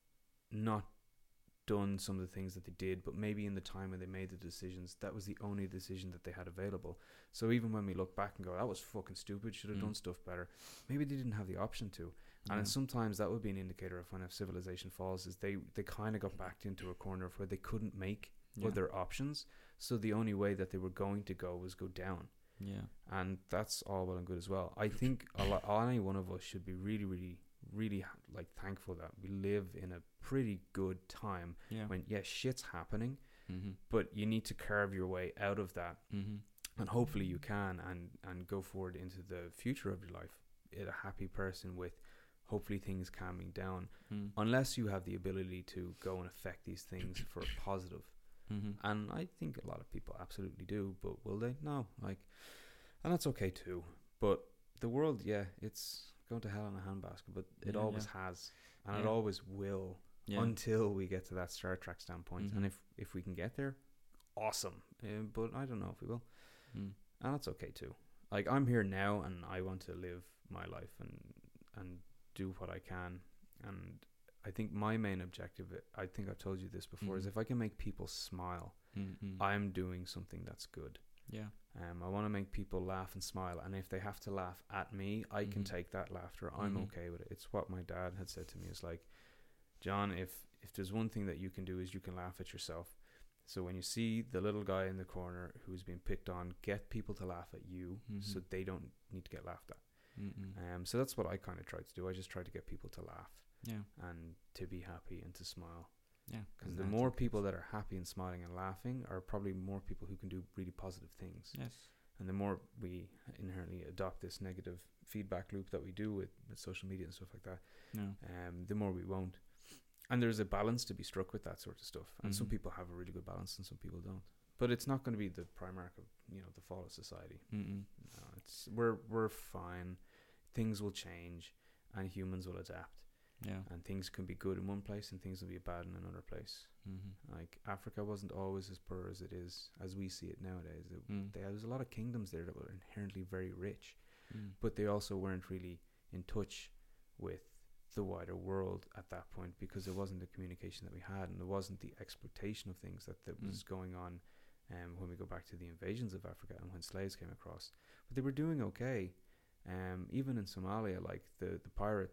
B: not done some of the things that they did, but maybe in the time when they made the decisions, that was the only decision that they had available. So even when we look back and go, that was fucking stupid, should have
A: Mm.
B: done stuff better, maybe they didn't have the option to. And
A: yeah,
B: sometimes that would be an indicator of when a civilization falls, is they kind of got backed into a corner of where they couldn't make
A: yeah,
B: other options. So the only way that they were going to go was go down.
A: yeah,
B: And that's all well and good as well. I think any one of us should be really, really, really like thankful that we live in a pretty good time
A: yeah,
B: when, yes, shit's happening,
A: mhm,
B: but you need to carve your way out of that.
A: mhm,
B: And hopefully you can, and go forward into the future of your life a happy person with hopefully things calming down,
A: mm,
B: unless you have the ability to go and affect these things for a positive.
A: mhm,
B: And I think a lot of people absolutely do, but will they? No. Like, and that's okay too. But the world, yeah, it's going to hell in a handbasket, but it
A: Yeah,
B: always
A: yeah.
B: has, and it
A: Yeah.
B: always will,
A: yeah,
B: until we get to that Star Trek standpoint.
A: Mhm.
B: And if we can get there, awesome. But I don't know if we will,
A: mm,
B: and that's okay too. Like, I'm here now, and I want to live my life and do what I can. And I think my main objective, I think I've told you this before, is
A: Mhm.
B: if I can make people smile,
A: mm,
B: I'm doing something that's good.
A: yeah,
B: I want to make people laugh and smile, and if they have to laugh at me, I can
A: Mhm.
B: take that laughter. I'm
A: Mhm.
B: okay with it. It's what my dad had said to me. It's like, John, if there's one thing that you can do, is you can laugh at yourself. So when you see the little guy in the corner who's being picked on, get people to laugh at you, so
A: Mhm.
B: they don't need to get laughed at.
A: mm,
B: So that's what I kind of try to do. I just try to get people to laugh
A: yeah,
B: and to be happy and to smile.
A: yeah,
B: Because
A: and
B: the
A: I
B: more
A: think
B: people
A: it's-
B: that are happy and smiling and laughing are probably more people who can do really positive things.
A: yes,
B: And the more we inherently adopt this negative feedback loop that we do with social media and stuff like that,
A: no,
B: the more we won't. And there's a balance to be struck with that sort of stuff. And some
A: Mhm.
B: people have a really good balance and some people don't. But it's not going to be the prime mark of, the fall of society.
A: mm,
B: No, we're fine. Things will change and humans will adapt.
A: yeah,
B: And things can be good in one place and things will be bad in another place.
A: mhm,
B: Like, Africa wasn't always as poor as it is, as we see it nowadays. There was a lot of kingdoms there that were inherently very rich, but they also weren't really in touch with the wider world at that point, because there wasn't the communication that we had, and there wasn't the exploitation of things that was going on when we go back to the invasions of Africa and when slaves came across. But they were doing okay. Even in Somalia, like the pirates,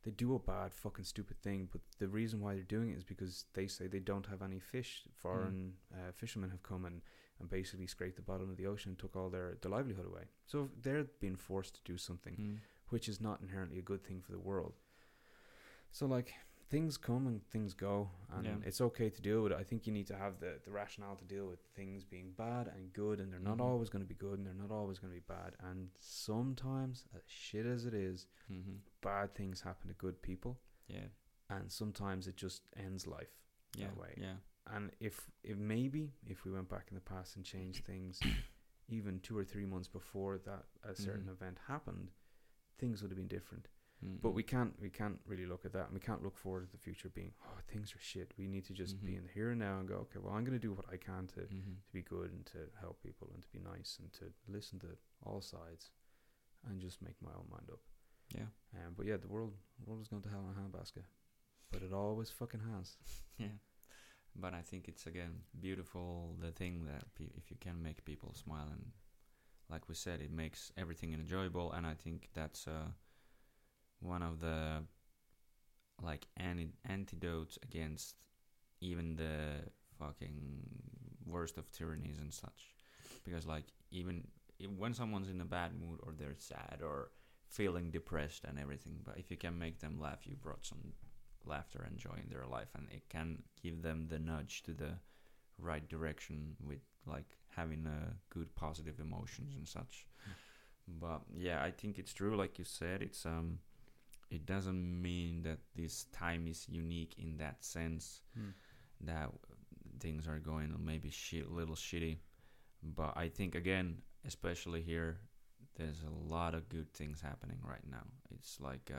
B: they do a bad fucking stupid thing, but the reason why they're doing it is because they say they don't have any fish. Foreign fishermen have come and basically scraped the bottom of the ocean and took all their livelihood away. So they're being forced to do something, which is not inherently a good thing for the world. So like, things come and things go, and it's okay to deal with it. I think you need to have the rationale to deal with things being bad and good, and they're not always going to be good, and they're not always going to be bad. And sometimes, as shit as it is, bad things happen to good people. Yeah. And sometimes it just ends life that way. Yeah. And if maybe if we went back in the past and changed things, even 2 or 3 months before that a certain event happened, things would have been different. But we can't really look at that, and we can't look forward to the future being, oh, things are shit. We need to just be in the here and now and go, okay, well, I'm going to do what I can to be good and to help people and to be nice and to listen to all sides and just make my own mind up. Yeah. But yeah, the world is going to hell in a handbasket, but it always fucking has.
A: Yeah. But I think it's, again, beautiful, the thing that if you can make people smile, and like we said, it makes everything enjoyable. And I think that's one of the like antidotes against even the fucking worst of tyrannies and such. Because like, even when someone's in a bad mood or they're sad or feeling depressed and everything, but if you can make them laugh, you brought some laughter and joy in their life, and it can give them the nudge to the right direction with like having good positive emotions and such. But yeah, I think it's true, like you said, it's it doesn't mean that this time is unique in that sense, that things are going maybe little shitty. But I think, again, especially here, there's a lot of good things happening right now. It's like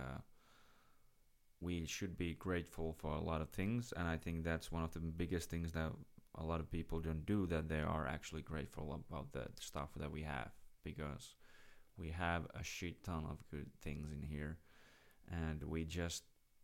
A: we should be grateful for a lot of things, and I think that's one of the biggest things that a lot of people don't do, that they are actually grateful about the stuff that we have, because we have a shit ton of good things in here. And we just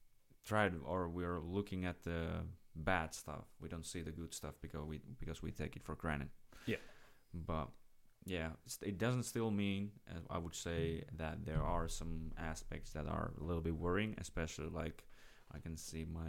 A: we're looking at the bad stuff. We don't see the good stuff because we take it for granted. Yeah. But yeah, it doesn't still mean, I would say, that there are some aspects that are a little bit worrying, especially like I can see my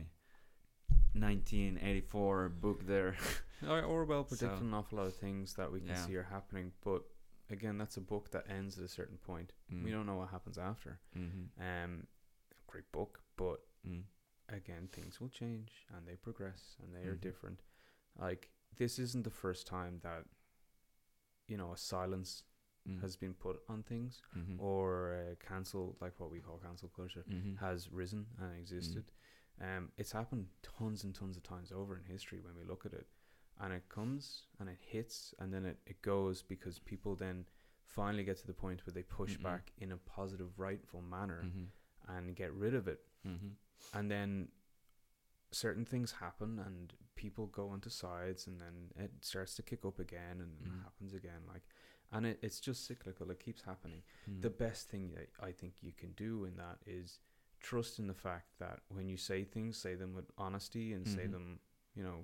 A: 1984 book there.
B: Orwell predicted an awful lot of things that we can see are happening, but again, that's a book that ends at a certain point. We don't know what happens after. Great book, but again, things will change and they progress and they are different. Like, this isn't the first time that, you know, a silence has been put on things, or cancel, like what we call cancel culture, has risen and existed. It's happened tons and tons of times over in history when we look at it, and it comes and it hits and then it goes, because people then finally get to the point where they push back in a positive, rightful manner and get rid of it. And then certain things happen and people go onto sides, and then it starts to kick up again, and it happens again, like, and it's just cyclical. It keeps happening. The best thing that I think you can do in that is trust in the fact that when you say things, say them with honesty, and say them, you know,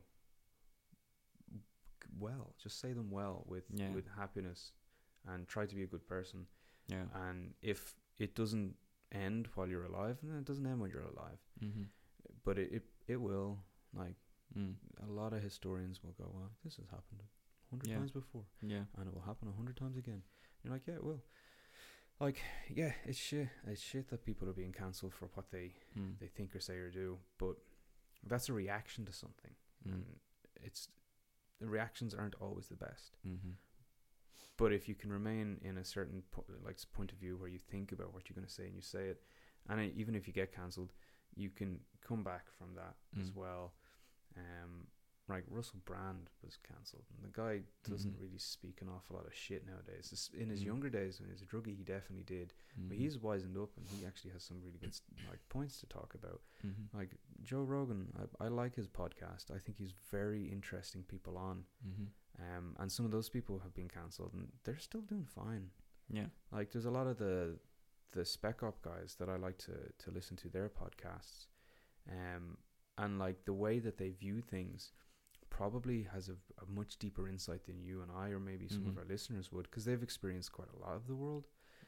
B: well, just say them well with happiness, and try to be a good person. And if it doesn't end while you're alive, then it doesn't end when you're alive. But it will, like, a lot of historians will go, well, this has happened 100 times before, and it will happen 100 times again. You're like, yeah, it will. Like, yeah, it's shit that people are being cancelled for what they think or say or do, but that's a reaction to something, and the reactions aren't always the best. But if you can remain in a certain point of view where you think about what you're going to say and you say it, and even if you get cancelled, you can come back from that as well. Like Russell Brand was cancelled, and the guy doesn't really speak an awful lot of shit nowadays. In his younger days when he was a druggie, he definitely did, but he's wisened up and he actually has some really good like points to talk about. Like Joe Rogan, I like his podcast. I think he's very interesting people on. And some of those people have been cancelled and they're still doing fine. Like there's a lot of the spec op guys that I like to listen to their podcasts, and like the way that they view things probably has a much deeper insight than you and I, or maybe some of our listeners would, because they've experienced quite a lot of the world.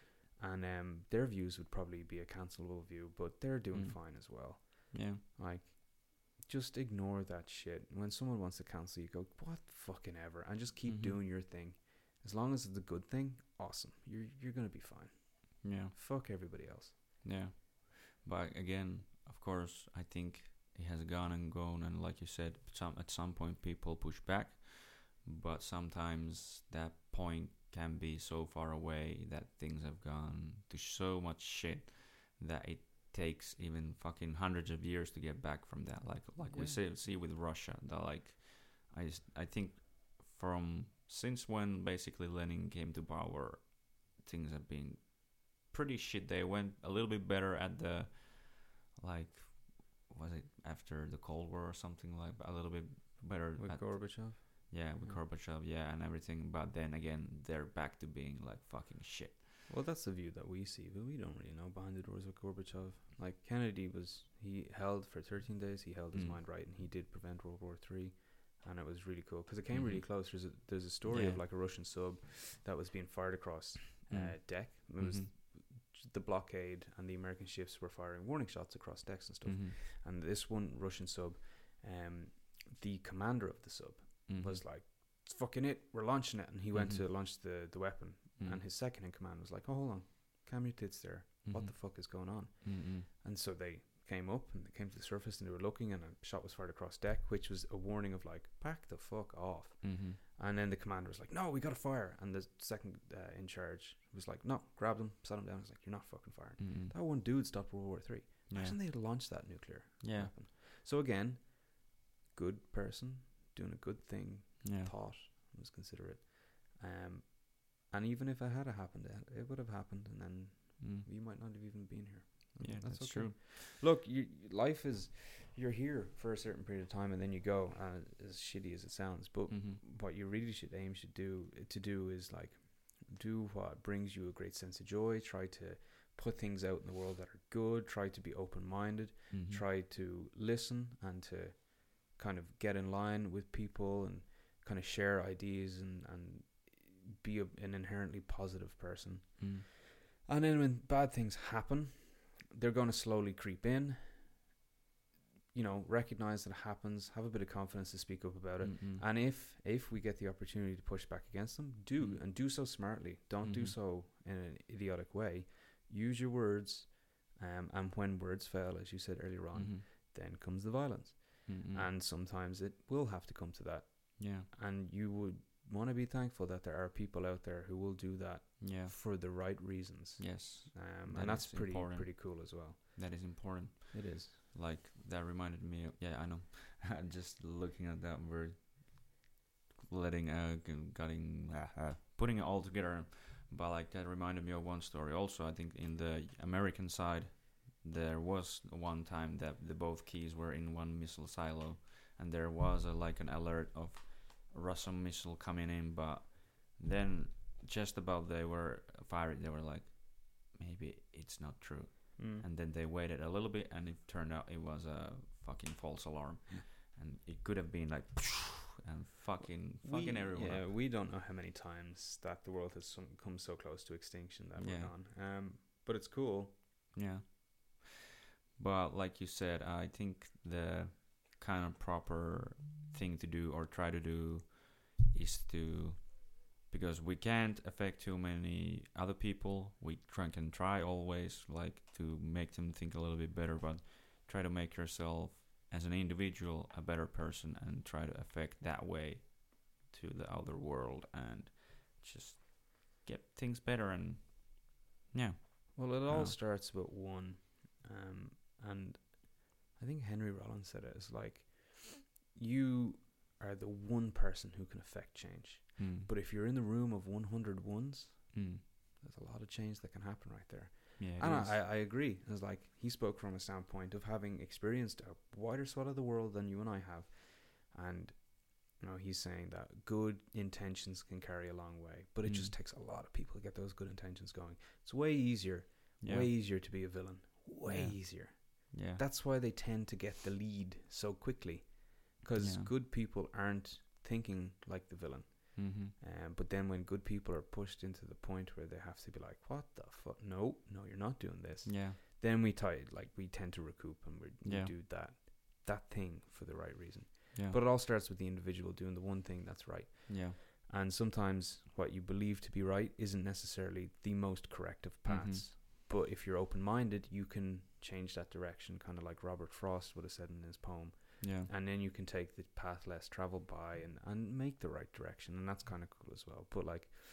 B: and their views would probably be a cancelable view, but they're doing
A: Mm.
B: fine as well.
A: Yeah.
B: Like, just ignore that shit. When someone wants to cancel you, go, what fucking ever, and just keep
A: Mhm.
B: doing your thing. As long as it's a good thing, awesome. You're gonna be fine.
A: Yeah.
B: Fuck everybody else.
A: Yeah. But again, of course, I think it has gone and gone, and like you said, at some point people push back, but sometimes that point can be so far away that things have gone to so much shit that it takes even fucking hundreds of years to get back from that. Like we
B: Yeah.
A: see with Russia, that like I think from since when basically Lenin came to power, things have been pretty shit. They went a little bit better at the like was it after the Cold War or something, like a little bit better
B: With
A: at
B: Gorbachev.
A: with
B: Yeah.
A: Gorbachev, and everything. But then again, they're back to being like fucking shit.
B: Well, that's the view that we see, but we don't really know behind the doors with Gorbachev. Like, Kennedy he held for 13 days, he held his
A: Mm.
B: mind right, and he did prevent World War III, and it was really cool, because it came really
A: Mhm.
B: close. There's a story of
A: Yeah.
B: like a Russian sub that was being fired across deck. It was
A: Mhm.
B: the blockade, and the American ships were firing warning shots across decks and stuff.
A: Mhm.
B: And this one Russian sub, the commander of the sub
A: Mhm.
B: was like, "It's fucking it, we're launching it," and he went
A: Mhm.
B: to launch the weapon,
A: Mm.
B: and his second in command was like, "Oh, hold on, calm your tits there. What
A: Mhm.
B: the fuck is going on?"
A: Mhm.
B: And so they came up and they came to the surface, and they were looking, and a shot was fired across deck, which was a warning of like, back the fuck off.
A: Mhm.
B: And then the commander was like, "No, we gotta fire," and the second in charge was like, "No, grabbed him, sat him down." He's like, "You're not fucking firing."
A: Mhm.
B: That one dude stopped World War III.
A: Yeah.
B: Imagine they had launched that nuclear
A: Yeah.
B: weapon. So again, good person doing a good thing,
A: Yeah.
B: thought, was considerate. And even if it had happened, it would have happened, and then
A: Mm.
B: we might not have even been here.
A: Yeah, that's
B: okay.
A: true.
B: Look, life is, you're here for a certain period of time, and then you go. As shitty as it sounds, but
A: Mhm.
B: what you really should aim to do is like do what brings you a great sense of joy. Try to put things out in the world that are good. Try to be open-minded.
A: Mhm.
B: Try to listen and to kind of get in line with people and kind of share ideas and be an inherently positive person.
A: Mm.
B: And then when bad things happen, they're going to slowly creep in. You know, recognize that it happens, have a bit of confidence to speak up about it.
A: Mm-mm.
B: And if we get the opportunity to push back against them, and do so smartly. Don't do
A: Mhm.
B: so in an idiotic way. Use your words, and when words fail, as you said earlier on,
A: Mhm.
B: then comes the violence.
A: Mm-mm.
B: And sometimes it will have to come to that.
A: Yeah.
B: And you would want to be thankful that there are people out there who will do that
A: Yeah.
B: for the right reasons.
A: Yes. That
B: And that's
A: is
B: pretty
A: important.
B: pretty cool as well.
A: That is important.
B: It is.
A: Like that reminded me of, I know. Just looking at that word, letting putting it all together, but like that reminded me of one story. Also, I think in the American side, there was one time that the both keys were in one missile silo, and there was an alert of Russian missile coming in, but then just about they were fired, they were like, maybe it's not true. And then they waited a little bit, and it turned out it was a fucking false alarm, and it could have been like, and fucking everyone.
B: Yeah,
A: up.
B: we don't know how many times that the world has come so close to extinction that we're gone. But it's cool.
A: Yeah. But like you said, I think the kind of proper thing to do or try to do is to, because we can't affect too many other people, we can try always like to make them think a little bit better, but try to make yourself as an individual a better person and try to affect that way to the outer world and just get things better. And
B: Well, it all
A: Yeah.
B: starts with one. And I think Henry Rollins said it. It's like, you are the one person who can affect change. But if you're in the room of 100 ones, there's a lot of change that can happen right there.
A: Yeah,
B: And I agree. It's like, he spoke from a standpoint of having experienced a wider swath of the world than you and I have. And, you know, he's saying that good intentions can carry a long way. But it just takes a lot of people to get those good intentions going. It's way easier to be a villain. Way easier.
A: Yeah.
B: That's why they tend to get the lead so quickly. Because good people aren't thinking like the villain. But then when good people are pushed into the point where they have to be like, what the fuck? No, you're not doing this.
A: Yeah.
B: Then we tend to recoup and we do that thing for the right reason.
A: Yeah.
B: But it all starts with the individual doing the one thing that's right.
A: Yeah.
B: And sometimes what you believe to be right isn't necessarily the most corrective paths. But if you're open-minded, you can change that direction, kind of like Robert Frost would have said in his poem.
A: Yeah.
B: And then you can take the path less traveled by and make the right direction. And that's kind of cool as well. But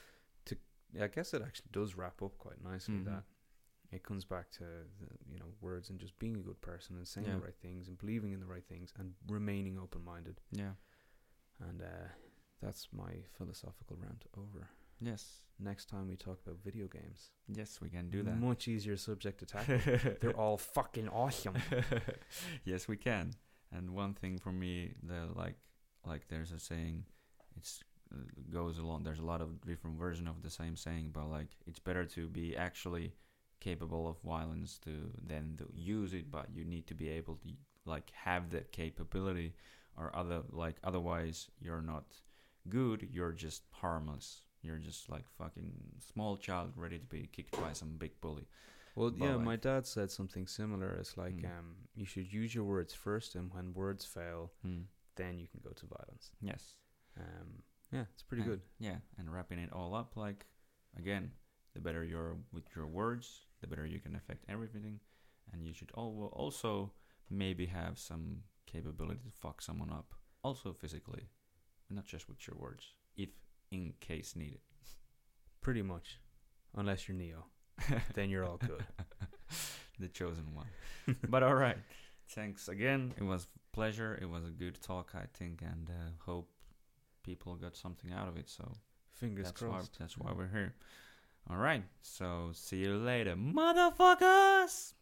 B: I guess it actually does wrap up quite nicely that it comes back to words and just being a good person and saying the right things and believing in the right things and remaining open-minded.
A: Yeah.
B: And that's my philosophical rant over.
A: Yes.
B: Next time we talk about video games.
A: Yes, we can do that.
B: Much easier subject to tackle. They're all fucking awesome.
A: Yes, we can. And one thing for me, like there's a saying, it's goes along. There's a lot of different versions of the same saying, but like it's better to be actually capable of violence than to use it. But you need to be able to like have that capability, or otherwise you're not good. You're just harmless. You're just like fucking small child ready to be kicked by some big bully.
B: Well, yeah, my dad said something similar. It's like you should use your words first, and when words fail, then you can go to violence.
A: Yes.
B: Yeah, it's pretty good.
A: Yeah, and wrapping it all up, like, again, the better you're with your words, the better you can affect everything, and you should also maybe have some capability to fuck someone up, also physically, not just with your words, if in case needed.
B: Pretty much, unless you're Neo. Then you're all good.
A: The chosen one. But all right. Thanks again. It was a pleasure. It was a good talk, I think, and hope people got something out of it. So
B: fingers crossed.
A: That's why we're here. All right. So see you later, motherfuckers.